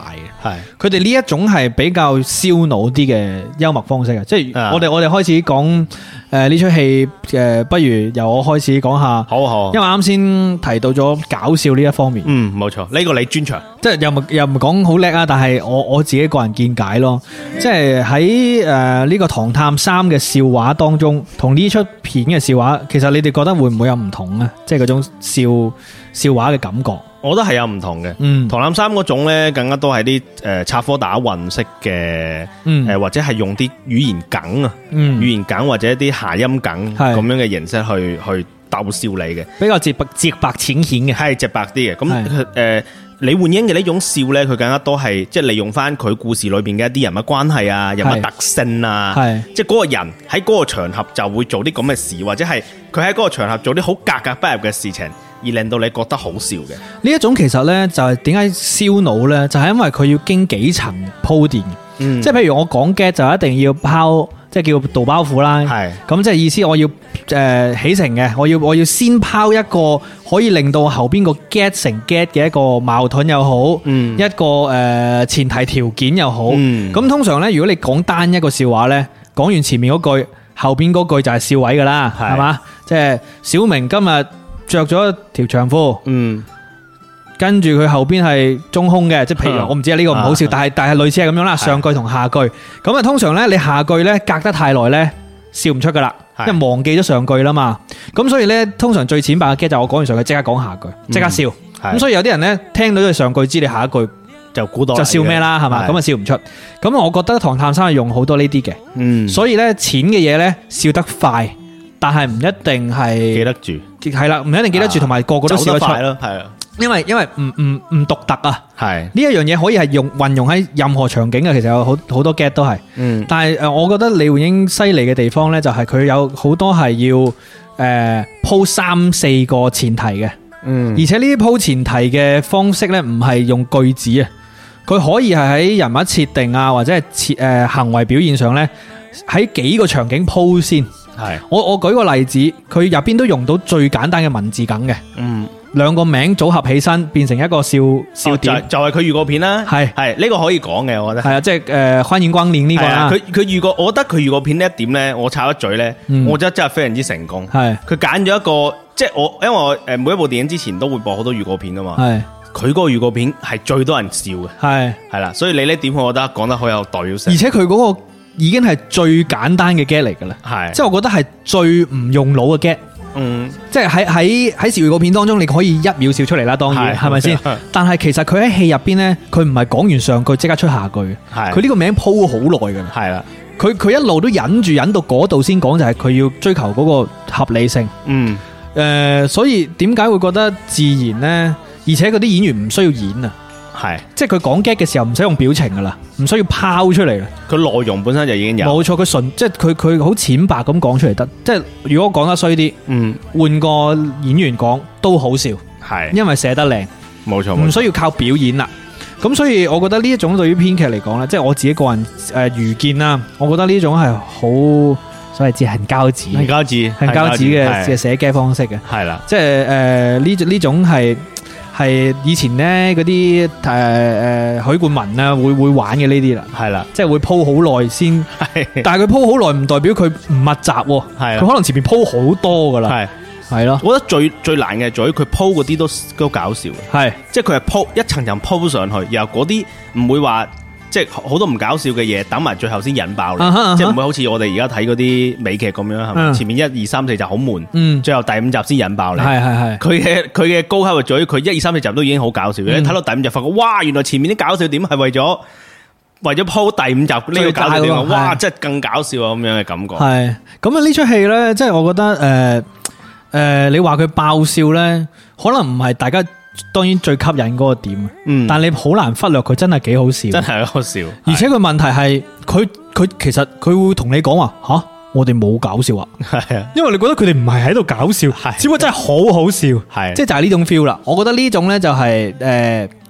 佢哋呢一種係比較燒腦啲嘅幽默方式嘅，即係我哋開始講呢出戲不如由我開始講下。好，因為啱先提到咗搞笑呢一方面。 冇錯，呢個你專長， 即係又唔講好叻啊，但係我自己個人見解咯，即係喺呢個《唐探三》嘅笑話當中，同呢出片嘅笑話，其實你哋覺得會唔會有唔同呢？即係嗰種笑話嘅感覺， 我覺得係有唔同嘅。唐探三嗰種呢，更加多係啲插科打諢式嘅，或者係用啲語言梗啊，語言梗或者一啲諧音梗咁樣嘅形式去逗笑你嘅， 比較直白淺顯嘅， 係直白啲嘅。咁李煥英嘅呢種笑呢，佢更加多係即係利用翻佢故事裏邊嘅一啲人物關係啊、人物特性啊，即係嗰個人喺嗰個場合就會做啲咁嘅事，或者係佢喺嗰個場合做啲好格格不入嘅事情，而令到你覺得好笑嘅。 呢一種其實呢，就係點解燒腦呢？就係因為佢要經幾層鋪墊，即係譬如我講 get 就一定要拋。即係叫導包袱啦，咁即係意思我要起承嘅，我要先拋一個可以令到後邊個 get 成 get 嘅一個矛盾又好，一個前提條件又好。咁通常呢，如果你講單一個笑話呢，講完前面嗰句，後邊嗰句就係笑位噶啦，係嘛？即係小明今日着咗條長褲，跟住佢後邊係中空嘅，即係譬如我唔知呢個唔好笑，但係類似係咁樣啦。上句同下句，咁啊通常呢，你下句呢隔得太耐呢，笑唔出噶啦，因為忘記咗上句啦嘛。咁所以呢，通常最淺白嘅 get 就我講完上句即刻講下句，即刻笑。咁所以有啲人呢，聽到咗上句知你下一句就估到就笑咩啦，係嘛？咁啊笑唔出。咁我覺得唐探三係用好多呢啲嘅，所以呢，淺嘅嘢呢，笑得快，但係唔一定係記得住， 係啦，唔一定記得住，同埋個個都笑得出咯， 係啊。 因為唔獨特啊， 係呢一樣嘢可以係運用喺任何場景嘅，其實有好多 get 都係，但係我覺得李煥英犀利嘅地方呢，就係佢有好多係要鋪3-4個前提嘅，而且呢啲鋪前提嘅方式呢，唔係用句子啊，佢可以係喺人物設定啊，或者係行為表現上呢，喺幾個場景鋪先。係我舉個例子，佢入邊都用到最簡單嘅文字梗嘅，兩個名組合起身變成一個笑點， 就係佢預告片啦。係呢個可以講嘅，我覺得係啊， 即係歡迎光臨呢個啦。 佢預告，我覺得佢預告片呢一點咧，我插一嘴咧，我覺得真係非常之成功。係佢揀咗一個，即係因為我每一部電影之前都會播好多預告片噶嘛。係佢嗰個預告片係最多人笑嘅。係啦，所以你呢點我覺得講得好有代表性， 而且佢嗰個已經係最簡單嘅 get 嚟噶啦。係即係我覺得係最唔用腦嘅 get。即係喺預告片當中，你可以1秒笑出嚟啦，當然係咪先？但係其實佢喺戲入邊呢，佢唔係講完上句即刻出下句，佢呢個名鋪好耐噶啦。係啦，佢一路都忍到嗰度先講，就係佢要追求嗰個合理性。所以點解會覺得自然呢？而且嗰啲演員唔需要演啊。係，即係佢講 get 嘅時候唔使用表情噶啦，唔需要拋出嚟啦。佢內容本身就已經有，冇錯。佢純即係佢好淺白咁講出嚟得。即係如果講得衰啲，換個演員講都好笑，係，因為寫得靚，冇錯，唔需要靠表演啦。咁所以我覺得呢一種對於編劇嚟講咧，即係我自己個人愚見啦，我覺得呢種係好所謂接痕膠紙嘅寫 get 方式嘅，係啦，即係呢種係以前咧嗰啲許冠文啊會玩嘅呢啲啦，係啦，即係會鋪好耐先，但係佢鋪好耐唔代表佢唔密集，係佢可能前面鋪好多噶啦，係咯，我覺得最難嘅在於佢鋪嗰啲都搞笑嘅，係，即係佢係鋪一層層鋪上去，然後嗰啲唔會話。即係好多唔搞笑嘅嘢，等埋最後先引爆你，即係唔會好似我哋而家睇嗰啲美劇咁樣，係咪？前面1、2、3、4集好悶，最後第5集先引爆你。係。佢嘅高級在於佢1、2、3、4集都已經好搞笑，你睇到第5集發覺，哇！原來前面啲搞笑點係為咗鋪第5集呢個搞笑點，哇！真係更搞笑啊咁樣嘅感覺。係咁啊！呢出戲咧，即係我覺得你話佢爆笑咧，可能唔係大家。當然最吸引嗰個點，但你好難忽略佢真係幾好笑，真係好笑。而且佢問題係佢其實佢會同你講話吓，我哋冇搞笑啊，係啊，因為你覺得佢哋唔係喺度搞笑，只不過真係好好笑，係即係就係呢種 feel 啦。我覺得呢種咧就係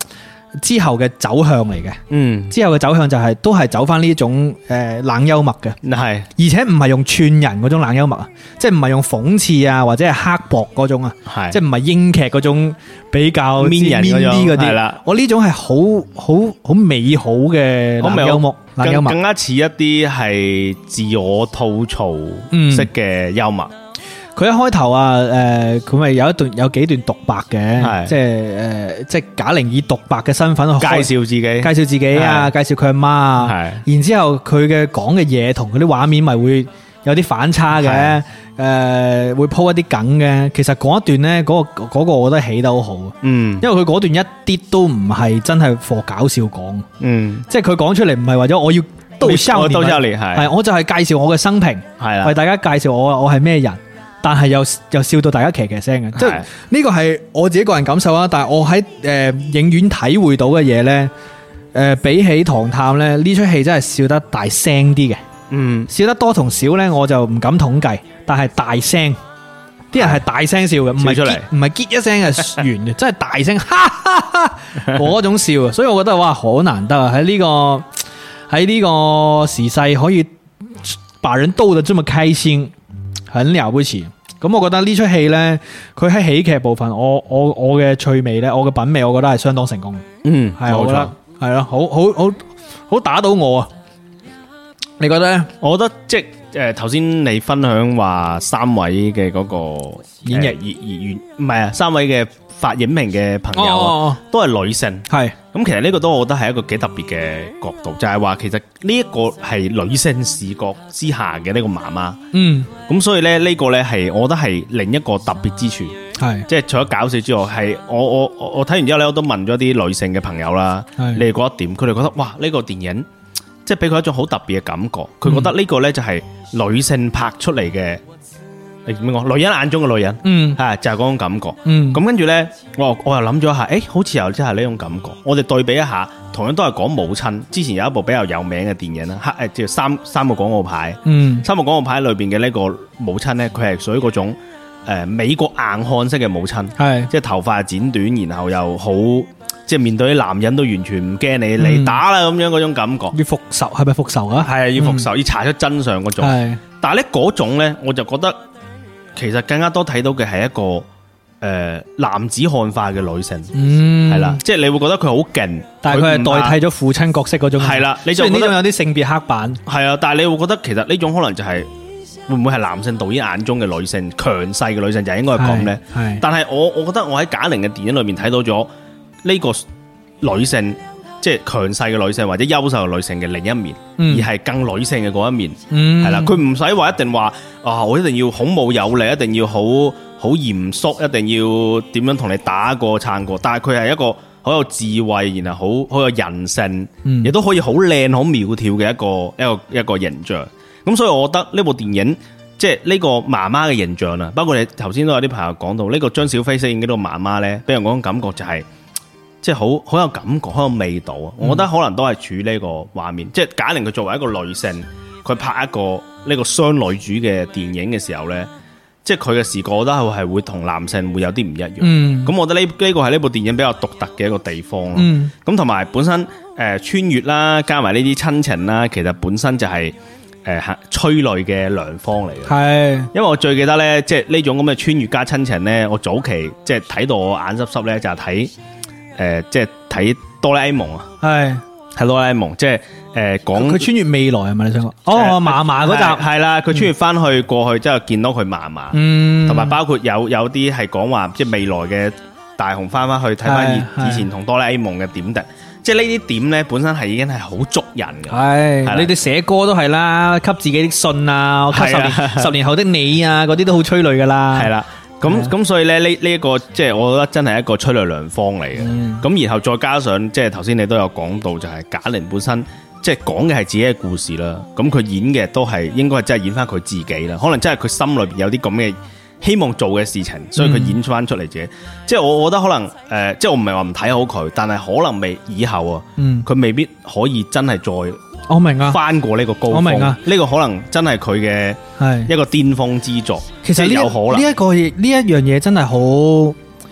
之後嘅走向嚟嘅，之後嘅走向就係都係走翻呢種冷幽默嘅， 係， 而且唔係用串人嗰種冷幽默啊，即係唔係用諷刺啊或者係刻薄嗰種啊，即係唔係英劇嗰種比較 mean 啲嗰啲，我呢種係好美好嘅冷幽默， 更加似一啲係自我吐槽式嘅幽默。 佢一開頭啊，佢咪有幾段獨白嘅，即係賈玲以獨白嘅身份介紹自己啊，介紹佢阿媽啊，然之後佢嘅講嘅嘢同佢啲畫面咪會有啲反差嘅，會鋪一啲梗嘅。其實嗰一段咧，嗰個我覺得起得好好，因為佢嗰段一啲都唔係真係for搞笑講，即係佢講出嚟唔係為咗我要逗笑你，係我就係介紹我嘅生平，為大家介紹我係咩人。但係又笑到大家騎聲嘅，即係呢個係我自己個人感受啊！但係我喺影院體會到嘅嘢呢，比起《唐探》咧，呢出戲真係笑得大聲啲嘅。笑得多同少呢，我就唔敢統計。但係大聲，啲人係大聲笑嘅，唔係結一聲嘅完嘅，真係大聲哈哈哈嗰種笑啊！所以我覺得哇，好難得啊！喺呢個時勢可以把人逗得這麼開心。很了不起，咁我覺得呢出戲呢，佢喺喜劇部分，我嘅趣味呢，我嘅品味，我覺得係相當成功。係我覺得係咯，好打到我啊！你覺得呢？ 我覺得即係頭先你分享話三位嘅嗰個演繹唔係啊，三位嘅發影評嘅朋友都係女性，係咁其實呢個都我覺得係一個幾特別嘅角度，就係話其實呢一個係女性視角之下嘅呢個媽媽，咁所以咧呢個咧係我覺得係另一個特別之處，係即係除咗搞笑之外，係我睇完之後咧，我都問咗啲女性嘅朋友啦，你哋覺得點？佢哋覺得哇呢個電影即係俾佢一種好特別嘅感覺，佢覺得呢個咧就係女性拍出嚟嘅。你點講？女人眼中嘅女人，係就係嗰種感覺。咁跟住咧，我又諗咗一下，好似又真係呢種感覺。我哋對比一下，同樣都係講母親。之前有一部比較有名嘅電影啦，叫三個廣告牌。三個廣告牌裏邊嘅呢個母親咧，佢係屬於嗰種美國硬漢式嘅母親，係即係頭髮剪短，然後又好即係面對啲男人都完全唔驚你嚟打啦咁樣嗰種感覺。 要復仇係咪復仇啊？係要復仇，要查出真相嗰種。但係咧嗰種咧，我就覺得。其實更加多睇到嘅係一個男子漢化嘅女性，係啦，即係你會覺得佢好勁， 但係佢係代替咗父親角色嗰種， 係啦，你就覺得呢種有啲性別刻板， 係啊，但係你會覺得其實呢種可能就係會唔會係男性導演眼中嘅女性強勢嘅女性就應該係咁咧？但係我覺得我喺賈玲嘅電影裏面睇到咗呢個女性。即係強勢嘅女性或者優秀嘅女性嘅另一面，而係更女性嘅嗰一面，係啦，佢唔使話一定話我一定要孔武有力，一定要好嚴肅，一定要點樣同你打過撐過，但係佢係一個好有智慧，然後好有人性，亦都可以好靚好苗條嘅一個形象。咁所以我覺得呢部電影即係呢個媽媽嘅形象啊，包括你頭先都有啲朋友講到呢個張小斐飾演嘅呢個媽媽咧，俾人嗰種感覺就係。即係好有感覺，好有味道啊！我覺得可能都係處呢個畫面，即係賈玲佢作為一個女性，佢拍一個呢個雙女主嘅電影嘅時候呢，即係佢嘅視覺，我覺得係會同男性會有啲唔一樣。咁我覺得呢個係呢部電影比較獨特嘅一個地方。咁同埋本身穿越啦，加埋呢啲親情啦，其實本身就係催淚嘅良方嚟嘅。係，因為我最記得呢，即係呢種咁嘅穿越加親情呢，我早期即係睇到我眼濕濕呢，就係睇。即係睇哆啦 A 夢啊，係哆啦 A 夢，即係講佢穿越未來係咪你想講？嫲嫲嗰集係啦，佢穿越翻去過去之後見到佢嫲嫲，同埋包括有啲係講話即係未來嘅大雄翻翻去睇翻以前同哆啦 A 夢嘅點滴，即係呢啲點咧本身係已經係好捉人嘅。係你哋寫歌都係啦，給自己的信啊，給10年後的你啊，嗰啲都好催淚噶啦。 係啦。咁所以咧呢一個即係我覺得真係一個催淚良方嚟嘅。咁然後再加上即係頭先你都有講到，就係賈玲本身即係講嘅係自己嘅故事啦。咁佢演嘅都係應該係真係演翻佢自己啦。可能真係佢心裏邊有啲咁嘅希望做嘅事情，所以佢演翻出嚟自己。即係我覺得可能即係我唔係話唔睇好佢，但係可能未以後啊，佢未必可以真係再。 我明啊， 翻過呢個高峰，我明啊，呢個可能真係佢嘅一個巔峰之作。 其實有可能呢一樣嘢真係好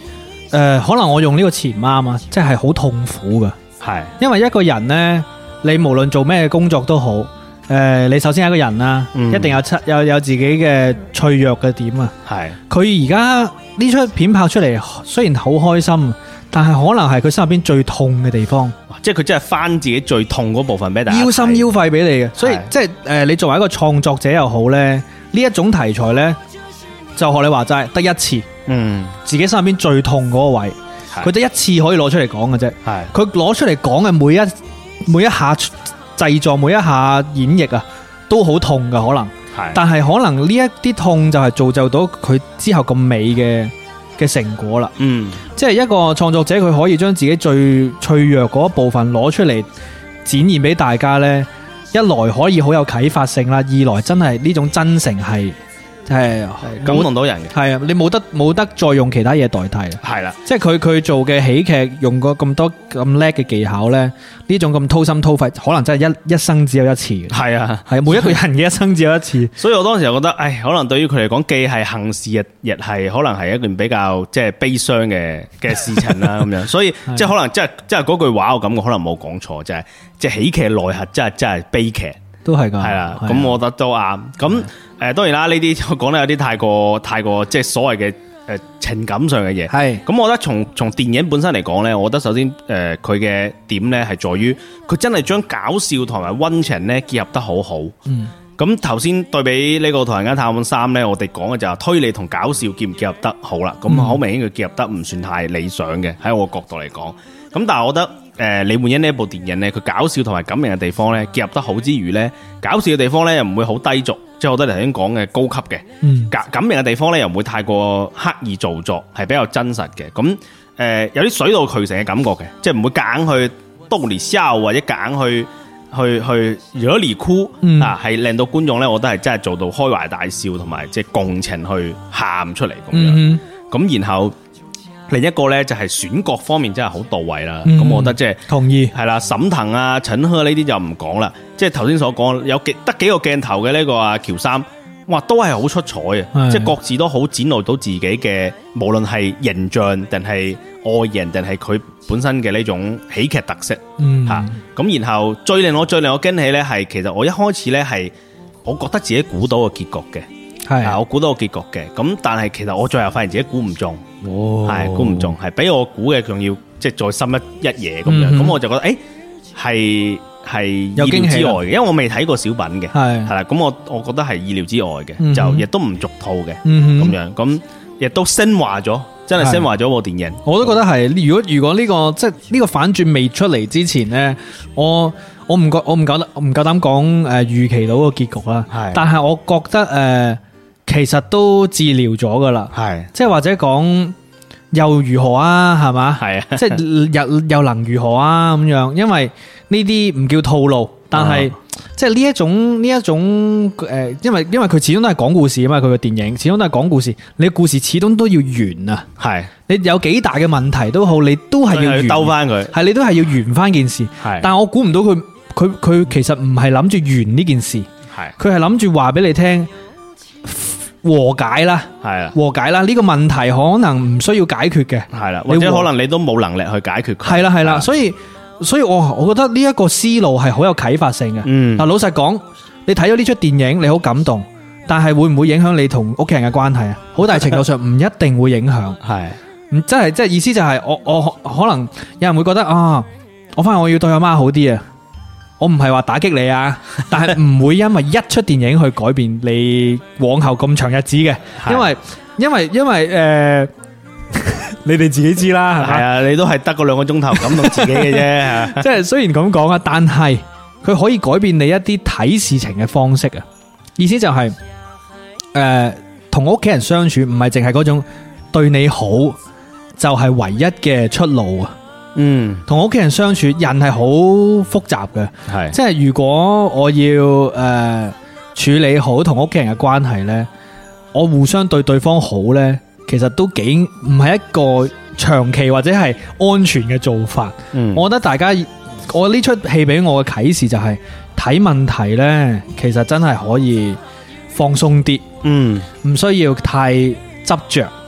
可能我用呢個詞唔啱啊，即係好痛苦噶。 係， 因為一個人呢，你無論做咩工作都好，你首先係一個人啦，一定有自己嘅脆弱嘅點啊。 係， 佢而家呢出片拍出嚟，雖然好開心，但係可能係佢心入邊最痛嘅地方。 即係佢真係翻自己最痛嗰部分俾大家睇， 腰心腰肺俾你嘅。所以即係你作為一個創作者又好呢，呢一種題材呢，就學你話齋得一次，自己心入邊最痛嗰個位，佢得一次可以攞出嚟講嘅啫。係，佢攞出嚟講嘅每一下製作，每一下演繹啊，都好痛噶可能。係，但係可能呢一啲痛就係造就到佢之後咁美嘅成果啦。即係一個創作者，佢可以將自己最脆弱嗰一部分攞出嚟展現俾大家呢，一來可以好有啟發性啦，二來真係呢種真誠係感動到人嘅。 係啊，你冇得再用其他嘢代替。係啦，即係佢做嘅喜劇用過咁多咁叻嘅技巧呢，呢種咁掏心掏肺，可能真係一生只有一次嘅。係啊，係每一個人嘅一生只有一次。所以我當時就覺得，可能對於佢嚟講，既係幸事，亦係可能係一件比較即係悲傷嘅事情啦。咁樣，所以即係可能即係嗰句話，我感覺可能冇講錯，就係即係喜劇內核真係悲劇。都係噶，係啦，咁我覺得都啱。咁當然啦，呢啲講得有啲太過即係所謂嘅情感上嘅嘢。係，咁我覺得從電影本身嚟講咧，我覺得首先佢嘅點咧係在於佢真係將搞笑同埋溫情咧結合得好好。咁頭先對比呢個《唐人街探案3》咧，我哋講嘅就係推理同搞笑結唔結合得好啦。咁好明顯佢結合得唔算太理想嘅，喺我角度嚟講。咁但係我覺得李煥英呢一部電影咧，佢搞笑同埋感人嘅地方咧結合得好之餘咧，搞笑嘅地方咧又唔會好低俗，即係我覺得頭先講嘅高級嘅。感人嘅地方咧又唔會太過刻意做作，係比較真實嘅。咁有啲水到渠成嘅感覺嘅，即係唔會夾硬去逗你笑或者夾硬去惹你哭啊，係令到觀眾咧，我覺得係真係做到開懷大笑同埋即係共情去喊出嚟咁樣。咁然後另一個咧就係選角方面真係好到位啦。咁我覺得即係同意係啦，沈騰啊、陳赫呢啲就唔講啦。即係頭先所講有得幾個鏡頭嘅呢個阿喬三，哇都係好出彩啊！即係各自都好展露到自己嘅，無論係形象定係外形定係佢本身嘅呢種喜劇特色吓。咁然後最令我驚喜咧係，其實我一開始咧係我覺得自己估到個結局嘅。係，我估到個結局嘅，咁但係其實我最後發現自己估唔中，係估唔中，係比我估嘅仲要即係再深一嘢咁樣，咁我就覺得係意料之外嘅，因為我未睇過小品嘅，係啦，咁我覺得係意料之外嘅，就亦都唔俗套嘅，咁樣，咁亦都升華咗，真係升華咗部電影。我都覺得係，如果呢個即係呢個反轉未出嚟之前呢，我唔夠膽講預期到個結局啦，但係我覺得其實都治療咗噶啦，係即係或者講又如何啊，係嘛，係啊，即係又能如何啊咁樣，因為呢啲唔叫套路，但係即係呢一種因為佢始終都係講故事啊嘛，佢個電影始終都係講故事，你故事始終都要圓啊，係你有幾大嘅問題都好，你都係要兜翻佢，係你都係要圓翻件事，係，但係我估唔到佢其實唔係諗住圓呢件事，係，佢係諗住話俾你聽。和解啦，係啊，和解啦，呢個問題可能唔需要解決嘅，係啦，或者可能你都冇能力去解決佢，係啦，所以我覺得呢一個思路係好有啟發性嘅。嗱，老實講，你睇咗呢出電影，你好感動，但係會唔會影響你同屋企人嘅關係啊？好大程度上唔一定會影響，係，即係意思就係我可能有人會覺得啊，我發現我要對阿媽好啲啊。我唔係話打擊你啊，但係唔會因為一出電影去改變你往後咁長日子嘅，因為你哋自己知啦，係啊，你都係得個2個鐘頭感動自己嘅啫，即係雖然咁講啊，但係佢可以改變你一啲睇事情嘅方式啊，意思就係同屋企人相處唔係淨係嗰種對你好就係唯一嘅出路啊。同屋企人相處，人係好複雜嘅，係即係如果我要處理好同屋企人嘅關係呢，我互相對對方好呢，其實都幾唔係一個長期或者係安全嘅做法。我覺得大家，我呢出戲俾我嘅啟示就係睇問題呢，其實真係可以放鬆啲，唔需要太執着。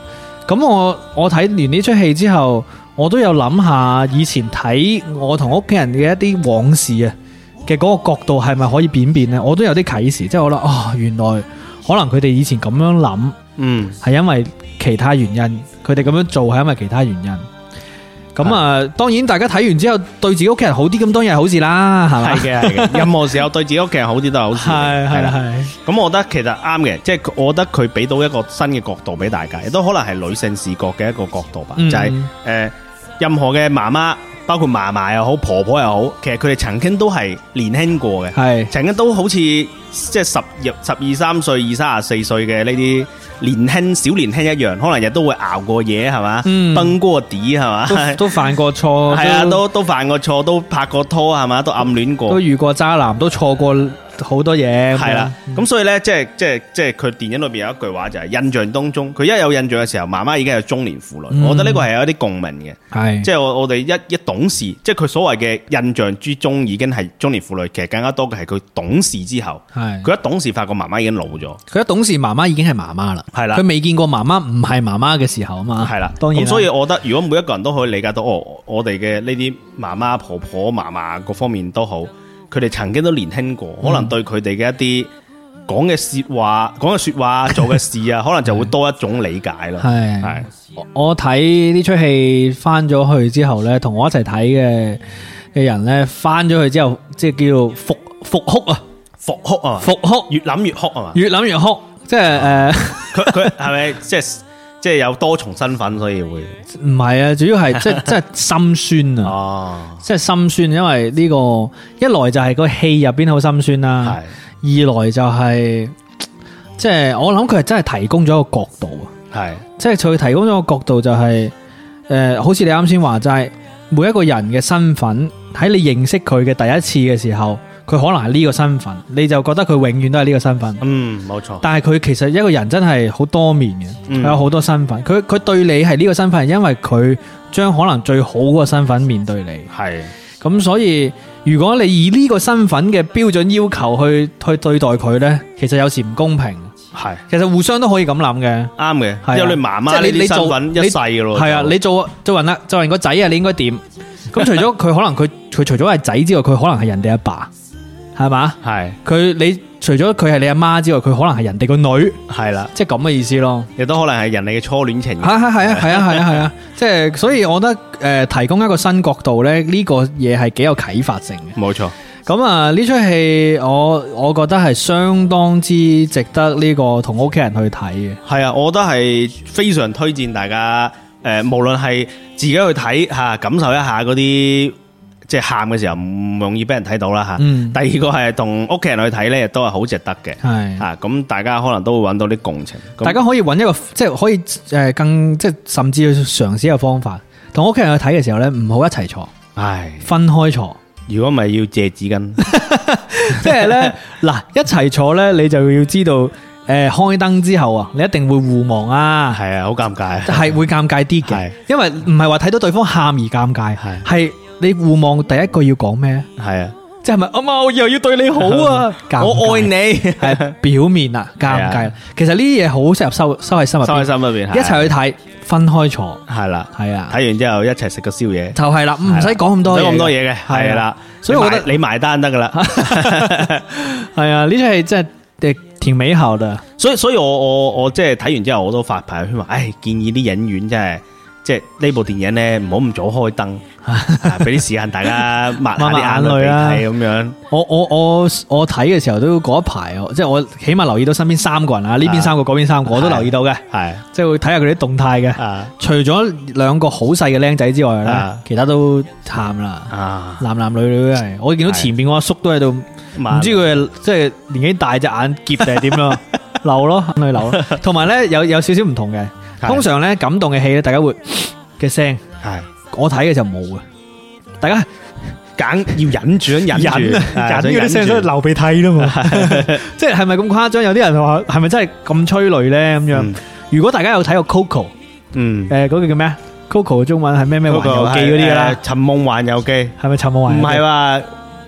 咁我睇完呢出戲之後，我都有諗下以前睇我同屋企人嘅一啲往事啊嘅嗰個角度係咪可以變呢？我都有啲啟示，即係我諗原來可能佢哋以前咁樣諗，係因為其他原因，佢哋咁樣做係因為其他原因。咁啊，當然大家睇完之後對自己屋企人好啲，咁當然係好事啦，係咪？ 係嘅，任何時候對自己屋企人好啲都係好事。係啦。咁我覺得其實啱嘅，即係我覺得佢俾到一個新嘅角度俾大家，亦都可能係女性視角嘅一個角度吧。就係任何嘅媽媽，包括嫲嫲又好，婆婆又好，其實佢哋曾經都係年輕過嘅，係曾經都好似即係12、13歲、24歲嘅呢啲小年輕一樣，可能日都會熬過嘢，係嘛，崩過底，係嘛，都犯過錯，係啊，都犯過錯，都拍過拖，係嘛，都暗戀過，都遇過渣男，都錯過好多嘢，係啦。咁所以呢，即係佢電影裏邊有一句話就係印象當中，佢一有印象嘅時候，媽媽已經係中年婦女。我覺得呢個係有一啲共鳴嘅，係即係我哋一懂事，即係佢所謂嘅印象之中已經係中年婦女，其實更加多嘅係佢懂事之後，係佢一懂事發覺媽媽已經老咗，佢一懂事媽媽已經係媽媽啦，係啦，佢未見過媽媽唔係媽媽嘅時候啊嘛，係啦，當然。咁所以我覺得如果每一個人都可以理解到，我哋嘅呢啲媽媽、婆婆、嫲嫲各方面都好。佢哋曾經都年輕過，可能對佢哋嘅一啲講嘅說話、做嘅事啊，可能就會多一種理解咯。係我睇呢出戲翻咗去之後咧，同我一齊睇嘅人咧，翻咗去之後，即係叫復哭，越諗越哭啊嘛，越諗越哭，即係佢係咪即係有多重身份，所以會唔係啊？主要係即係心酸啊！即係心酸，因為呢個一來就係個戲入邊好心酸啦，二來就係即係我諗佢係真係提供咗一個角度啊！係即係佢提供咗個角度就係好似你啱先話齋，每一個人嘅身份喺你認識佢嘅第一次嘅時候。佢可能係呢個身份，你就覺得佢永遠都係呢個身份。冇錯。但係佢其實一個人真係好多面嘅，佢有好多身份。佢對你係呢個身份，係因為佢將可能最好嗰個身份面對你。係。咁所以如果你以呢個身份嘅標準要求去對待佢呢，其實有時唔公平。係。其實互相都可以咁諗嘅。啱嘅。因為你媽媽呢啲身份一世噶咯。係啊，你做人個仔啊，你應該點？咁除咗佢可能佢除咗係仔之外，佢可能係人哋阿爸。係嘛？係你除咗佢係你阿媽之外，佢可能係人哋個女，係啦，即係咁嘅意思咯。亦都可能係人哋嘅初戀情人。係啊，即係所以我覺得提供一個新角度咧，呢個嘢係幾有啟發性嘅。冇錯。咁啊，呢出戲我覺得係相當之值得呢個同屋企人去睇嘅。係啊，我覺得係非常推薦大家無論係自己去睇吓，感受一下嗰啲。即係喊嘅時候唔容易俾人睇到啦吓。第二個係同屋企人去睇咧，亦都係好值得嘅。係啊，咁大家可能都會揾到啲共情。大家可以揾一個即係可以更即係甚至去嘗試一個方法，同屋企人去睇嘅時候咧，唔好一齊坐，分開坐。如果唔係要借紙巾，即係咧嗱，一齊坐咧，你就要知道開燈之後啊，你一定會互望啊。係啊，好尷尬，係會尷尬啲嘅，因為唔係話睇到對方喊而尷尬，係。你互望第一句要講咩？係啊，即係咪阿媽我以後要對你好啊？我愛你係表面啊，尷尬。其實呢啲嘢好適合收喺心入邊，收喺心入邊，一齊去睇，分開坐，係啦，係啊。睇完之後一齊食個宵夜，就係啦，唔使講咁多嘢嘅，係啦。所以我覺得你埋單得噶啦。係啊，呢出戲真係挺美好嘅。所以我即係睇完之後，我都發朋友圈話，建議啲影院真係。即係呢部電影咧，唔好咁早開燈，俾啲時間大家抹下啲眼淚啊，咁樣。我睇嘅時候都嗰一排，即係我起碼留意到身邊三個人啊，呢邊三個，嗰邊三個，我都留意到嘅。係，即係會睇下佢啲動態嘅。除咗兩個好細嘅僆仔之外咧，其他都喊啦。男男女女係，我見到前邊個阿叔都喺度，唔知佢係即係年紀大隻眼澀定係點咯，流咯，眼淚流咯。同埋咧有少少唔同嘅。通常咧感動嘅戲咧，大家會嘅聲係我睇嘅就冇嘅，大家揀要忍住，忍嗰啲聲都流鼻涕啦嘛，即係咪咁誇張？有啲人話係咪真係咁催淚咧？咁樣，如果大家有睇過 Coco， 嗰個叫咩啊 ？Coco 嘅中文係咩環遊記嗰啲噶啦？尋夢環遊記係咪尋夢環？唔係話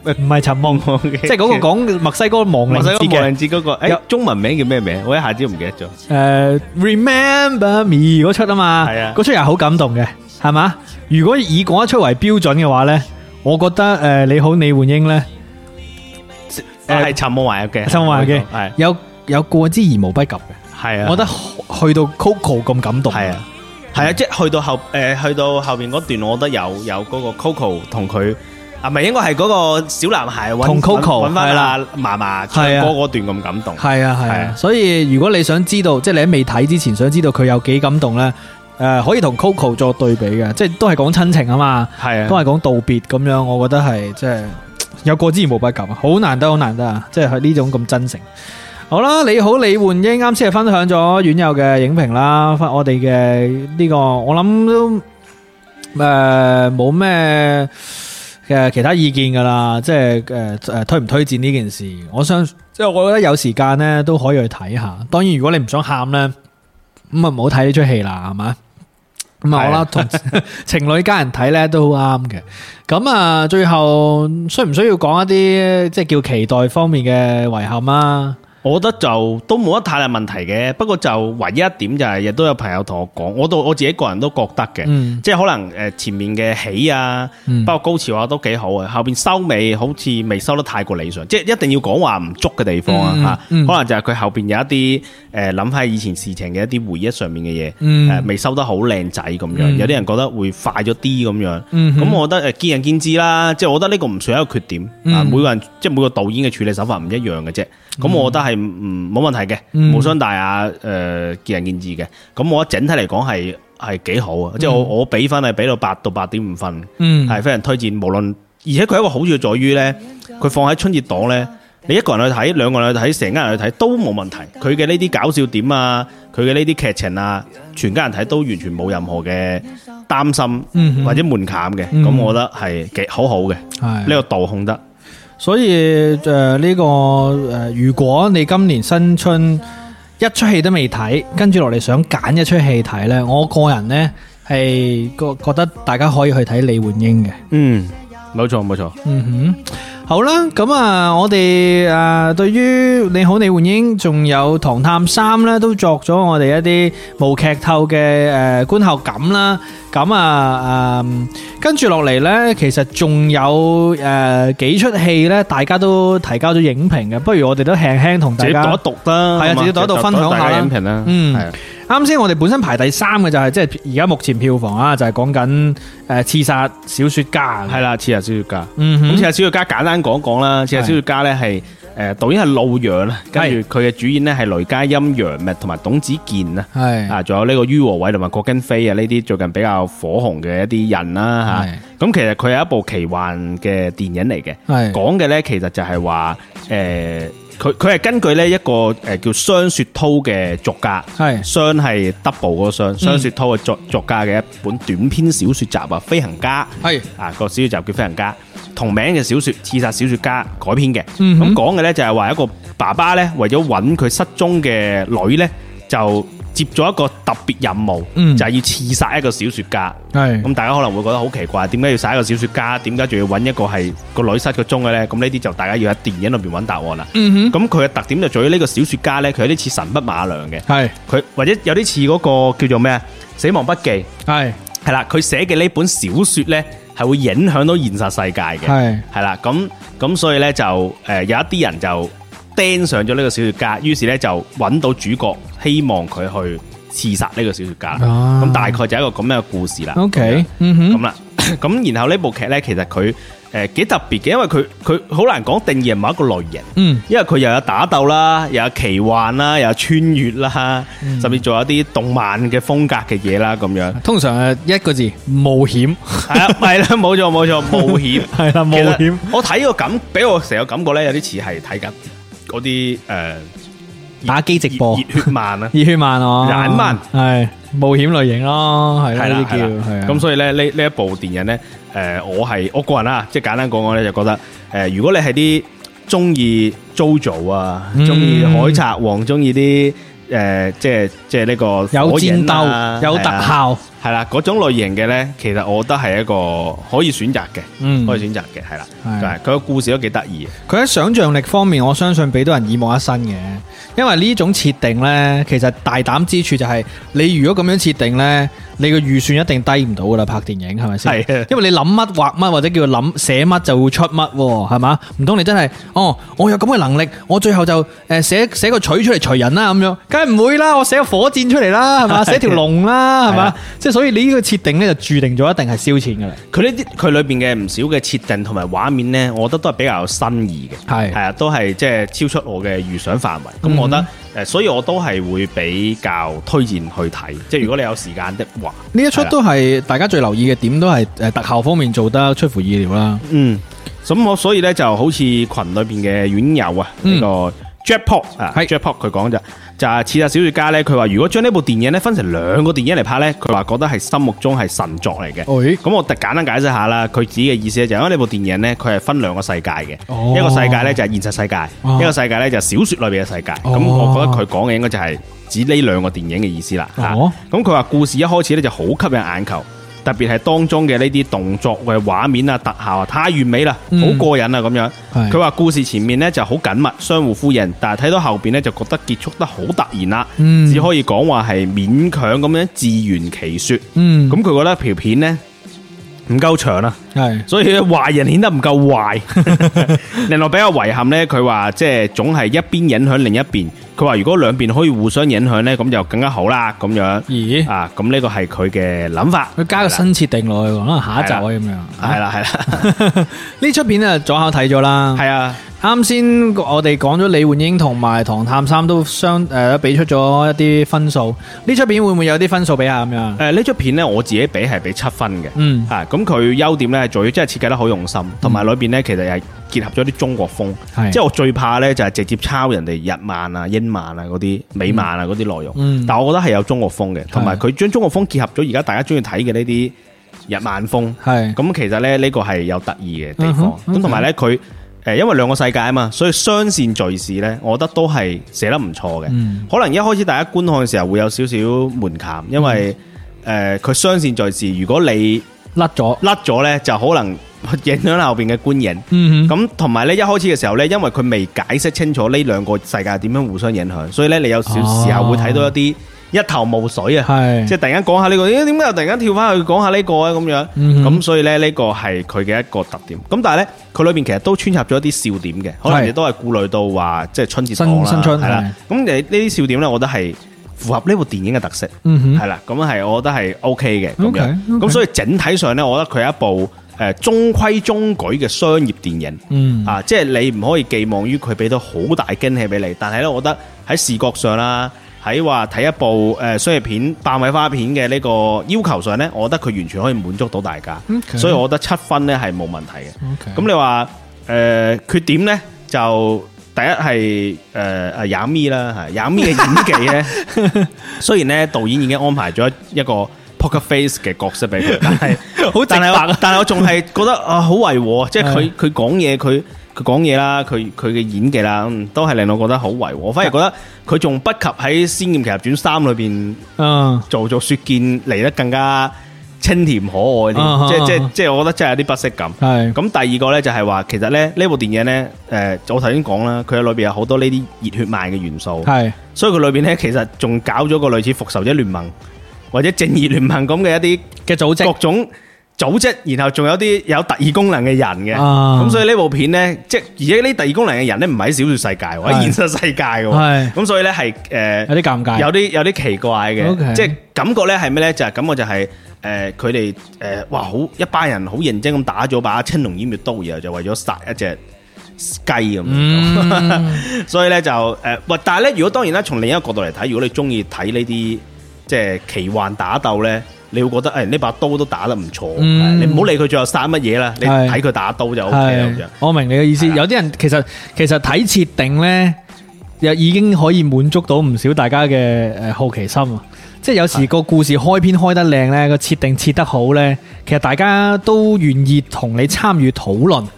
唔係尋夢，即係嗰個講墨西哥亡靈節嘅。 亡靈節嗰個，中文名叫咩名？我一下子唔記得咗。 Remember Me 嗰出啊嘛， 係啊， 嗰出又好感動嘅，係嘛？如果以嗰一出為標準嘅話咧，我覺得你好李煥英咧， 係尋夢環遊嘅， 尋夢環遊嘅係有過之而無不及嘅。係啊，我覺得去到 Coco 咁感動。係啊， 係啊，即係去到後邊嗰段，我覺得有嗰個 Coco 同佢啊，咪應該係嗰個小男孩同 Coco 揾翻阿嫲嫲唱歌嗰段咁感動。係啊係啊， 所以如果你想知道，即係你喺未睇之前想知道佢有幾感動咧，可以同 Coco 作對比嘅，即係都係講親情啊嘛，係啊，都係講道別咁樣，我覺得係即係有過之而無不及啊，好難得啊，即係呢種咁真誠。好啦，你好李煥英，啱先係分享咗院友嘅影評啦，我哋嘅呢個我諗都冇咩嘅其他意見噶啦，即係推唔推薦呢件事，我覺得有時間咧都可以去睇下。當然如果你唔想喊咧，咁啊唔好睇呢出戲啦，係嘛？咁啊，我啦同情侶家人睇咧都好啱嘅。咁啊，最後需唔需要講一啲即係叫期待方面嘅遺憾啊？ 我覺得就都冇乜太大問題嘅，不過就唯一一點就係亦都有朋友同我講，我自己個人都覺得嘅，即係可能前面嘅起啊，包括高潮啊都幾好啊，後邊收尾好似未收得太過理想，即係一定要講話唔足嘅地方啊嚇，可能就係佢後邊有一啲諗翻以前事情嘅一啲回憶上面嘅嘢，未收得好靚仔咁樣，有啲人覺得會快咗啲咁樣，咁我覺得見仁見智啦，即係我覺得呢個唔算一個缺點，每個人即係每個導演嘅處理手法唔一樣嘅啫，咁我覺得係冇問題嘅，無傷大雅，見仁見智嘅。咁我覺得整體嚟講係幾好啊，即係我俾分係俾到8到8.5分，係非常推薦。無論而且佢一個好處在於咧，佢放喺春節檔咧，你一個人去睇，兩個人去睇，成家人去睇都冇問題。佢嘅呢啲搞笑點啊，佢嘅呢啲劇情啊，全家人睇都完全冇任何嘅擔心或者門檻嘅。咁我覺得係幾好嘅，呢個度控得。 所以呢個如果你今年新春一出戲都未睇，跟住落嚟想揀一出戲睇呢，我個人呢係覺得大家可以去睇李煥英嘅。 冇錯。 好啦，咁啊，我哋對於你好李煥英仲有唐探3咧，都作咗我哋一啲無劇透嘅觀後感啦。咁啊跟住落嚟呢，其實仲有幾出戲呢，大家都提交咗影評嘅，不如我哋都輕輕同大家自己讀啦， 係啊，自己讀一讀分享下影評啦。 啱先我哋本身排第3嘅就係即係而家目前票房啊，就係講緊刺殺小說家， 係啦，刺殺小說家。咁刺殺小說家簡單講講啦，刺殺小說家呢係導演係路陽啦，跟住佢嘅主演呢係雷佳音、楊冪同埋董子健啊，係仲有呢個于和偉同埋郭京飛啊，呢啲最近比較火紅嘅一啲人啦吓。咁其實佢係一部奇幻嘅電影嚟嘅，講嘅呢其實就係話佢係根據呢一個叫雙雪濤嘅作家，雙係 double 嗰個雙雪濤嘅作家嘅一本短篇小說集啊，飛行家個小說集叫飛行家，同名嘅小說刺殺小說家改編嘅。咁講嘅呢就係話一個爸爸呢為咗揾佢失蹤嘅女呢，就接咗一個特別任務，就係要刺殺一個小說家。咁大家可能會覺得好奇怪，點解要殺一個小說家？點解仲要揾一個係個女失咗蹤嘅呢？咁呢啲就大家要喺電影裏邊揾答案啦。咁佢嘅特點就在於呢個小說家呢，佢有啲似神筆馬良嘅，佢或者有啲似嗰個叫做咩啊《死亡筆記》。係啦，佢寫嘅呢本小說呢，係會影響到現實世界嘅。係啦，咁所以呢，就有一啲人就盯上咗呢個小說家，於是呢，就揾到主角，希望佢去刺殺呢個小說家。咁大概就係一個咁樣嘅故事啦。 OK， 咁啦，咁然後呢部劇呢，其實佢幾特別嘅，因為佢好難講定義係某一個類型。因為佢又有打鬥啦，又有奇幻啦，又有穿越啦，甚至仲有啲動漫嘅風格嘅嘢啦，咁樣。 通常係一個字冒險。 係啦，冇錯，冒險。係啦， 冒險。 我睇個感，俾我成個感覺呢，有啲似係睇緊嗰啲打機直播熱血漫啊， 熱血漫哦， 眼漫係冒險類型咯，係呢啲叫係。 咁所以咧呢一部電影咧，我個人啦，即係簡單講講咧，就覺得如果你係啲中意 JoJo 啊，中意海賊王，中意啲即係呢個有戰鬥有特效係啦，嗰種類型嘅咧，其實我覺得係一個可以選擇嘅，可以選擇嘅係啦。佢個故事都幾得意。 佢喺想像力方面，我相信俾到人耳目一新嘅。因為呢種設定呢，其實大膽之處就係你如果咁樣設定呢，你個預算一定低唔到噶啦，拍電影係咪先？係，因為你諗乜畫乜或者叫做諗寫乜就會出乜，係嘛？唔通你真係我有咁嘅能力，我最後就寫個錘出嚟錘人啦咁樣，梗係唔會啦，我寫個火箭出嚟啦，係嘛？寫條龍啦，係嘛？即係所以你呢個設定呢，就注定咗一定係燒錢噶啦。 佢裏邊嘅唔少嘅設定同埋畫面呢，我覺得都係比較有新意嘅，係啊，都係即係超出我嘅預想範圍。咁我覺得所以我都係會比較推薦去睇。即係如果你有時間的話， 呢一出都係大家最留意嘅點，都係特效方面做得出乎意料啦。 咁我所以呢，就好似群裏邊嘅院友啊，呢個 Jackpot 啊，Jackpot 佢講就係刺殺小說家呢，佢話如果將呢部電影呢分成兩個電影嚟拍呢，佢話覺得係心目中係神作嚟嘅。咁我簡單解釋下啦，佢自己嘅意思呢，就係因為呢部電影呢，佢係分兩個世界嘅，一個世界呢就係現實世界，一個世界呢就係小說裏邊嘅世界。咁我覺得佢講嘅應該就係指呢兩個電影嘅意思啦。咁佢話故事一開始呢就好吸引眼球。特別係當中嘅呢啲動作嘅畫面啊、特效啊，太完美啦，好過癮啊咁樣。佢話故事前面呢就好緊密，相互呼應，但係睇到後邊呢，就覺得結束得好突然啦，只可以講話係勉強咁樣自圓其說。咁佢覺得條片呢唔夠長啦，所以壞人顯得唔夠壞。令我比較遺憾呢，佢話即係總係一邊影響另一邊。佢話如果兩邊可以互相影響呢，咁就更加好啦。咁樣，咁呢個係佢嘅諗法。佢加個新設定落去，可能下一集可以咁樣。係啦，呢出片啊，左口睇咗啦。係啊，啱先我哋講咗李煥英同埋唐探三都俾出咗一啲分數。呢出片會唔會有啲分數俾下咁樣？呢出片呢，我自己俾係俾7分嘅。咁佢優點呢，係在於真係設計得好用心，同埋裏邊呢，其實係結合咗啲中國風。即係我最怕呢，就係直接抄人哋日漫啊、英漫啊嗰啲、美漫啊嗰啲內容。但我覺得係有中國風嘅，同埋佢將中國風結合咗而家大家中意睇嘅呢啲日漫風。咁其實咧呢個係有得意嘅地方。咁同埋呢，佢因為兩個世界啊嘛，所以雙線敘事呢，我覺得都係寫得唔錯嘅。可能一開始大家觀看嘅時候會有少少門檻，因為佢雙線敘事，如果你甩咗呢，就可能影響後邊嘅觀影。咁同埋呢，一開始嘅時候呢，因為佢未解釋清楚呢兩個世界點樣互相影響，所以呢，你有少時候會睇到一啲一頭霧水啊，即係突然間講下呢個，點解又突然間跳翻去講下呢個啊咁樣。咁所以呢，呢個係佢嘅一個特點。咁但係呢，佢裏邊其實都穿插咗一啲笑點嘅，可能亦都係顧慮到話即係春節檔啦，新春係啦。咁呢啲笑點呢，我覺得係符合呢部電影嘅特色，係啦。咁係我覺得係 OK 嘅咁樣。咁所以整體上呢，我覺得佢係一部中規中矩嘅商業電影。即係你唔可以寄望於佢俾到好大驚喜俾你，但係呢，我覺得喺視覺上啦，喺話睇一部商業片、爆米花片嘅呢個要求上呢，我覺得佢完全可以滿足到大家。所以我覺得7分呢係冇問題嘅。咁你話缺點呢，就第一係亞咪啦，係亞咪嘅演技呢。雖然呢導演已經安排咗一個 poker face 嘅角色俾佢，但係我仲係覺得好違和，即係佢講嘢佢講嘢啦，佢嘅演技啦，都係令我覺得好違和。我反而覺得佢仲不及喺《仙劍奇俠傳3》裏邊做雪見嚟得更加清甜可愛啲。即係我覺得真係有啲不適感。咁第二個呢，就係話，其實咧呢部電影呢，我頭先講啦，佢裏邊有好多呢啲熱血漫嘅元素。所以佢裏邊呢，其實仲搞咗個類似復仇者聯盟或者正義聯盟咁嘅一啲嘅組織，各種組織，然後仲有啲有特異功能嘅人嘅。咁所以呢部片呢，即係而且呢特異功能嘅人呢，唔係喺小說世界，喺現實世界嘅。咁所以呢，係有啲尷尬，有啲奇怪嘅。即係感覺呢係咩呢？就係感覺就係佢哋哇好一班人好認真咁打咗把青龍偃月刀，然後就為咗殺一隻雞咁。所以呢，就但係呢，如果當然啦，從另一個角度嚟睇，如果你中意睇呢啲即係奇幻打鬥呢，你會覺得呢把刀都打得唔錯。你唔好理佢最後殺乜嘢啦，你睇佢打刀就 OK 啦。我明你嘅意思。有啲人其實睇設定呢，又已經可以滿足到唔少大家嘅好奇心啊！即係有時個故事開篇開得靚呢，個設定設得好呢，其實大家都願意同你參與討論。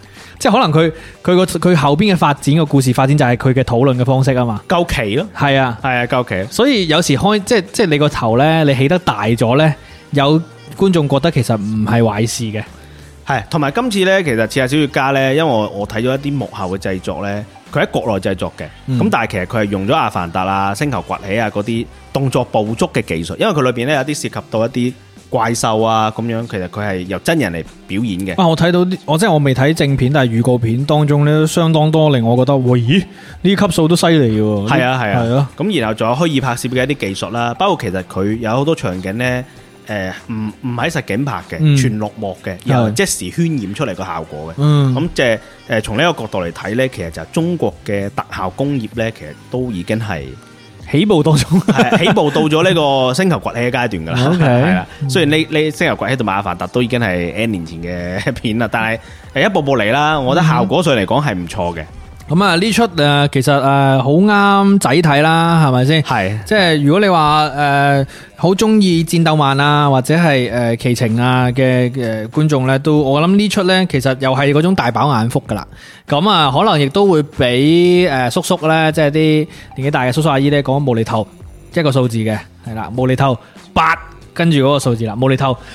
即係可能佢後邊嘅發展個故事發展就係佢嘅討論嘅方式啊嘛， 夠期咯， 係啊， 夠期。 所以有時即係你個頭咧，你起得大咗咧，有觀眾覺得其實唔係壞事嘅。 係，同埋今次咧，其實《刺客小說家》咧，因為我睇咗一啲幕後嘅製作咧，佢喺國內製作嘅，咁但係其實佢係用咗《阿凡達》啊、《星球崛起》啊嗰啲動作捕捉嘅技術，因為佢裏邊咧有啲涉及到一啲怪獸啊咁樣，其實佢係由真人嚟表演嘅。 我睇到我即係我未睇正片，但係預告片當中咧都相當多令我覺得，喂，咦，呢啲級數都犀利喎。 係啊，咁然後仲有虛擬拍攝嘅一啲技術啦，包括其實佢有好多場景咧。唔喺實景拍嘅，全綠幕嘅，然後即時渲染出嚟個效果嘅。咁即係從呢個角度嚟睇呢，其實就係中國嘅特效工業呢，其實都已經係起步當中， 起步到咗呢個星球崛起嘅階段噶啦。係啦，雖然呢星球崛起同埋阿凡達都已經係 N 年前嘅片啦，但係一步步嚟啦，我覺得效果上嚟講係唔錯嘅。咁啊呢出其實好啱仔睇啦，係咪先？係，即係如果你話好中意戰鬥漫啊，或者係奇情啊嘅觀眾咧，都我諗呢出咧，其實又係嗰種大飽眼福噶啦。咁啊，可能亦都會俾叔叔咧，即係啲年紀大嘅叔叔阿姨咧，講無厘頭一個數字嘅，係啦，無厘頭8跟住嗰個數字啦，無厘頭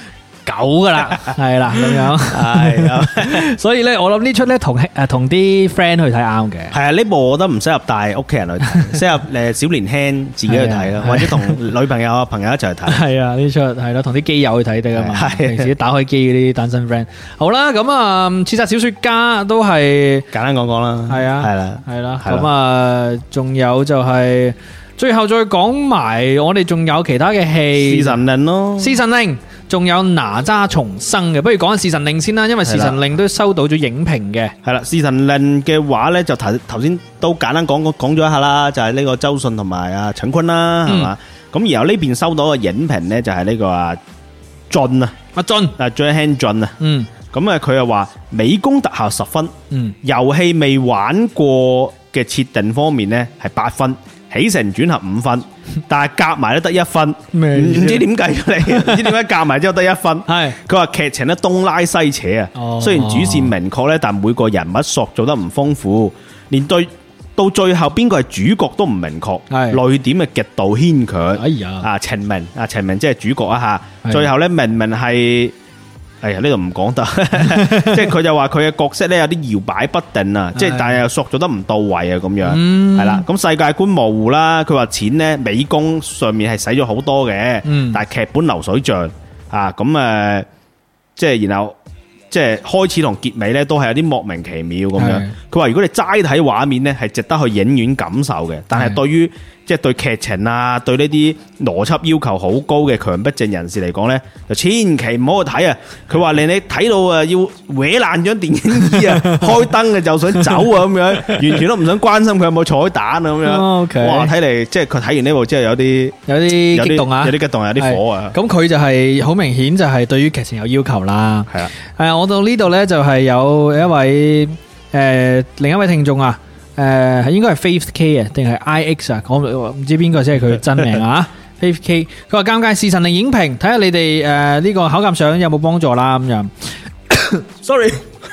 9噶啦，係啦咁樣，係，所以咧我諗呢出咧同啲 friend 去睇啱嘅。係啊，呢部我覺得唔適合帶屋企人去睇，適合小年輕自己去睇咯，或者同女朋友啊朋友一齊去睇。係啊，呢出係咯，同啲基友去睇得噶嘛，平時打開機嗰啲單身 friend。好啦，咁啊，刺殺小說家都係簡單講講啦，係啊，係啦，咁啊，仲有就係最後再講埋，我哋仲有其他嘅戲，侍神令咯，侍神令。仲有哪吒重生嘅，不如講下侍神令先啦，因為侍神令都收到咗影評嘅。係啦，侍神令嘅話呢，就頭先都簡單講咗一下啦，就係呢個周迅同埋阿陳坤啦，係嘛？咁然後呢邊收到嘅影評呢，就係呢個阿俊啊，阿張興俊啊，咁啊佢又話美工特效10分，遊戲未玩過嘅設定方面呢係8分。起承轉合5分，但係夾埋都得1分，唔知點計出嚟，唔知點解夾埋之後得1分。係佢話劇情咧東拉西扯啊，雖然主線明確咧，但每個人物塑造得唔豐富，連到最後邊個係主角都唔明確，淚點係極度牽強。哎呀，程明即係主角啊吓，最後咧明明係。哎呀，呢度唔講得，即係佢就話佢嘅角色咧有啲搖擺不定啊，即係但係又塑造得唔到位啊，咁樣係啦。咁世界觀模糊啦，佢話錢咧美工上面係使咗好多嘅，但係劇本流水賬啊，咁即係然後即係開始同結尾咧都係有啲莫名其妙咁樣。佢話如果你齋睇畫面咧係值得去影院感受嘅，但係對於即係對劇情啊，對呢啲邏輯要求好高嘅強迫症人士嚟講咧，就千祈唔好去睇啊！佢話令你睇到啊，要搲爛張電影椅啊，開燈嘅就想走啊，咁樣完全都唔想關心佢有冇彩蛋啊，咁樣。哇！睇嚟即係佢睇完呢部之後有啲激動啊，有啲激動，有啲火啊。咁佢就係好明顯就係對於劇情有要求啦。係啊，係我到呢度咧就係有一位另一位聽眾啊。應該係 Faith K 啊，定係 IX 啊？我唔知邊個先係佢真名啊？Faith K， 佢話尷尬侍神令影評，睇下你哋呢個考鑑賞有冇幫助啦咁樣。Sorry，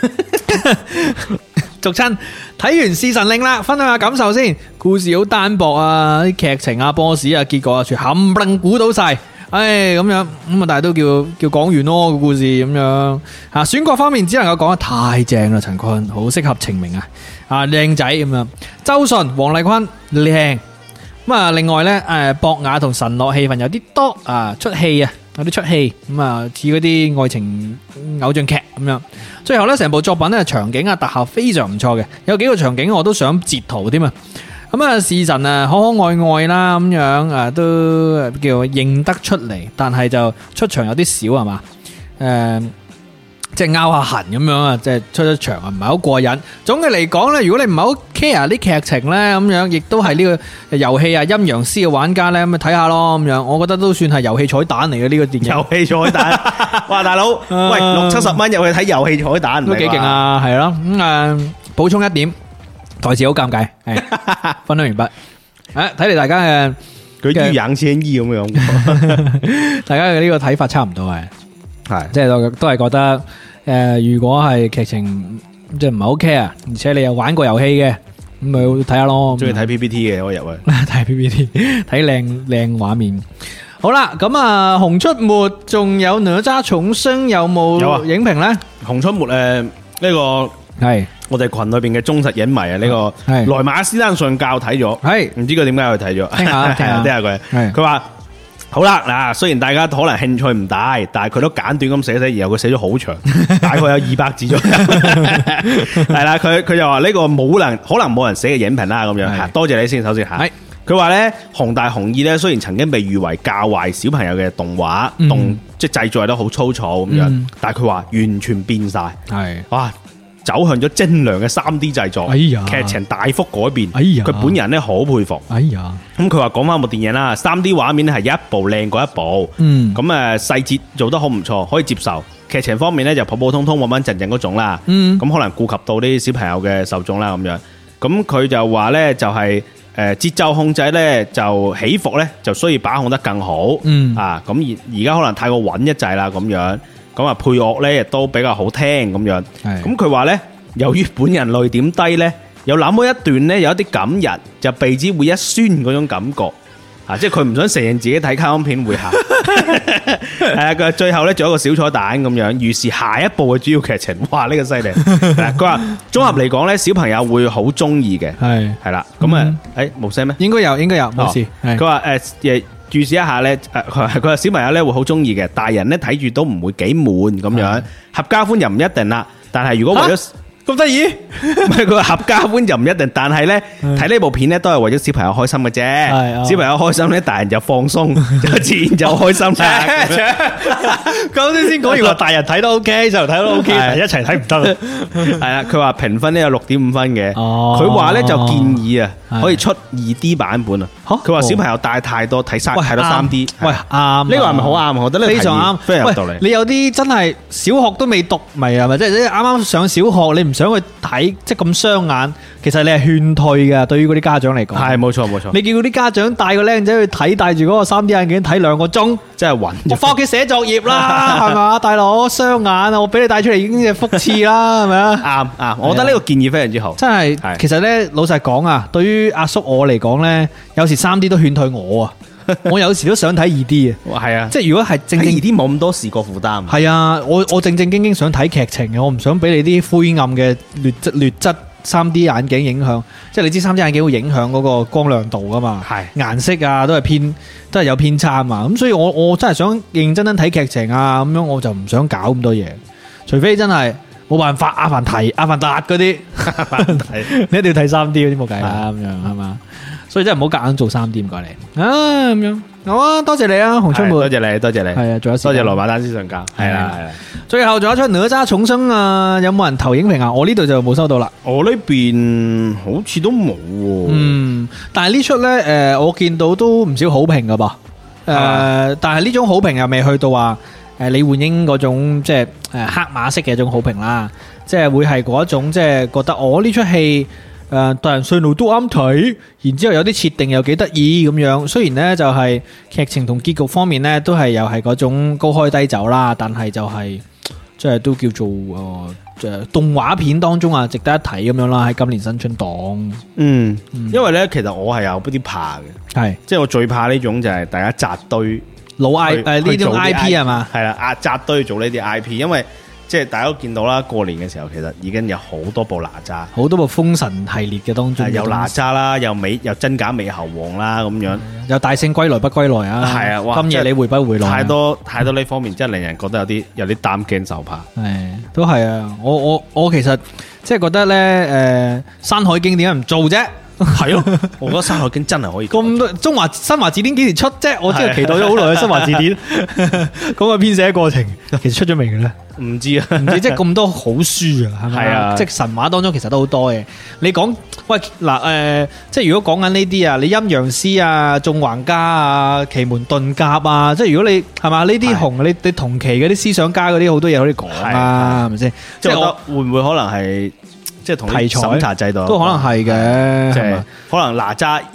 俗親睇完侍神令啦，分享下感受先。故事好單薄啊，啲劇情啊、boss 啊、結果啊，全冚唪唥估到晒。唉，咁樣咁啊，但係都叫講完咯個故事咁樣吓。選角方面只能夠講得太正啦，陳坤好適合程明啊，靚仔咁樣。周迅、黃麗坤靚咁啊。另外咧，博雅同神樂氣氛有啲多啊，出戲啊，有啲出戲咁啊，似嗰啲愛情偶像劇咁樣。最後咧，成部作品咧場景啊特效非常唔錯嘅，有幾個場景我都想截圖添啊。咁啊，侍神啊，可可愛愛啦，咁樣啊，都叫認得出嚟，但係就出場有啲少係嘛？即係拗下痕咁樣啊，即係出咗場啊，唔係好過癮。總嘅嚟講咧，如果你唔係好 care 啲劇情咧，咁樣亦都係呢個遊戲啊陰陽師嘅玩家咧，咁咪睇下咯，咁樣我覺得都算係遊戲彩蛋嚟嘅呢個電影。遊戲彩蛋，哇大佬，喂60-70蚊入去睇遊戲彩蛋，都幾勁啊，係咯。咁補充一點。台詞好尷尬，係分享完畢。睇嚟大家嘅佢啲養千衣咁樣，大家嘅呢個睇法差唔多係，即係都係覺得如果係劇情即係唔係 OK 啊？而且你又玩過遊戲嘅，咁咪睇下咯。 中意睇 PPT 嘅，我入去睇 PPT， 睇靚畫面。好啦，咁啊，熊出沒仲有哪吒重生有冇影評咧？ 熊出沒呢個係我哋群裏邊嘅忠實影迷啊，呢個萊馬斯丹上教睇咗， 係唔知佢點解去睇咗？ 聽下佢，佢話好啦嗱，雖然大家可能興趣唔大，但係佢都簡短咁寫，然後佢寫咗好長，大概有200字左右，係啦，佢就話呢個可能冇人寫嘅影評啦，咁樣，多謝你先，首先吓。佢話咧，熊大熊二咧，雖然曾經被譽為教壞小朋友嘅動畫，即係製作得好粗糙咁樣，但係佢話完全變晒，係哇，走向咗精良嘅3D 製作，劇情大幅改變，佢本人咧好佩服，咁佢話講翻部電影啦，3D 畫面咧係一部靚過一部，咁細節做得好唔錯，可以接受。劇情方面咧就普普通通穩穩陣陣嗰種啦，咁可能顧及到啲小朋友嘅受眾啦咁樣，咁佢就話咧就係。節奏控制咧就起伏咧就需要把控得更好，啊咁而家可能太過穩一滯啦咁樣，咁啊配樂咧亦都比較好聽咁樣，咁佢話咧由於本人淚點低咧，有那麼一段咧有一啲感人，就鼻子會一酸嗰種感覺，啊即係佢唔想承認自己睇卡通片會喊，係啊佢最後咧做一個小彩蛋咁樣，預示下一部嘅主要劇情，哇呢個犀利，佢話綜合嚟講咧小朋友會好中意嘅，係啦，咁啊冇聲咩？應該有冇事。佢話注視一下咧，佢話小朋友咧會好中意嘅，大人咧睇住都唔會幾悶咁樣，合家歡又唔一定啦，但係如果為咗咁得意，唔係佢話合家歡就唔一定，但係咧睇呢部片咧都係為咗小朋友開心嘅啫。小朋友開心咧，大人就放鬆，就自然就開心啦。咁先講完話，大人睇都 OK，細路睇都 OK，一齊睇唔得。係啦，佢話評分咧有6.5分嘅。佢話咧就建議啊，可以出2D 版本啊。佢話小朋友帶太多睇太多3D。喂啱，呢個係咪好啱？我覺得呢個非常啱，非常有道理。你有啲真係小學都未讀，咪係咪？即係啱啱上小學，你唔想去睇，即係咁傷眼，其實你係勸退噶。對於嗰啲家長嚟講，係冇錯冇錯。你叫嗰啲家長帶個僆仔去睇，帶住嗰個3D 眼鏡睇2個鐘，真係暈。我翻屋企寫作業啦，係嘛，大佬傷眼啊！我俾你帶出嚟已經係福刺啦，係咪啊？啱，我覺得呢個建議非常之好。真係，其實咧老實講啊，對於阿叔我嚟講咧，有時3D 都勸退我啊。我有時都想睇2D 啊，係啊，即係如果係正正 2D 冇咁多視覺負擔，係啊，我正正經經想睇劇情嘅，我唔想俾你啲灰暗嘅劣質 3D 眼鏡影響，即係你知 3D 眼鏡會影響嗰個光亮度噶嘛，係顏色啊都係有偏差嘛，咁所以我真係想認真睇劇情啊，咁樣我就唔想搞咁多嘢，除非真係冇辦法阿凡達嗰啲，你一定要睇 3D 嗰啲冇計啦，咁樣係嘛。所以真係唔好夾硬做3D唔該你啊，咁樣好啊，多謝你啊，熊出沒，多謝你，係啊，仲有多謝羅馬丹斯上教，係啦，最後仲有一出哪吒重生啊，有冇人投影評啊？我呢度就冇收到啦，我呢邊好似都冇，但係呢出咧，我見到都唔少好評噶噃，但係呢種好評又未去到話李煥英嗰種即係黑馬式嘅一種好評啦，即係會係嗰一種即係覺得我呢出戲。大人細路都啱睇，然之後有啲設定又幾得意咁樣。雖然呢就係劇情同結局方面呢都係又係嗰種高開低走啦，但係就係即係都叫做動畫片當中啊值得一睇咁樣啦。喺今年新春檔，因為呢其實我係有啲怕嘅，係即係我最怕呢種就係大家扎堆老 I 呢種 IP 係嘛，係啦，扎堆做呢啲 IP， 因為。即係大家都見到啦，過年嘅時候其實已經有好多部哪吒，好多部封神系列嘅當中，有哪吒啦，有真假美猴王啦咁樣，有大聖歸來不歸來啊，係啊，哇今夜你回不回來？太多呢方面，真係令人覺得有啲擔驚受怕。係，都係啊！我其實即係覺得咧，山海經點解唔做啫？係咯，我覺得山海經真係可以咁多。中華新華字典幾時出啫？我真係期待咗好耐嘅新華字典。咁嘅編寫過程，其實出咗未嘅咧？唔知啊，唔知即係咁多好書啊，係咪啊？即係神話當中其實都好多嘅。你講喂嗱即係如果講緊呢啲啊，你陰陽師啊、縱橫家啊、奇門遁甲啊，即係如果你係嘛呢啲紅你同期嗰啲思想家嗰啲好多嘢可以講啊，係咪先？即係我會唔會可能係？即係同題材審查制度都可能係嘅，即係可能哪吒已經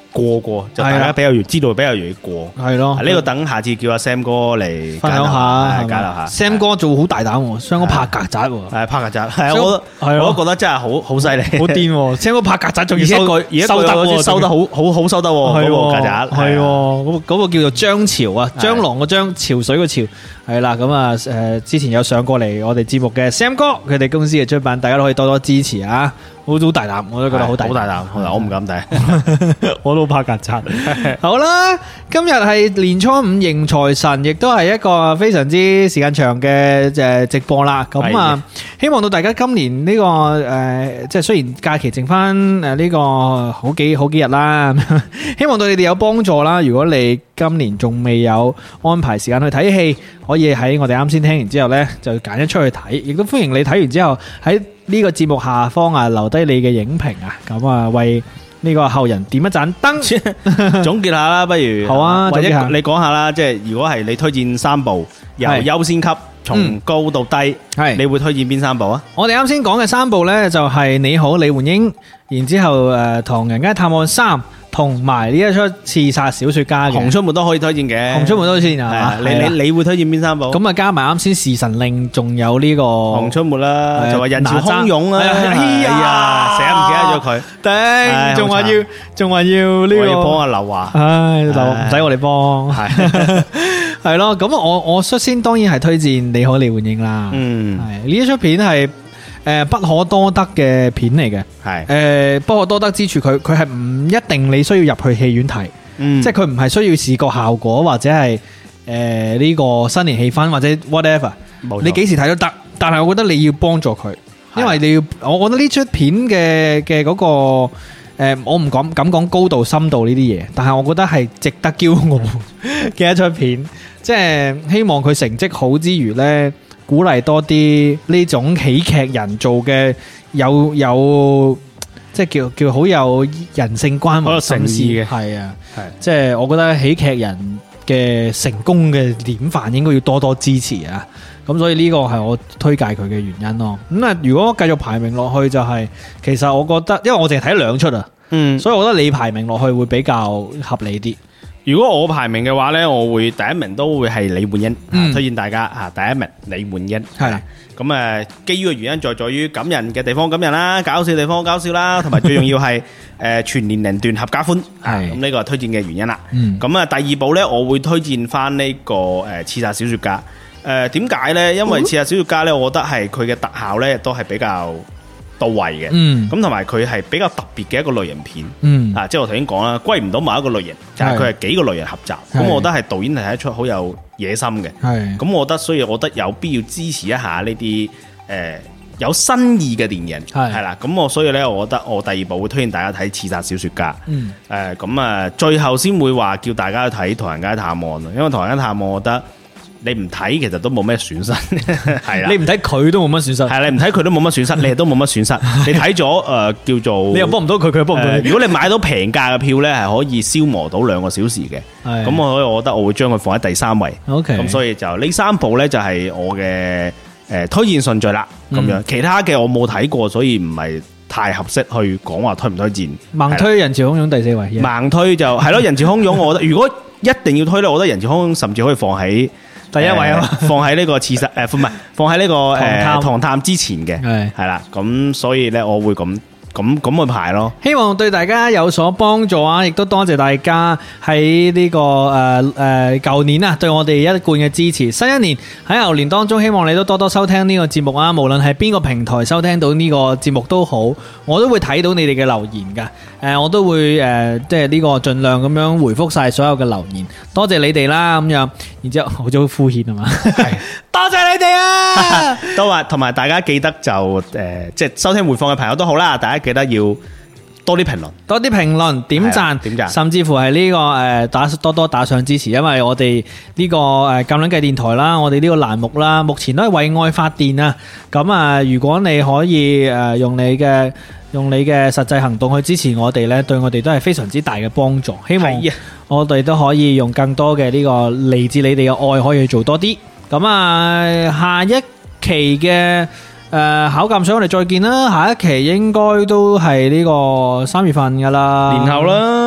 過，就大家比較容易知道，比較容易過。 係咯， 呢個等下次叫阿 Sam 哥嚟分享下， 交流下。 Sam 哥做好大膽，Sam 哥拍曱甴喎， 係拍曱甴，係我都覺得真係好犀利， 好癲！Sam 哥拍曱甴仲要收得好收得喎，嗰個曱甴係嗰個叫做張潮啊，蟑螂個張，潮水個潮，係啦。咁啊之前有上過嚟我哋節目嘅 Sam 哥，佢哋公司嘅出版，大家都可以多多支持啊！好大膽，我都覺得好大膽， 我唔敢睇， 我都怕曱甴。好啦，今日係年初五迎財神，亦都係一個非常之時間長嘅直播啦。咁啊，希望到大家今年呢個即係雖然假期剩翻呢個好幾日啦，希望對你哋有幫助啦。如果你今年仲未有安排時間去睇戲，可以喺我哋啱先聽完之後呢，就揀一出去睇，亦都歡迎你睇完之後喺呢個節目下方啊留低你嘅影評啊，咁啊為呢個後人點一盞燈。 總結下啦，不如好啊， 或者你講下啦，即係如果係你推薦3部由優先級從高到低，你會推薦邊3部啊？我哋啱先講嘅3部呢，就係你好李煥英，然之後唐人街探案3。同埋呢一出刺殺小說家嘅熊出沒都可以推薦嘅，熊出沒都可以推薦啊！你會推薦邊3部？咁啊加埋啱先時辰令，仲有呢個熊出沒啦，就話人潮洶湧啊！哎呀，成日唔記得咗佢，頂，仲話要呢個要幫阿劉華，唉，唔使我哋幫，係咯。咁我率先當然係推薦你好李煥英啦，係呢一出片係。不可多得嘅片嚟嘅，係不可多得之處，佢係唔一定你需要入去戲院睇，即係佢唔係需要視覺效果或者係呢個新年氣氛或者 whatever， 你幾時睇都得。但係我覺得你要幫助佢，因為你要，我覺得呢出片嘅嗰個我唔敢講高度深度呢啲嘢，但係我覺得係值得驕傲嘅一出片，即係希望佢成績好之餘呢。鼓勵多啲呢種喜劇人做嘅有即係叫好有人性關懷心思嘅，係啊，係即係我覺得喜劇人嘅成功嘅典範應該要多多支持啊！咁所以呢個係我推介佢嘅原因咯。咁啊，如果繼續排名落去就係，其實我覺得，因為我淨係睇2出啊，所以我覺得你排名落去會比較合理啲。如果我排名嘅話呢，我會第一名都會係李煥英，推薦大家第一名李煥英。係咁基於嘅原因在於感人嘅地方感人啦，搞笑嘅地方搞笑啦，同埋最重要係全年齡段合家歡。係咁呢個係推薦嘅原因啦。咁第2部呢，我會推薦翻呢個刺殺小說家。點解呢？因為刺殺小說家呢，我覺得係佢嘅特效呢都係比較到位嘅，咁同埋佢係比較特別嘅一個類型片，即係我頭先講啦，歸唔到某一個類型，就係佢係幾個類型合集，咁我覺得係導演係一出好有野心嘅，咁我覺得，所以我覺得有必要支持一下呢啲有新意嘅電影，係啦，咁我所以呢，我覺得我第2部會推薦大家睇《刺殺小說家》，咁最後先會話叫大家去睇《唐人街探案》，因為《唐人街探案》我覺得。你唔睇其實都冇咩損失，係啦。你唔睇佢都冇乜損失，係你唔睇佢都冇乜損失，你亦都冇乜損失。你睇咗叫做，你又幫唔到佢，佢又幫唔到你。如果你買到平價嘅票咧，係可以消磨到2個小時嘅。咁我覺得我會將佢放喺第3位。OK，咁所以就呢3部咧就係我嘅推薦順序啦。咁樣其他嘅我冇睇過，所以唔係太合適去講話推唔推薦。盲推人潮洶湧第4位，盲推就係咯，人潮洶湧。我覺得如果一定要推咧，我覺得人潮洶湧甚至可以放喺第1位啊，放喺呢個刺殺唔係放喺呢個唐探之前嘅，係啦，咁所以咧我會咁去排咯。希望對大家有所幫助啊！亦都多謝大家喺呢個舊年啊，對我哋一貫嘅支持。新一年喺牛年當中，希望你都多多收聽呢個節目啊！無論係邊個平台收聽到呢個節目都好，我都會睇到你哋嘅留言噶。我都會即係呢個盡量咁樣回覆晒所有嘅留言。多謝你哋啦，咁樣，然之後好似好敷衍啊嘛。多謝你哋啊！都話同埋大家記得就即係收聽回放嘅朋友都好啦，大家記得要多啲評論，多啲評論，點讚，甚至乎係呢個多多打賞支持，因為我哋呢個鑑論計電台啦，我哋呢個欄目啦，目前都係為愛發電啊！咁如果你可以用你嘅實際行動去支持我哋呢，對我哋都係非常之大嘅幫助。希望我哋都可以用更多嘅呢個嚟自你哋嘅愛，可以去做多啲。咁下一期嘅考鑑賞我哋再見啦。下一期應該都係呢個3月份噶啦，年後啦，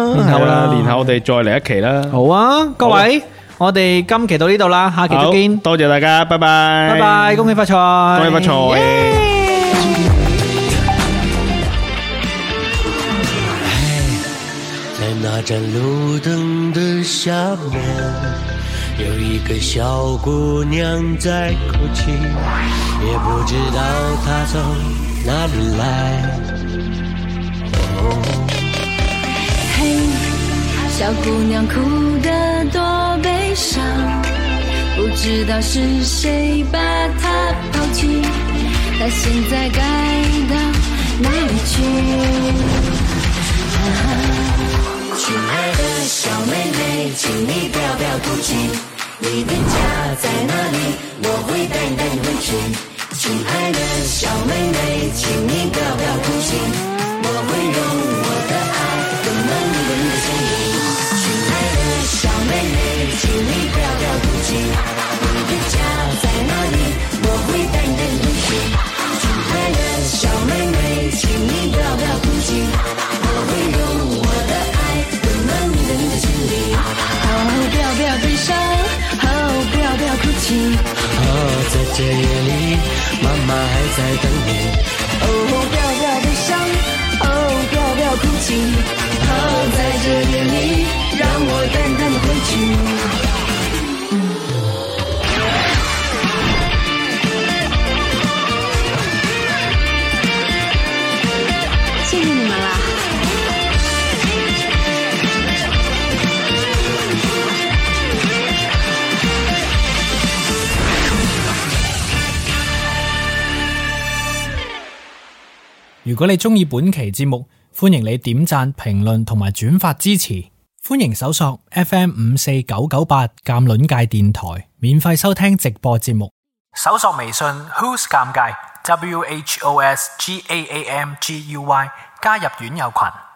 年後我哋再嚟一期啦。 好啊，各位，我哋今期到呢度啦，下期再見。 多謝大家，拜拜， 拜拜，恭喜發財， 恭喜發財。 在那盏路燈的下面，有一個小姑娘在哭泣，也不知道她從哪裡來。 嘿，小姑娘哭得多悲傷，不知道是誰把她拋棄，她現在該到哪裡去？親愛的小妹妹，請你不要哭泣，你的家在哪裡？我會帶你回去。親愛的小妹妹，請你不要哭泣，我會用我的愛溫暖你的心靈。親愛的小妹妹，請你不要哭泣，你的家在哪裡？我會帶你回去。親愛的小妹妹，請你不要哭泣，我會用我的愛溫暖你的心靈。哦，不要悲傷，哦，不要哭泣。 哦，在這夜裡，媽媽還在等你。 哦，不要悲傷，哦，不要哭泣。哦，在這夜裡，讓我淡淡的回去。謝謝你們啦。 如果你鍾意本期節目，歡迎你點讚、評論同埋轉發支持。歡迎搜索 FM54998 鑑論界電台，免費收聽直播節目。 搜索微信 Who's 尷尬 WHOSGAAMGUY 加入院友群。